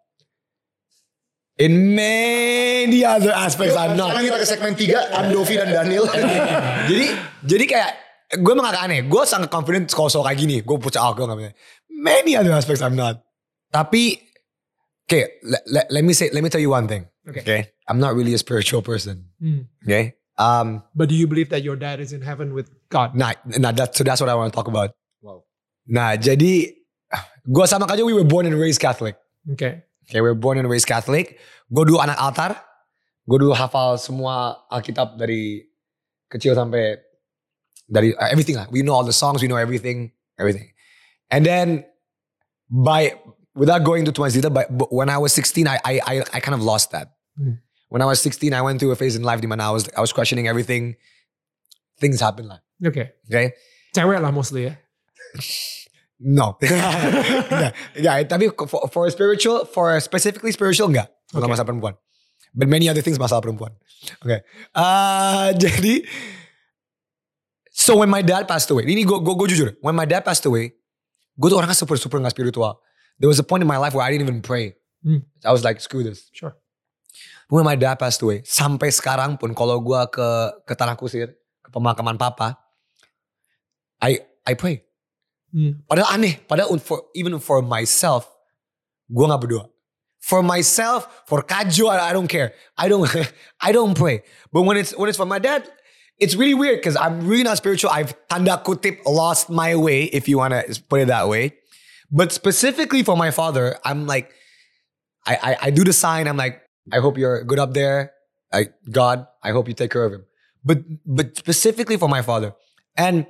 In many other aspects, I'm not. Sekarang kita ke segmen tiga, Andovi dan Daniel. jadi, jadi kayak gue emang agak aneh. Gue sangat confident kalau soal kayak gini. Gue pucak, oh, gue gak bisa. Many other aspects, I'm not. Tapi, okay, let, let, let me say, let me tell you one thing. Okay. Okay, I'm not really a spiritual person. Mm. Okay. Um, but do you believe that your dad is in heaven with God? Nah, nah that, so that's what I want to talk about. Wow. Nah, jadi gue sama Kak Jo, we were born and raised Catholic. Okay. Okay, we were born and raised Catholic. Gue dulu anak altar. Gue dulu hafal semua Alkitab dari kecil sampai dari uh, everything lah. We know all the songs, we know everything, everything. And then by without going into too much detail, but, but when I was sixteen, I I I, I kind of lost that. Hmm. When I was sixteen, I went through a phase in life di mana I was I was questioning everything. Things happen lah. Okay. Okay. Cewek lah mostly ya. No. yeah, yeah, tapi for, for spiritual, for specifically spiritual enggak. Bukan okay. Masalah perempuan. But many other things masalah perempuan. Okay. Uh, jadi, so when my dad passed away, ini gue gue jujur, when my dad passed away, gue tuh orangnya super super gak spiritual. There was a point in my life where I didn't even pray. Hmm. I was like, screw this. Sure. When my dad passed away, sampai sekarang pun kalau gue ke ke Tanah Kusir, ke pemakaman papa, I I pray. Hmm. Padahal aneh, padahal for, even for myself, gue gak berdoa. For myself, for Kak Jo, I, I don't care. I don't, I don't pray. But when it's when it's for my dad, it's really weird because I'm really not spiritual. I've tanda kutip lost my way, if you want to put it that way. But specifically for my father, I'm like, I, I I do the sign. I'm like, I hope you're good up there. I, God, I hope you take care of him. But but specifically for my father, and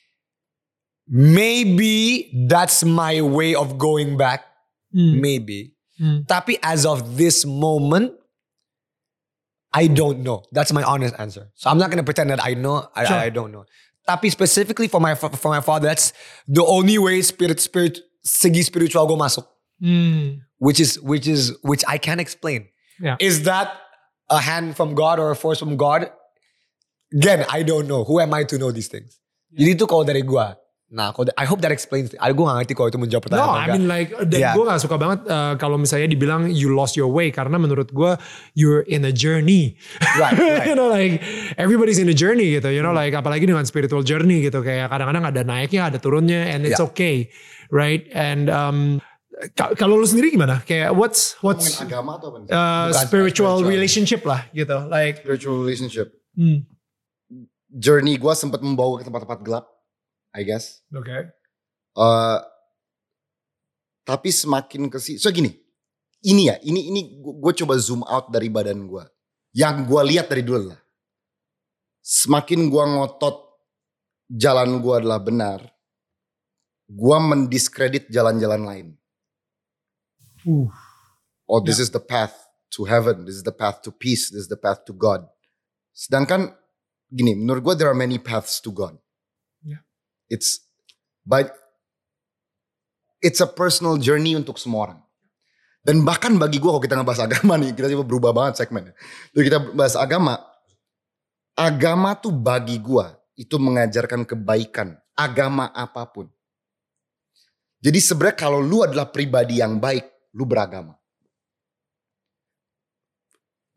maybe that's my way of going back. Mm. Maybe. Mm. Tapi as of this moment, I don't know. That's my honest answer. So I'm not going to pretend that I know. I, sure. I, I don't know. Tapi specifically for my for my father, that's the only way spirit spirit segi spiritual go masuk. Mm. Which is which is which I can't explain. Yeah. Is that a hand from God or a force from God? Again, I don't know. Who am I to know these things? Yeah. Jadi itu kalau dari gua. Nah, I hope that explains. Gue gak ngerti kalau itu menjawab pertanyaan. No, I mean like, dan yeah. gue gak suka banget uh, kalau misalnya dibilang you lost your way. Karena menurut gue, you're in a journey. Right, right. You know, like, everybody's in a journey gitu. You know, like, apalagi dengan spiritual journey gitu. Kayak kadang-kadang ada naiknya, ada turunnya. And it's yeah. okay. Right? And um, k- kalau lu sendiri gimana? Kayak what's, what's agama atau apa? Uh, spiritual, spiritual relationship lah gitu. Like, spiritual relationship. Hmm. Journey gue sempat membawa ke tempat-tempat gelap. I guess. Oke. Okay. Uh, tapi semakin kesini, so gini, ini ya, ini ini gue coba zoom out dari badan gue. Yang gue lihat dari dulu lah. Semakin gue ngotot jalan gue adalah benar, gue mendiskredit jalan-jalan lain. Uh. Oh, this yeah. is the path to heaven. This is the path to peace. This is the path to God. Sedangkan gini, menurut gue there are many paths to God. It's but it's a personal journey untuk semua orang. Dan bahkan bagi gue kalau kita ngebahas agama nih, kita coba berubah banget segmennya. Jadi kita bahas agama. Agama tuh bagi gue itu mengajarkan kebaikan. Agama apapun. Jadi sebenarnya kalau lu adalah pribadi yang baik, lu beragama.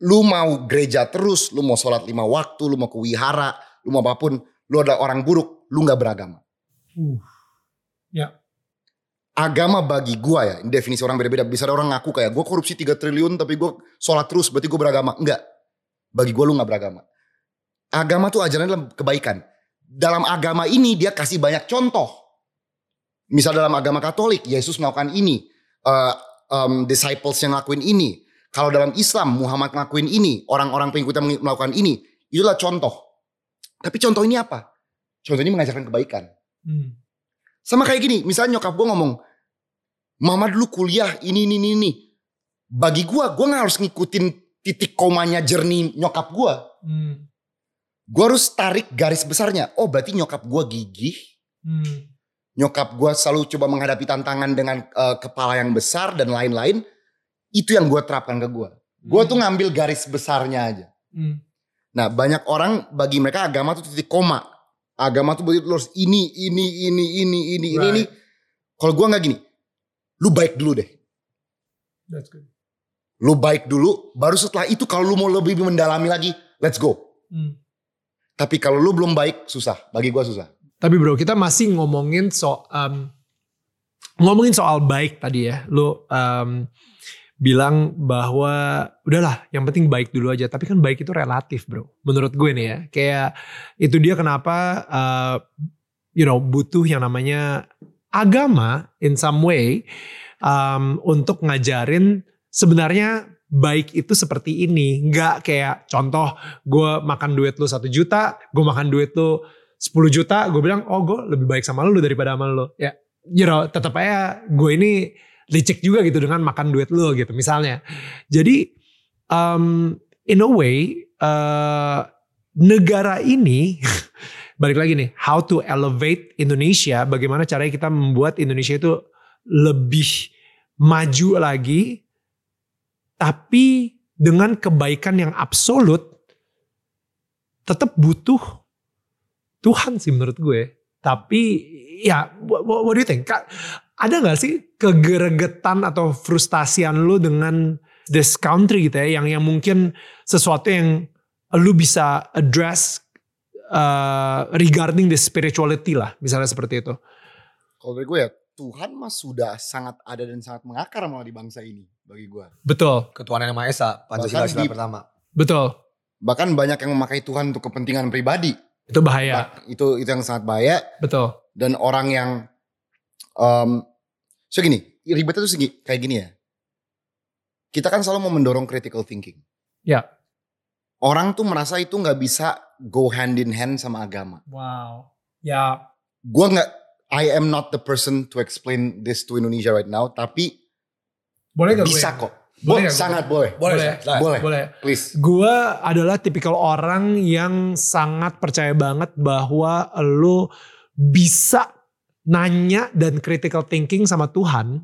lu mau gereja terus, lu mau sholat lima waktu, lu mau ke wihara, lu mau apapun, lu adalah orang buruk, lu gak beragama. Uh. Ya. Agama bagi gua ya, definisi orang beda-beda. Bisa ada orang ngaku kayak gue korupsi tiga triliun tapi gue sholat terus berarti gue beragama. Enggak. Bagi gue lu gak beragama. Agama tuh ajarannya dalam kebaikan. Dalam agama ini dia kasih banyak contoh. Misal dalam agama Katolik, Yesus melakukan ini. Uh, um, disciples yang ngelakuin ini. Kalau dalam Islam, Muhammad ngelakuin ini. Orang-orang pengikutnya melakukan ini. Itulah contoh. Tapi contoh ini apa? Contoh ini mengajarkan kebaikan. Hmm. Sama kayak gini, misalnya nyokap gue ngomong, Mama dulu kuliah ini, ini, ini. Bagi gue, gue gak harus ngikutin titik komanya jernih nyokap gue. Hmm. Gue harus tarik garis besarnya. Oh berarti nyokap gue gigih. Hmm. Nyokap gue selalu coba menghadapi tantangan dengan uh, kepala yang besar dan lain-lain. Itu yang gue terapkan ke gue. Gue hmm. tuh ngambil garis besarnya aja. Hmm. Nah banyak orang bagi mereka agama tuh titik koma. Agama tuh berarti lu harus ini, ini, ini, ini, ini, right. ini, ini. Kalau gue gak gini. Lu baik dulu deh. That's good. Lu baik dulu. Baru setelah itu kalau lu mau lebih mendalami lagi. Let's go. Hmm. Tapi kalau lu belum baik susah. Bagi gue susah. Tapi bro kita masih ngomongin soal. Um, ngomongin soal baik tadi ya. Lu um, bilang bahwa udahlah yang penting baik dulu aja. Tapi kan baik itu relatif bro. Menurut gue nih ya. Kayak itu dia kenapa uh, you know butuh yang namanya agama in some way. Um, untuk ngajarin sebenarnya baik itu seperti ini. Nggak kayak contoh gue makan duit lu satu juta. Gue makan duit lu sepuluh juta. Gue bilang oh gue lebih baik sama lu daripada sama lu. Ya you know tetap aja gue ini licik juga gitu dengan makan duit lo gitu misalnya. Jadi um, in a way uh, negara ini balik lagi nih how to elevate Indonesia. Bagaimana caranya kita membuat Indonesia itu lebih maju lagi. Tapi dengan kebaikan yang absolut tetap butuh Tuhan sih menurut gue. Tapi ya what, what do you think? Ada gak sih kegeregetan atau frustasian lu dengan this country gitu ya. Yang, yang mungkin sesuatu yang lu bisa address uh, regarding the spirituality lah. Misalnya seperti itu. Kalau dari gue ya Tuhan mah sudah sangat ada dan sangat mengakar malah di bangsa ini. Bagi gue. Betul. Ketuhanan yang Maha Esa. Pancasila sila pertama. Betul. Bahkan banyak yang memakai Tuhan untuk kepentingan pribadi. Itu bahaya. Itu, itu yang sangat bahaya. Betul. Dan orang yang Um, so gini, ribetnya tuh segi, kayak gini ya. Kita kan selalu mau mendorong critical thinking. Ya. Orang tuh merasa itu gak bisa go hand in hand sama agama. Wow. Ya. Gue gak, I am not the person to explain this to Indonesia right now. Tapi boleh gak bisa gue? kok. Boleh, Bo, sangat boleh. Boleh. Boleh. Boleh. boleh. Please. Gue adalah tipikal orang yang sangat percaya banget bahwa lo bisa nanya dan critical thinking sama Tuhan.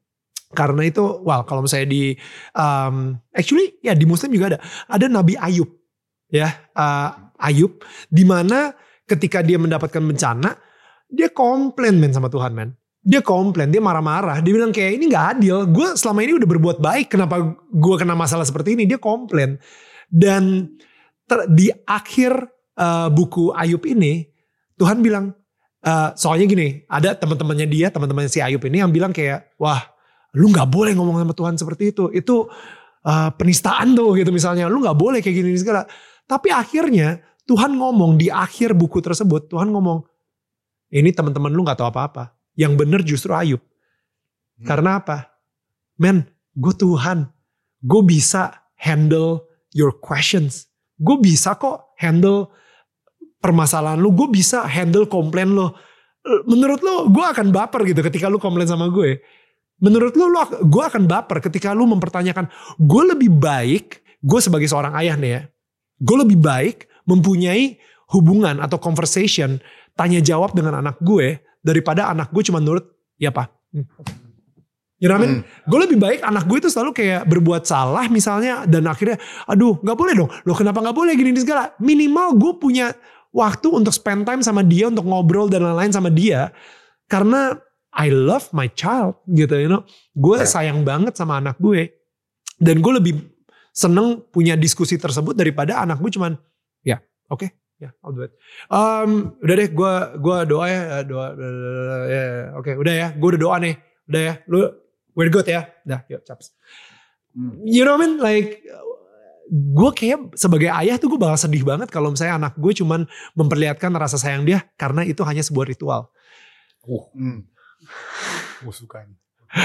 Karena itu, well kalau misalnya di, um, actually ya di Muslim juga ada. Ada Nabi Ayub. Ya, uh, Ayub. Dimana ketika dia mendapatkan bencana, dia komplain men sama Tuhan men. Dia komplain, dia marah-marah. Dia bilang kayak ini gak adil. Gue selama ini udah berbuat baik. Kenapa gue kena masalah seperti ini? Dia komplain. Dan ter, di akhir uh, buku Ayub ini, Tuhan bilang, Uh, soalnya gini, ada teman-temannya dia, teman-temannya si Ayub ini yang bilang kayak, wah, lu nggak boleh ngomong sama Tuhan seperti itu, itu uh, penistaan tuh gitu misalnya, lu nggak boleh kayak gini segala. Tapi akhirnya Tuhan ngomong di akhir buku tersebut, Tuhan ngomong, ini teman-teman lu nggak tahu apa-apa, yang bener justru Ayub. Hmm. Karena apa? Men, gue Tuhan, gue bisa handle your questions, gue bisa kok handle permasalahan lu, gue bisa handle komplain lu. Menurut lu gue akan baper gitu ketika lu komplain sama gue. Menurut lu, lu gue akan baper ketika lu mempertanyakan. Gue lebih baik, gue sebagai seorang ayah nih ya, gue lebih baik mempunyai hubungan atau conversation, tanya jawab dengan anak gue, daripada anak gue cuma nurut, ya pak. Hmm. You know what I mean? Hmm. Gue lebih baik anak gue itu selalu kayak berbuat salah misalnya, dan akhirnya, aduh gak boleh dong, lo kenapa gak boleh gini segala. Minimal gue punya waktu untuk spend time sama dia, untuk ngobrol dan lain-lain sama dia. Karena I love my child gitu, you know. Gue sayang banget sama anak gue. Dan gue lebih seneng punya diskusi tersebut daripada anak gue cuman ya oke okay, ya yeah, I'll do it. Um, udah deh gue gue doa ya doa, doa ya oke okay, udah ya gue udah doa nih udah ya lu we're good ya dah yuk caps. You know what I mean like gue kayak sebagai ayah tuh gue bakal sedih banget kalau misalnya anak gue cuman memperlihatkan rasa sayang dia karena itu hanya sebuah ritual. Uh, hmm. Gue suka nih.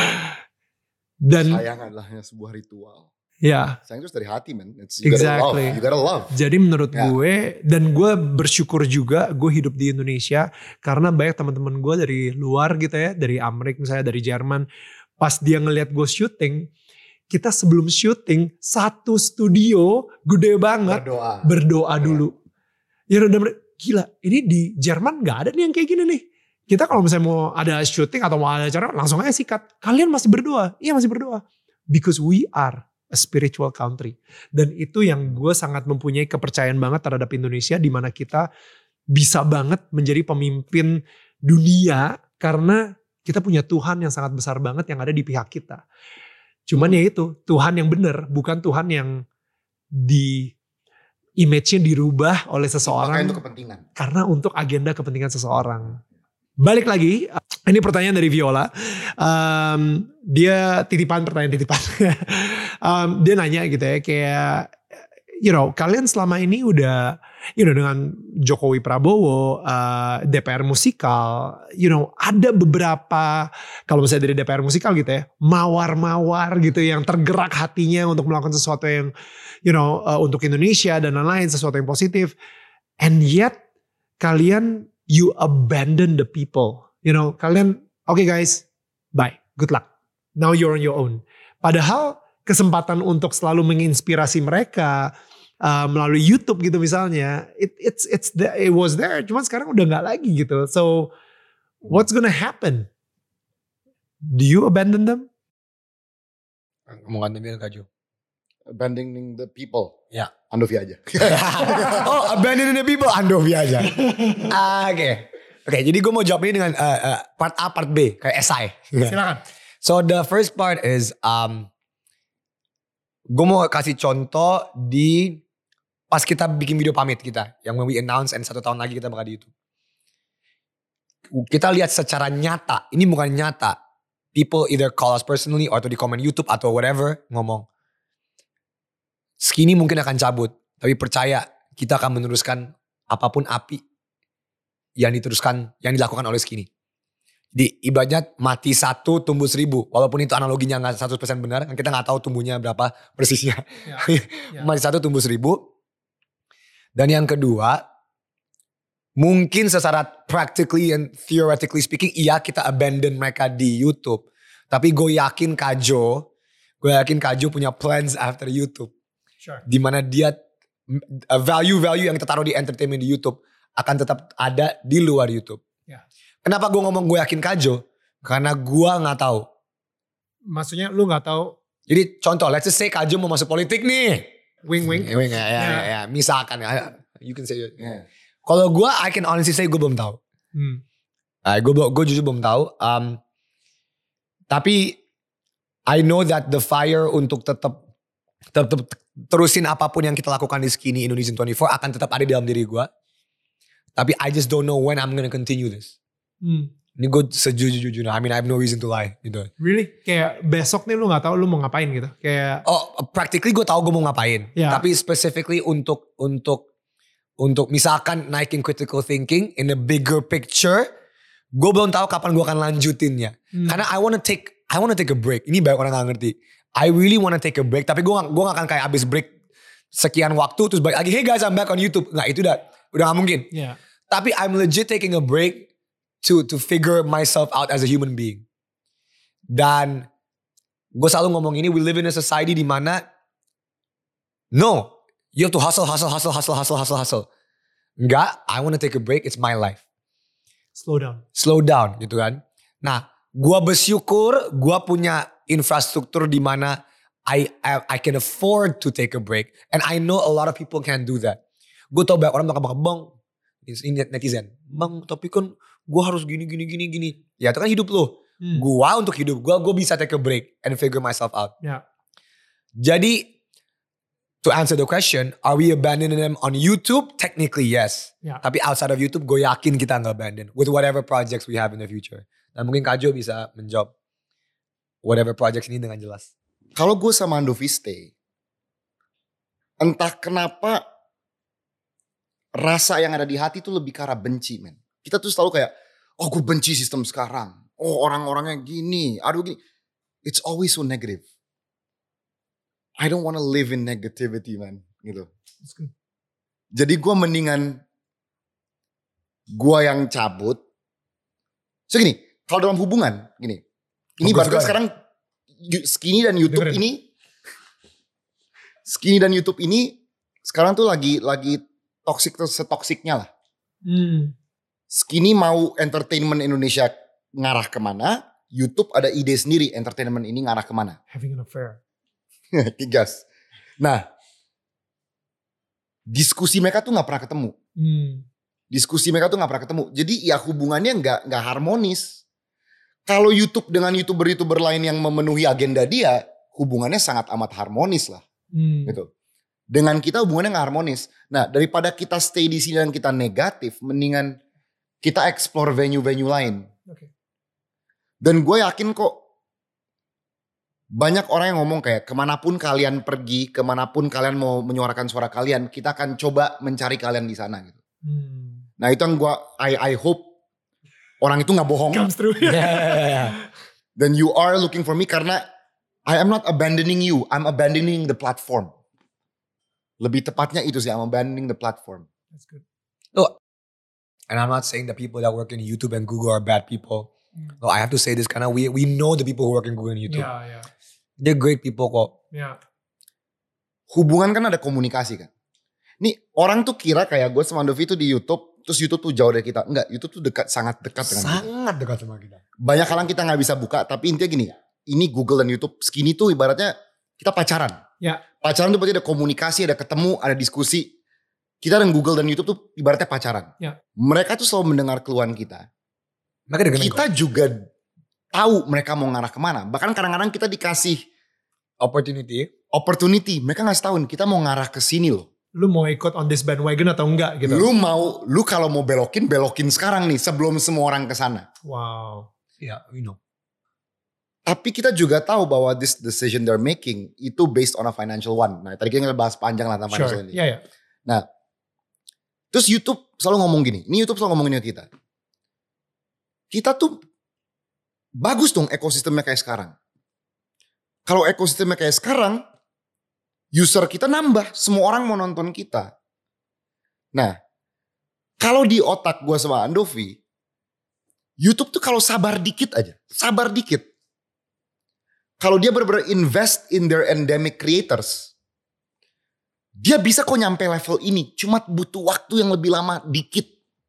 Dan sayang adalah hanya sebuah ritual. Ya. Sayang itu dari hati, man. It's, you exactly. Gotta love. You gotta love. Jadi menurut yeah. gue dan gue bersyukur juga gue hidup di Indonesia karena banyak teman-teman gue dari luar gitu ya, dari Amerika misalnya, dari Jerman. Pas dia ngelihat gue syuting, kita sebelum syuting satu studio gede banget berdoa, berdoa dulu. Ya udah gila, ini di Jerman nggak ada nih yang kayak gini nih. Kita kalau misalnya mau ada syuting atau mau ada acara langsung aja sikat. Kalian masih berdoa? Iya masih berdoa. Because we are a spiritual country. Dan itu yang gue sangat mempunyai kepercayaan banget terhadap Indonesia di mana kita bisa banget menjadi pemimpin dunia karena kita punya Tuhan yang sangat besar banget yang ada di pihak kita. Cuman ya itu, Tuhan yang benar, bukan Tuhan yang di image-nya dirubah oleh seseorang. Untuk kepentingan. Karena untuk agenda kepentingan seseorang. Balik lagi, ini pertanyaan dari Viola. Um, dia titipan pertanyaan titipan. um, dia nanya gitu ya, kayak, you know, kalian selama ini udah, you know, dengan Jokowi Prabowo, uh, D P R musikal, you know, ada beberapa, kalau misalnya dari D P R musikal gitu ya, mawar-mawar gitu yang tergerak hatinya untuk melakukan sesuatu yang, you know, uh, untuk Indonesia dan lain-lain, sesuatu yang positif. And yet, kalian you abandon the people. You know, kalian, oke okay guys, bye, good luck. Now you're on your own. Padahal kesempatan untuk selalu menginspirasi mereka uh, melalui YouTube gitu misalnya, it it's it's the, it was there, cuman sekarang udah nggak lagi gitu. So what's gonna happen? Do you abandon them? Ngomong abandonin Kak Jo. Abandoning the people. Ya. Andovi aja. Oh, abandoning the people, Andovi aja. Ah, oke. Okay. Oke, okay, jadi gue mau jawab ini dengan uh, uh, part A, part B, kayak esai. Silakan. So the first part is, um, gue mau kasih contoh di pas kita bikin video pamit kita, yang when we announce and satu tahun lagi kita bakal di YouTube. Kita lihat secara nyata, ini bukan nyata. People either call us personally atau di komen YouTube atau whatever ngomong, Skinny mungkin akan cabut, tapi percaya kita akan meneruskan apapun api yang diteruskan, yang dilakukan oleh Skinny. Jadi ibaratnya mati satu tumbuh seribu, walaupun itu analoginya nggak seratus persen benar, kita nggak tahu tumbuhnya berapa persisnya. Ya, ya. Mati satu tumbuh seribu. Dan yang kedua, mungkin secara practically and theoretically speaking, iya kita abandon mereka di YouTube. Tapi gue yakin Kak Jo, gue yakin Kak Jo punya plans after YouTube. Sure. Dimana dia value-value yang kita taruh di entertainment di YouTube akan tetap ada di luar YouTube. Yeah. Kenapa gue ngomong gue yakin Kak Jo? Karena gue gak tahu. Maksudnya lu gak tahu? Jadi contoh, let's just say Kak Jo mau masuk politik nih. Wing-wing. Wing, ya, ya, ya, ya. Misalkan ya. You can say it. Yeah. Kalau gue, I can honestly say gue belum tahu. Hmm. Uh, gue, gue jujur belum tahu. Um, tapi I know that the fire untuk tetap tetap terusin apapun yang kita lakukan di Skinny Indonesian twenty-four akan tetap ada di dalam diri gue. Tapi I just don't know when I'm gonna continue this. Hmm. Ini gue sejujur-jujurnya. I mean I have no reason to lie gitu. Really? Kayak besok nih lu gak tahu lu mau ngapain gitu? Kayak oh practically gue tahu gue mau ngapain. Yeah. Tapi specifically untuk untuk untuk misalkan naikin critical thinking in a bigger picture, gue belum tahu kapan gue akan lanjutinnya. Hmm. Karena I wanna take I wanna take a break. Ini banyak orang gak ngerti. I really wanna take a break. Tapi gue gak, gue gak akan kayak abis break sekian waktu terus balik lagi. Hey guys, I'm back on YouTube. Nggak, itu udah udah gak mungkin. Yeah. Tapi I'm legit taking a break to to figure myself out as a human being. Dan gue selalu ngomong ini, we live in a society di mana no, you have to hustle, hustle, hustle, hustle, hustle, hustle, hustle. Enggak, I wanna take a break. It's my life. Slow down. Slow down gitu kan. Nah, gue bersyukur gue punya infrastruktur di mana I, I I can afford to take a break. And I know a lot of people can't do that. Gue tau banyak orang bakal bang, ini netizen, bang tapi kan gue harus gini gini gini gini. Ya itu kan hidup lo. Hmm. Gue untuk hidup gue, gue bisa take a break and figure myself out. Ya. Jadi to answer the question, are we abandoning them on YouTube? Technically, yes. Ya. Tapi outside of YouTube, gue yakin kita nggak abandon with whatever projects we have in the future. Dan mungkin Kak Jo bisa menjawab whatever projects ini dengan jelas. Kalau gue sama Andovi stay, entah kenapa rasa yang ada di hati tuh lebih ke arah benci, men. Kita tuh selalu kayak, oh gue benci sistem sekarang. Oh orang-orangnya gini, aduh gini. It's always so negative. I don't want to live in negativity, man. Gitu. Jadi gue mendingan gue yang cabut. So gini, kalau dalam hubungan, gini. Ini bahkan sekarang Skinny dan YouTube Dengerin. ini, Skinny dan YouTube ini sekarang tuh lagi lagi toksik tuh setoksiknya lah. Hmm. Skinny mau entertainment Indonesia ngarah kemana, YouTube ada ide sendiri entertainment ini ngarah kemana. Having an affair. Tigas. Nah, diskusi mereka tuh nggak pernah ketemu. Hmm. Diskusi mereka tuh nggak pernah ketemu. Jadi ya hubungannya nggak nggak harmonis. Kalau YouTube dengan youtuber-youtuber lain yang memenuhi agenda dia, hubungannya sangat amat harmonis lah. Hmm. Gitu. Dengan kita hubungannya nggak harmonis. Nah, daripada kita stay di sini dan kita negatif, mendingan kita explore venue-venue lain. Okay. Dan gue yakin kok banyak orang yang ngomong kayak kemanapun kalian pergi, kemanapun kalian mau menyuarakan suara kalian, kita akan coba mencari kalian di sana. Gitu. Hmm. Nah itu yang gue, I, I hope orang itu gak bohong. Comes through. Yeah, yeah, yeah. Then you are looking for me karena I am not abandoning you, I'm abandoning the platform. Lebih tepatnya itu sih, I'm abandoning the platform. That's good. Look, and I'm not saying the people that work in YouTube and Google are bad people. Mm. No, I have to say this karena we we know the people who work in Google and YouTube. Yeah, yeah. They're great people kok. Yeah. Hubungan kan ada komunikasi kan. Nih orang tuh kira kayak gue sama Andovi tuh di YouTube, terus YouTube tuh jauh dari kita. Enggak, YouTube tuh dekat, sangat dekat dengan kita. Sangat dekat sama kita. Banyak hal yang kita gak bisa buka, tapi intinya gini, ini Google dan YouTube, Skinny tuh ibaratnya kita pacaran. Ya. Pacaran tuh berarti ada komunikasi, ada ketemu, ada diskusi. Kita dan Google dan YouTube tuh ibaratnya pacaran. Ya. Mereka tuh selalu mendengar keluhan kita. Mereka dengerin Kita kok. juga tahu mereka mau ngarah kemana. Bahkan kadang-kadang kita dikasih Opportunity. opportunity. Mereka ngasih tahu kita mau ngarah ke sini loh. Lu mau ikut on this bandwagon atau enggak gitu. Lu mau, lu kalau mau belokin, belokin sekarang nih sebelum semua orang ke sana. Wow. Yeah, we know. Tapi kita juga tahu bahwa this decision they're making itu based on a financial one. Nah tadi kita bahas panjang lah tentang financial Sure. ini. Yeah, yeah. Nah, terus YouTube selalu ngomong gini. Ini YouTube selalu ngomongin ke kita. Kita tuh bagus dong ekosistemnya kayak sekarang. Kalau ekosistemnya kayak sekarang, user kita nambah. Semua orang mau nonton kita. Nah, kalau di otak gue sama Andovi, YouTube tuh kalau sabar dikit aja. Sabar dikit. Kalau dia benar-benar invest in their endemic creators, dia bisa kok nyampe level ini. Cuma butuh waktu yang lebih lama dikit.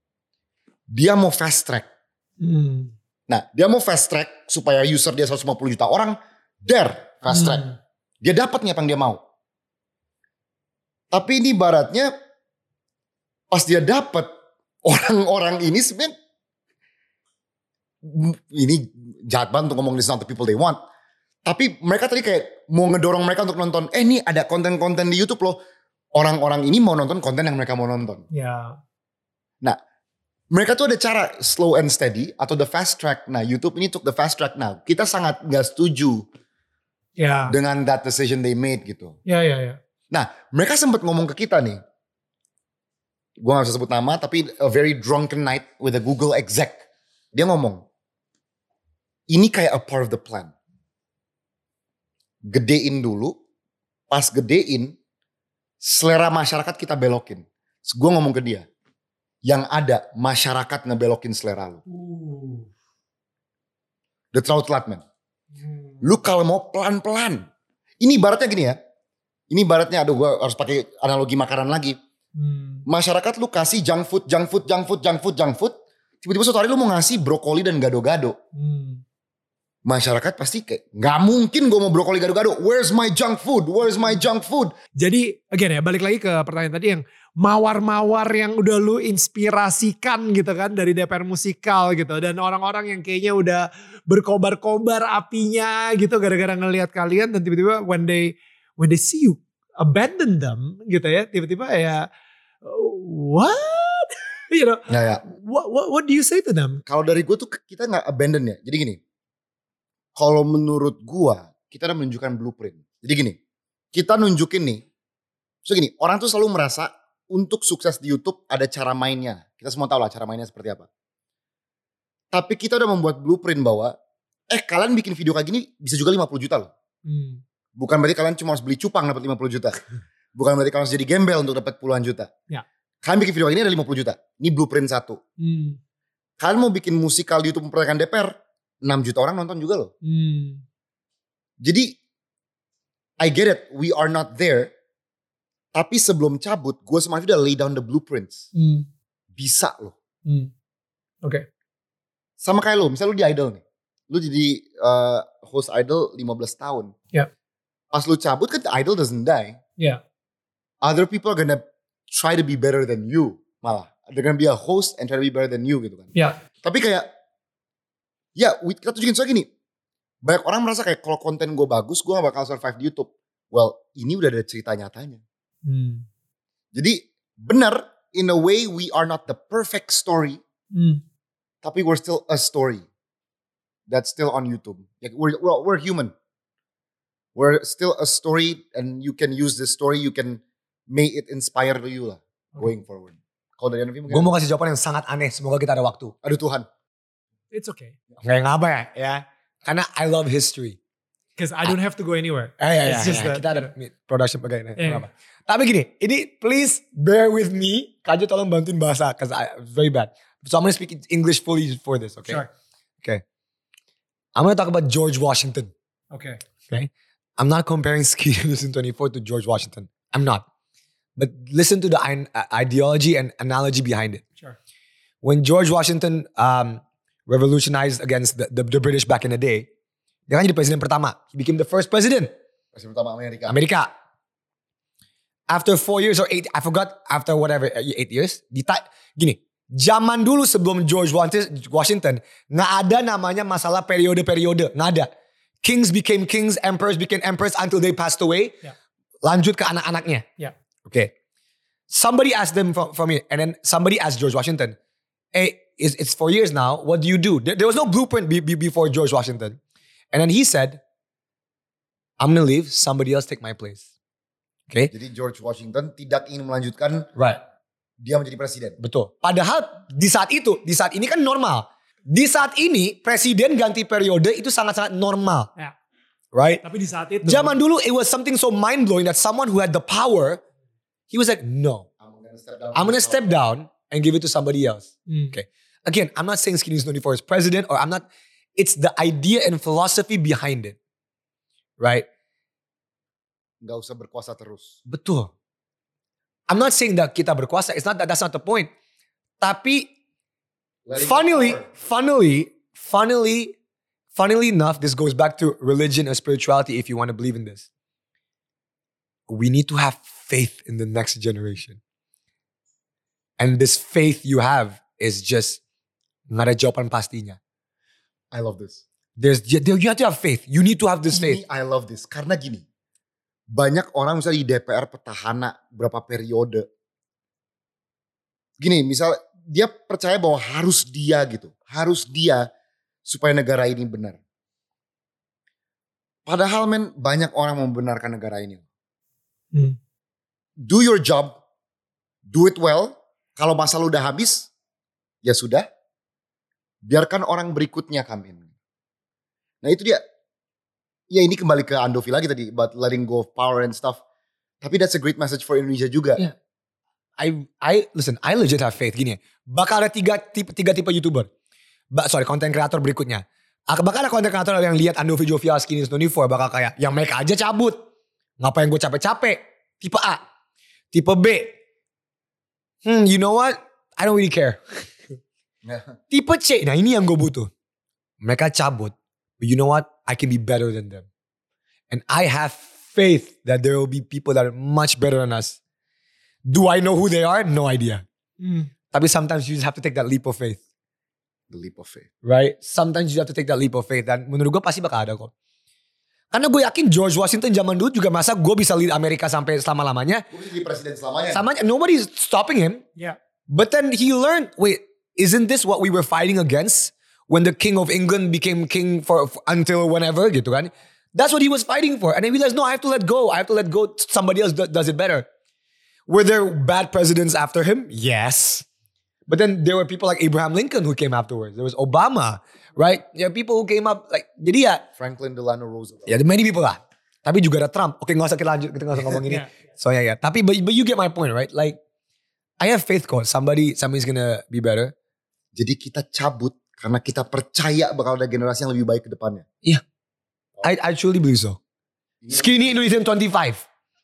Dia mau fast track. Hmm. Nah, dia mau fast track supaya user dia seratus lima puluh juta orang, there, fast track. Hmm. Dia dapat nih apa yang dia mau. Tapi ini ibaratnya pas dia dapat, orang-orang ini sebenarnya ini jahat banget untuk ngomong this not the people they want. Tapi mereka tadi kayak mau ngedorong mereka untuk nonton, eh nih ada konten-konten di YouTube loh. Orang-orang ini mau nonton konten yang mereka mau nonton. Ya. Nah, mereka tuh ada cara slow and steady atau the fast track. Nah, YouTube ini took the fast track. Nah, kita sangat gak setuju Ya. dengan that decision they made gitu. Ya, ya, ya. Nah, mereka sempat ngomong ke kita nih. Gue gak bisa sebut nama, tapi a very drunken night with a Google exec. Dia ngomong, ini kayak a part of the plan. Gedein dulu, pas gedein, selera masyarakat kita belokin. Gue ngomong ke dia, yang ada masyarakat ngebelokin selera lu. Uh. Udah terlalu telat, men. Hmm. Lu kalau mau pelan-pelan. Ini ibaratnya gini ya. Ini ibaratnya, aduh gue harus pakai analogi makanan lagi. Hmm. Masyarakat lu kasih junk food, junk food, junk food, junk food, junk food. Tiba-tiba suatu hari lu mau ngasih brokoli dan gado-gado. Hmm. Masyarakat pasti kayak, gak mungkin gue mau brokoli gado-gado. Where's my junk food? Where's my junk food? Jadi again ya, balik lagi ke pertanyaan tadi yang mawar-mawar yang udah lu inspirasikan gitu kan dari D P R Musikal gitu. Dan orang-orang yang kayaknya udah berkobar-kobar apinya gitu gara-gara ngelihat kalian. Dan tiba-tiba when they when they see you abandon them gitu ya. Tiba-tiba ya what? You know, Ya, ya. what, what, what do you say to them? Kalau dari gue tuh kita gak abandon ya. Jadi gini, kalau menurut gue kita udah menunjukkan blueprint. Jadi gini, kita nunjukin nih, so gini, orang tuh selalu merasa untuk sukses di YouTube ada cara mainnya. Kita semua tahu lah cara mainnya seperti apa. Tapi kita udah membuat blueprint bahwa, eh kalian bikin video kayak gini bisa juga lima puluh juta loh. Hmm. Bukan berarti kalian cuma harus beli cupang dapat lima puluh juta. Bukan berarti kalian harus jadi gembel untuk dapat puluhan juta. Ya. Kalian bikin video kayak gini ada lima puluh juta. Ini blueprint satu. Hmm. Kalian mau bikin musikal di YouTube memperkenalkan D P R, enam juta orang nonton juga loh. Hmm. Jadi, I get it, we are not there. Tapi sebelum cabut, gue sama Alfi udah lay down the blueprints. Hmm. Bisa loh. Hmm. Oke. Okay. Sama kayak lo, misalnya lo di Idol nih. Lu jadi uh, host Idol lima belas tahun. Ya. Yeah. Pas lu cabut kan Idol doesn't die. Ya. Yeah. Other people are gonna try to be better than you. Malah. They're gonna be a host and try to be better than you gitu kan. Ya. Yeah. Tapi kayak, ya kita tunjukin soal gini. Banyak orang merasa kayak kalau konten gue bagus, gue gak bakal survive di YouTube. Well, ini udah ada cerita nyatanya. Hmm. Jadi benar, in a way we are not the perfect story. Hmm. Tapi we're still a story. That's still on YouTube. Like we're, we're, we're human. We're still a story and you can use this story, you can make it inspire you lah. Going forward. Kalau dari Andovi mungkin. Gue mau kasih jawaban yang sangat aneh. Semoga kita ada waktu. Aduh Tuhan. It's okay. Gak ngapa ya. ya. Karena I love history. Because I don't have to go anywhere. Eh, ya, It's ya, just ya. that, Kita ada production bagian. Yeah. Tapi gini. Ini please bear with me. Kajo tolong bantuin bahasa. Because it's very bad. So I'm going to speak English fully for this. Okay. Sure. Okay. I'm going to talk about George Washington. Okay. Okay. I'm not comparing Skinny Listen twenty-four to George Washington. I'm not. But listen to the ideology and analogy behind it. Sure. When George Washington um, revolutionized against the, the, the British back in the day, dia kan jadi presiden pertama. He became the first president. Presiden pertama Amerika. Amerika. After four years or eight, I forgot, after whatever, eight years. Dita, gini, zaman dulu sebelum George Washington, nggak ada namanya masalah periode-periode. Nggak ada. Kings became kings, emperors became emperors until they passed away. Yeah. Lanjut ke anak-anaknya. Yeah. Okay. Somebody asked them from, from me, and then somebody asked George Washington, hey, it's, it's four years now, what do you do? There, there was no blueprint be, be, before George Washington. And then he said, I'm going to leave, somebody else take my place. Okay. Jadi George Washington tidak ingin melanjutkan Right. dia menjadi presiden. Betul. Padahal di saat itu, di saat ini kan normal. Di saat ini presiden ganti periode itu sangat-sangat normal. Ya. Right? Tapi di saat itu. Zaman dulu it was something so mind-blowing that someone who had the power, he was like, no. I'm gonna step down. I'm going to step down and give it to somebody else. Hmm. Okay. Again, I'm not saying Skinny twenty-four is president or I'm not, it's the idea and philosophy behind it. Right? Gak usah berkuasa terus. Betul. I'm not saying that kita berkuasa. It's not that, that's not the point. Tapi funnily, funnily, funnily, funnily enough, this goes back to religion and spirituality if you want to believe in this. We need to have faith in the next generation. And this faith you have is just nggak ada jawaban pastinya. I love this. There's, you have to have faith. You need to have this faith. Ini I love this. Karena gini. Banyak orang misalnya di D P R petahana berapa periode. Gini misal dia percaya bahwa harus dia gitu. Harus dia supaya negara ini benar. Padahal men banyak orang membenarkan negara ini. Hmm. Do your job. Do it well. Kalau masa lu udah habis, ya sudah. Biarkan orang berikutnya come in. Nah itu dia. Ya ini kembali ke Andovi lagi tadi. About letting go of power and stuff. Tapi that's a great message for Indonesia juga. Yeah. I, I, listen, I legit have faith. Gini, bakal ada tiga tipe, tiga tipe YouTuber. Ba, sorry, content creator berikutnya. Bakal ada content creator yang lihat Andovi Jovial Skinny twenty-four. Bakal kayak, yang make aja cabut. Ngapain gue capek-capek. Tipe A. Tipe B. Hmm, you know what? I don't really care. Tipe C. Nah ini yang gue butuh. Mereka cabut. But you know what? I can be better than them. And I have faith that there will be people that are much better than us. Do I know who they are? No idea. Mm. Tapi sometimes you just have to take that leap of faith. The leap of faith. Right? Sometimes you have to take that leap of faith. Dan menurut gue pasti bakal ada kok. Karena gue yakin George Washington zaman dulu juga masa gue bisa lead Amerika sampai selama-lamanya. Gue bisa jadi presiden selamanya. Samanya, nobody's stopping him. Yeah. But then he learned, wait, isn't this what we were fighting against when the King of England became king for, for until whenever gitu kan? That's what he was fighting for. And then he realized, no, I have to let go. I have to let go. Somebody else do, does it better. Were there bad presidents after him? Yes. But then there were people like Abraham Lincoln who came afterwards. There was Obama, right? There are people who came up like, jadi ya. Franklin Delano Roosevelt. Ya, yeah, many people lah. Tapi juga ada Trump. Oke, gak usah kita lanjut. Kita gak usah ngomong ini. Yeah. So ya, yeah, ya. Yeah. Tapi, but, but you get my point, right? Like, I have faith kok. Somebody, somebody's gonna be better. Jadi kita cabut karena kita percaya bakal ada generasi yang lebih baik ke depannya. Iya. Yeah. I, I truly believe so. Skinny Indonesian twenty-five.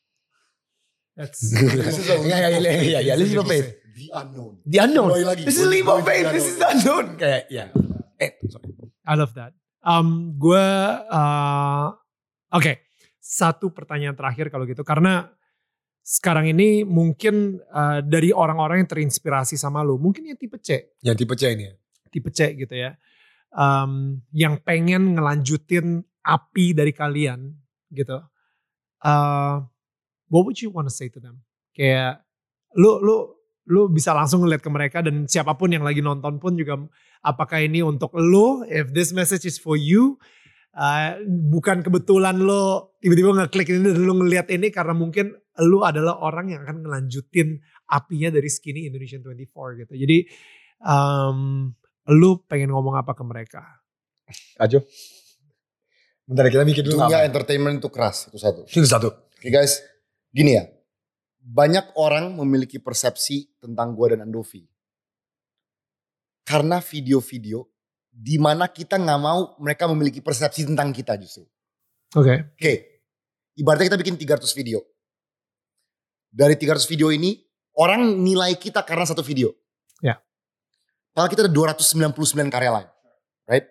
That's This is a leap Yeah, yeah, of yeah, faith. yeah, yeah. Leap of faith. The unknown. The unknown. Kembali lagi. This is leap of faith. The This is the unknown. Kayak, ya. Eh, sorry. I love that. Um, gue, uh, oke, okay. Satu pertanyaan terakhir kalau gitu, karena sekarang ini mungkin uh, dari orang-orang yang terinspirasi sama lu, mungkin yang tipe C, Yang tipe C ini ya. tipe C gitu ya, um, yang pengen ngelanjutin api dari kalian gitu. Uh, what would you want to say to them? Kayak lu, lu, lu bisa langsung ngeliat ke mereka dan siapapun yang lagi nonton pun juga, apakah ini untuk lu, if this message is for you, uh, bukan kebetulan lu tiba-tiba ngeklik ini dan lu ngeliat ini karena mungkin lu adalah orang yang akan ngelanjutin apinya dari Skinny Indonesian twenty-four gitu. Jadi um, lu pengen ngomong apa ke mereka? Ajo. Bentar kita mikir dulu. Dunia apa? entertainment itu keras, itu satu. Itu satu. Oke guys, gini ya. Banyak orang memiliki persepsi tentang gue dan Andovi. Karena video-video di mana kita nggak mau mereka memiliki persepsi tentang kita justru. Oke. Okay. Oke, ibaratnya kita bikin tiga ratus video. Dari tiga ratus video ini, orang nilai kita karena satu video. Ya. Padahal kita ada dua ratus sembilan puluh sembilan karya lain. Right?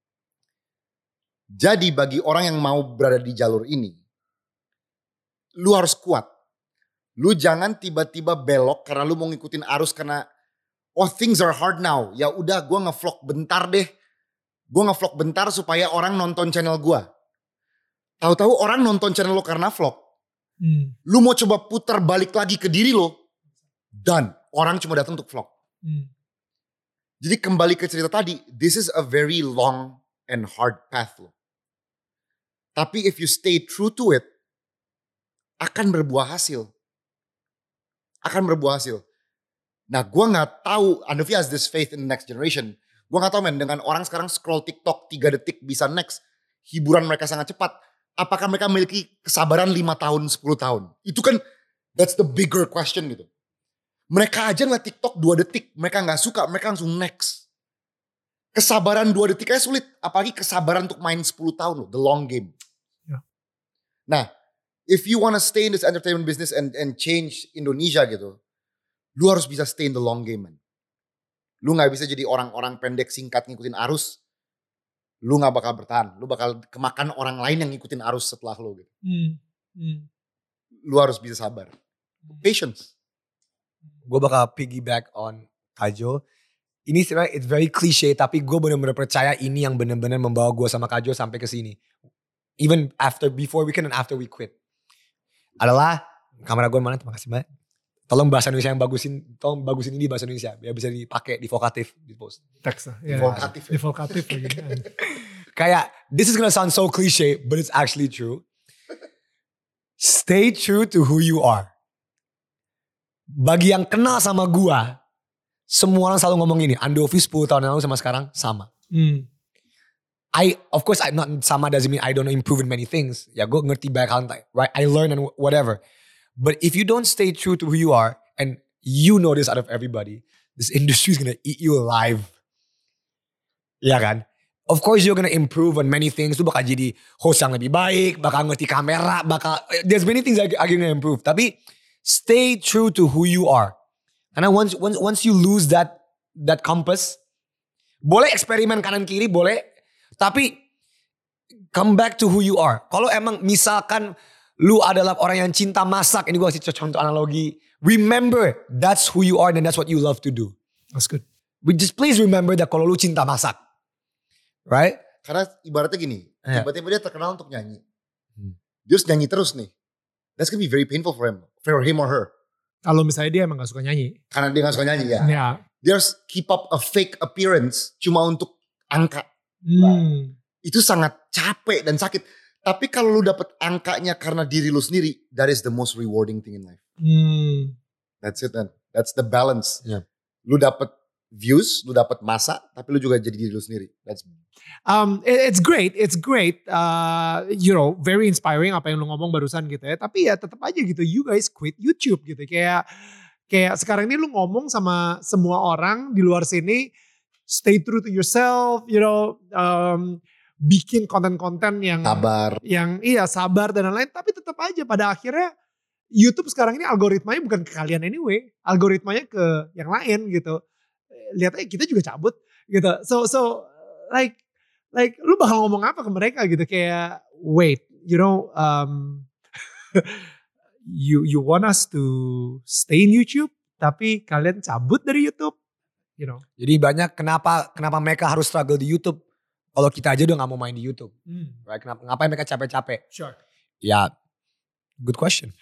Jadi bagi orang yang mau berada di jalur ini, lu harus kuat. Lu jangan tiba-tiba belok karena lu mau ngikutin arus karena oh things are hard now. Ya udah gue nge-vlog bentar deh. Gue nge-vlog bentar supaya orang nonton channel gue. Tahu-tahu orang nonton channel lo karena vlog. Hmm. Lu mau coba putar balik lagi ke diri lo. Dan orang cuma datang untuk vlog. Hmm. Jadi kembali ke cerita tadi. This is a very long and hard path lo. Tapi if you stay true to it. Akan berbuah hasil. Akan berbuah hasil. Nah gue gak tahu. Andovi has this faith in the next generation. Gue gak tahu men. Dengan orang sekarang scroll TikTok tiga detik bisa next. Hiburan mereka sangat cepat. Apakah mereka memiliki kesabaran lima tahun, sepuluh tahun? Itu kan that's the bigger question gitu. Mereka aja ngeliat TikTok dua detik. Mereka gak suka. Mereka langsung next. Kesabaran dua detik aja sulit. Apalagi kesabaran untuk main sepuluh tahun loh. The long game. Ya. Nah. If you wanna stay in this entertainment business and and change Indonesia gitu, lu harus bisa stay in the long game man. Lu nggak bisa jadi orang-orang pendek singkat ngikutin arus. Lu nggak bakal bertahan. Lu bakal kemakan orang lain yang ngikutin arus setelah lu gitu. Hmm. Hmm. Lu harus bisa sabar. Patience. Gue bakal piggyback on Kajo. Ini sebenarnya it's very cliche tapi gue benar-benar percaya ini yang benar-benar membawa gue sama Kajo sampai ke sini. Even after, before we can and after we quit. Adalah kamera gue mana, terima kasih banyak. Tolong bahasa Indonesia yang bagusin, tolong bagusin ini bahasa Indonesia biar bisa dipakai di vokatif di post. Teks lah. Ya, Vokatif. Di vokatif lagi. Kayak this is gonna sound so cliche but it's actually true. Stay true to who you are. Bagi yang kenal sama gue, semua orang selalu ngomong ini. Andovi sepuluh tahun yang lalu sama sekarang sama. Hmm. I, of course, I'm not sama doesn't mean I don't improve in many things. Ya gue ngerti banyak hal, right? I learn and whatever. But if you don't stay true to who you are, and you know this out of everybody, this industry is gonna eat you alive. Ya kan? Of course you're gonna improve on many things. Lu bakal jadi host yang lebih baik, bakal ngerti kamera, bakal, there's many things that are gonna improve. Tapi stay true to who you are. Karena once once once you lose that that compass, boleh eksperimen kanan kiri, boleh. Tapi come back to who you are. Kalau emang misalkan lu adalah orang yang cinta masak. Ini gue kasih contoh analogi. Remember that's who you are and that's what you love to do. That's good. But just please remember that kalau lu cinta masak. Right? Karena ibaratnya gini. Yeah. Tiba-tiba dia terkenal untuk nyanyi. Hmm. Dia harus nyanyi terus nih. That's gonna be very painful for him, for him or her. Kalau misalnya dia emang gak suka nyanyi. Karena dia gak suka nyanyi ya. Ya. Dia harus keep up a fake appearance cuma untuk angka. Hmm. Itu sangat capek dan sakit. Tapi kalau lu dapet angkanya karena diri lu sendiri, that is the most rewarding thing in life. Hmm. That's it man. That's the balance. Yeah. Lu dapet views, lu dapet masa, tapi lu juga jadi diri lu sendiri. That's Um, it- it's great, it's great. Uh, you know, very inspiring apa yang lu ngomong barusan gitu ya. Tapi ya tetap aja gitu, you guys quit YouTube gitu. Kayak kayak sekarang ini lu ngomong sama semua orang di luar sini, stay true to yourself, you know, um, bikin konten-konten yang sabar. yang iya sabar dan lain-lain. Tapi tetap aja pada akhirnya YouTube sekarang ini algoritmanya bukan ke kalian anyway, algoritmanya ke yang lain gitu. Lihat aja kita juga cabut gitu. So so like like lu bakal ngomong apa ke mereka gitu, kayak wait, you know, um, you you want us to stay in YouTube tapi kalian cabut dari YouTube, you know. Jadi banyak kenapa kenapa mereka harus struggle di YouTube kalau kita aja udah gak mau main di YouTube. Hmm. Right? Kenapa ngapain mereka capek-capek? Sure. Ya, good question.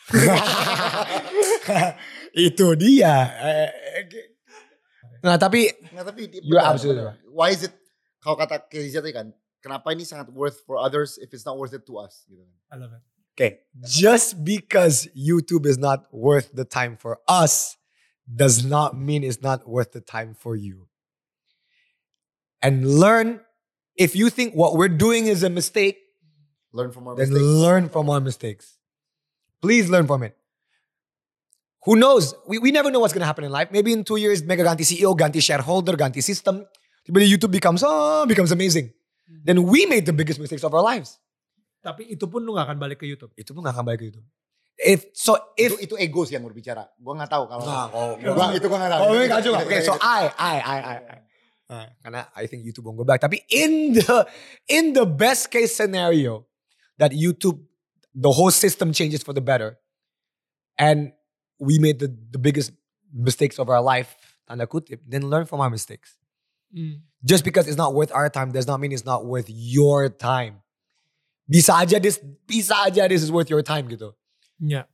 Itu dia. Nah tapi Nggak, tapi You're benar, absolutely benar. Why is it, kalau kata Kezia tadi kan, kenapa ini sangat worth for others if it's not worth it to us gitu kan. I love it. Okay, just because YouTube is not worth the time for us does not mean it's not worth the time for you. And learn, if you think what we're doing is a mistake, Learn from our then mistakes. learn from our mistakes. Please learn from it. Who knows? We, we never know what's going to happen in life. Maybe in two years, mega ganti C E O, ganti shareholder, ganti system. But YouTube becomes, oh, becomes amazing. Then we made the biggest mistakes of our lives. Tapi itu pun lu gak akan balik ke YouTube. Itu pun gak akan balik ke YouTube. If, so if, itu, itu ego sih yang berbicara. Gue gak tahu kalau. Nah, kalau- Gua- itu gue gak tahu. Oh, Itu- enggak juga. itu- Okay, itu- so I, I, I, I, I. Uh, karena I think YouTube won't go back. Tapi in the in the best case scenario that YouTube, the whole system changes for the better, and we made the, the biggest mistakes of our life, tanda kutip, then learn from our mistakes. Hmm. Just because it's not worth our time does not mean it's not worth your time. Bisa aja this, bisa aja this is worth your time gitu. Ya.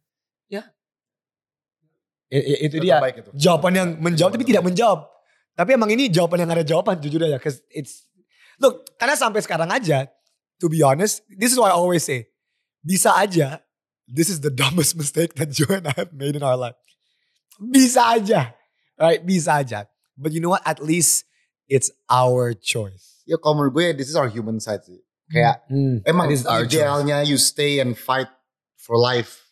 I- i- itu Itu dia terbaik itu. jawaban yang menjawab tapi tidak menjawab. Tapi emang ini jawaban yang ada jawaban, jujur aja. Cause it's, look, karena sampai sekarang aja, to be honest, this is what I always say. Bisa aja, this is the dumbest mistake that you and I have made in our life. Bisa aja. Right? Bisa aja. But you know what? At least it's our choice. Ya kalau menurut gue this is our human side sih. Kayak emang That is our choice. idealnya you stay and fight for life.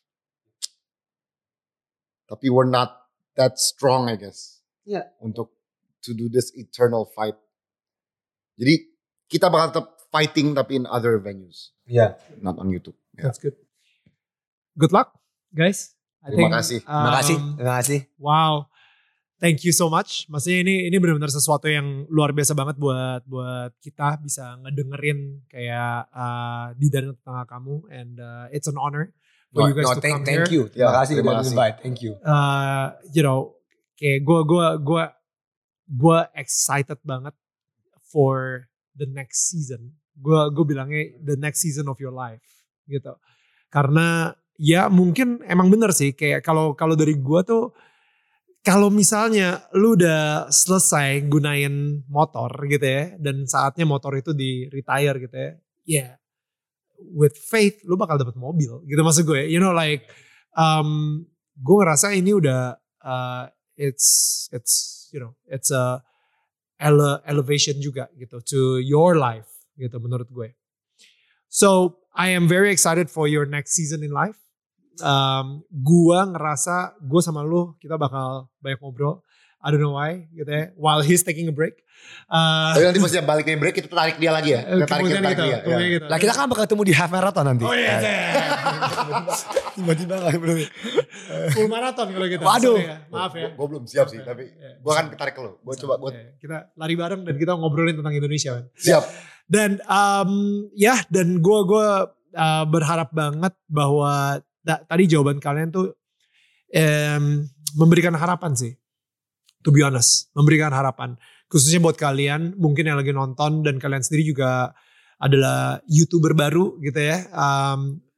Tapi we're not that strong I guess. Yeah. Untuk to do this eternal fight. Jadi kita bakal tetap fighting tapi in other venues. Yeah. Not on YouTube. Ya. That's good. Good luck, guys. I Terima kasih. Terima kasih. um, Terima kasih. Wow, thank you so much. Maksudnya ini ini benar-benar sesuatu yang luar biasa banget buat buat kita bisa ngedengerin kayak uh, di dan tengah kamu, and uh, it's an honor for No, you guys no, to thank, come thank here. you. Terima Ya, kasih terima udah kasih. invite. Thank you. Uh, you know, kayak gue gue gue gue excited banget for the next season. Gue gue bilangnya the next season of your life gitu. Karena ya mungkin emang bener sih kayak kalau kalau dari gue tuh kalau misalnya lu udah selesai gunain motor gitu ya dan saatnya motor itu di retire gitu ya, ya with faith lu bakal dapet mobil gitu maksud gue. You know like um, gue ngerasa ini udah uh, it's it's you know it's a ele- elevation juga gitu to your life gitu menurut gue. So I am very excited for your next season in life. Um, gua ngerasa gue sama lu kita bakal banyak ngobrol. I don't know why gitu ya. While he's taking a break. Uh, Tapi nanti pas dia balik dari break kita tarik dia lagi ya. Kita tarik, kita kemudian tarik gitu, dia. kemudian Ya. gitu. Lah kita kan bakal ketemu di half marathon nanti. Oh iya, Tiba-tiba gak belum. full marathon kalau gitu. Waduh. Sorry ya, maaf ya. Gue belum siap sih, tapi Iya, gue akan bisa. tarik ke lo. Gue coba, gue Iya, kita lari bareng dan kita ngobrolin tentang Indonesia kan. siap. Dan um, ya dan gue gue uh, berharap banget bahwa da, tadi jawaban kalian tuh um, memberikan harapan sih. To be honest, memberikan harapan. Khususnya buat kalian mungkin yang lagi nonton dan kalian sendiri juga adalah YouTuber baru gitu ya. Um,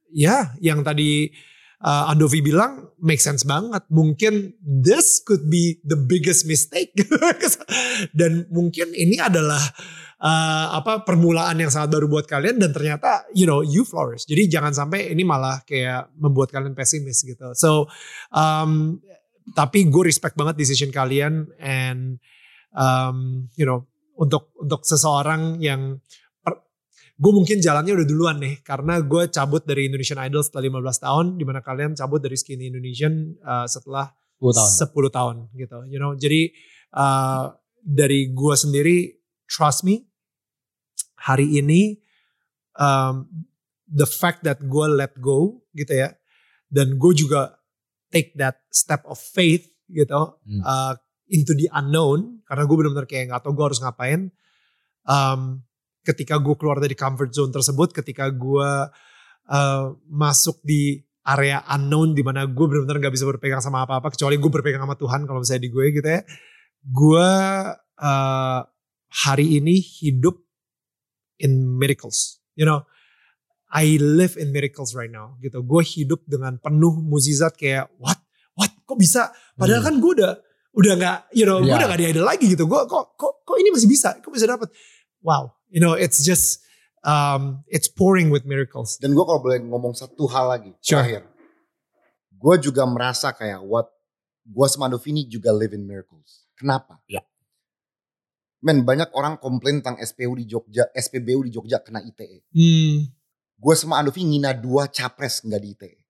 ya yang tadi uh, Andovi bilang make sense banget. Mungkin this could be the biggest mistake. Dan mungkin ini adalah uh, apa permulaan yang sangat baru buat kalian dan ternyata you know you flourish. Jadi jangan sampai ini malah kayak membuat kalian pesimis gitu. So um, tapi gue respect banget decision kalian and um, you know untuk untuk seseorang yang gue mungkin jalannya udah duluan nih karena gue cabut dari Indonesian Idol setelah lima belas tahun, di mana kalian cabut dari Skinny Indonesian uh, setelah sepuluh tahun. sepuluh tahun gitu. You know, jadi uh, dari gue sendiri, trust me, hari ini um, the fact that gue let go gitu ya, dan gue juga take that step of faith gitu hmm. uh, into the unknown karena gue benar-benar kayak nggak tahu gue harus ngapain. Um, Ketika gue keluar dari comfort zone tersebut, ketika gue uh, masuk di area unknown di mana gue benar-benar gak bisa berpegang sama apa-apa kecuali gue berpegang sama Tuhan kalau misalnya di gue gitu ya. Gue uh, hari ini hidup in miracles, you know. I live in miracles right now gitu. Gue hidup dengan penuh mukjizat kayak what, what, kok bisa? Padahal hmm. kan gue udah udah nggak, you know, yeah. gue udah gak di idol lagi gitu. Gue kok kok kok ini masih bisa? Kok bisa dapat? Wow. You know, it's just, um, it's pouring with miracles. Dan gue kalau boleh ngomong satu hal lagi, sure. terakhir. Gue juga merasa kayak what, gue sama Andovi ini juga live in miracles. Kenapa? Ya. Men, banyak orang komplain tentang S P U di Jogja, S P B U di Jogja kena I T E. Hmm. Gue sama Andovi ngina dua capres gak di I T E.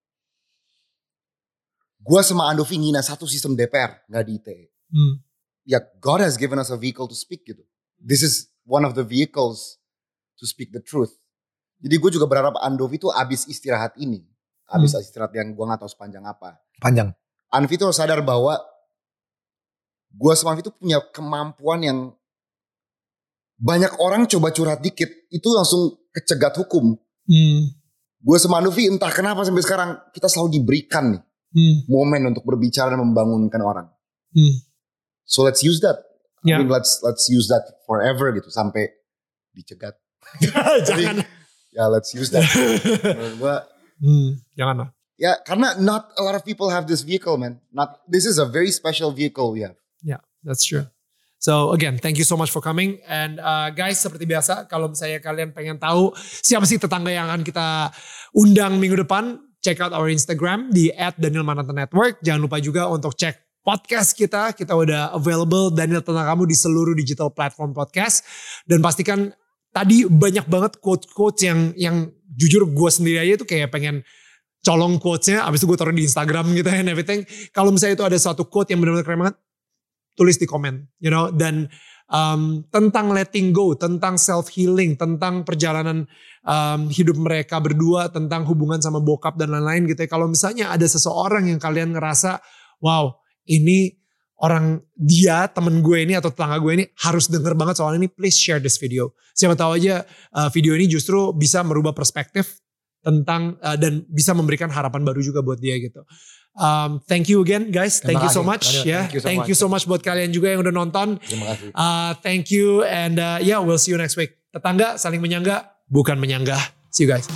Gue sama Andovi ngina satu sistem D P R gak di I T E. Hmm. Ya, God has given us a vehicle to speak gitu. This is one of the vehicles to speak the truth. Jadi gue juga berharap Andovi tuh abis istirahat ini. Abis hmm. istirahat yang gue gak tahu sepanjang apa. Panjang. Andovi tuh sadar bahwa gue sama Andovi tuh punya kemampuan yang banyak orang coba curhat dikit. Itu langsung kecegat hukum. Hmm. Gue sama Andovi entah kenapa sampai sekarang kita selalu diberikan nih. Hmm. Momen untuk berbicara dan membangunkan orang. Hmm. So let's use that. Yeah. I mean, let's let's use that forever gitu sampai dicegat. Jangan. Ya let's use that. Menurut gua, hmm, jangan lah. Ya karena not a lot of people have this vehicle, man. Not this is a very special vehicle we have. Yeah, that's true. So again, thank you so much for coming. And uh, guys, seperti biasa, kalau misalnya kalian pengen tahu siapa sih tetangga yang akan kita undang minggu depan, check out our Instagram di at Daniel Mananta Network. Jangan lupa juga untuk cek podcast kita, kita udah available Daniel Tentang Kamu di seluruh digital platform podcast. Dan pastikan tadi banyak banget quote-quotes yang yang jujur gue sendiri aja tuh kayak pengen colong quotesnya, abis itu gue taruh di Instagram gitu and everything. Kalau misalnya itu ada suatu quote yang benar-benar keren banget, tulis di komen, you know. Dan um, tentang letting go, tentang self healing, tentang perjalanan um, hidup mereka berdua, tentang hubungan sama bokap dan lain-lain gitu ya. Kalau misalnya ada seseorang yang kalian ngerasa, wow, ini orang dia temen gue ini atau tetangga gue ini harus denger banget soal ini, please share this video. Siapa tahu aja uh, video ini justru bisa merubah perspektif tentang uh, dan bisa memberikan harapan baru juga buat dia gitu. Um, thank you again guys, thank you so much ya, yeah. thank, thank you so much buat kalian juga yang udah nonton. Terima kasih. Uh, thank you and uh, yeah, we'll see you next week. Tetangga saling menyangga, bukan menyanggah. See you guys.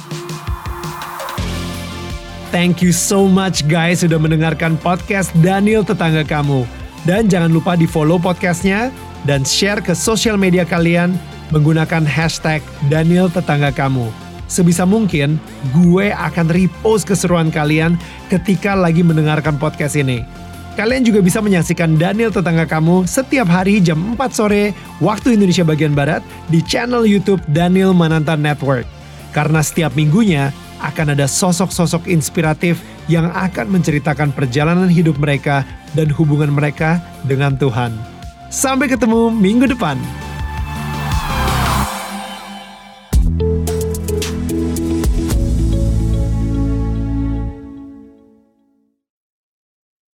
Thank you so much guys sudah mendengarkan podcast Daniel Tetangga Kamu. Dan jangan lupa di follow podcastnya dan share ke sosial media kalian menggunakan hashtag Daniel Tetangga Kamu. Sebisa mungkin gue akan repost keseruan kalian ketika lagi mendengarkan podcast ini. Kalian juga bisa menyaksikan Daniel Tetangga Kamu setiap hari jam empat sore waktu Indonesia bagian Barat di channel YouTube Daniel Mananta Network. Karena setiap minggunya akan ada sosok-sosok inspiratif yang akan menceritakan perjalanan hidup mereka dan hubungan mereka dengan Tuhan. Sampai ketemu minggu depan.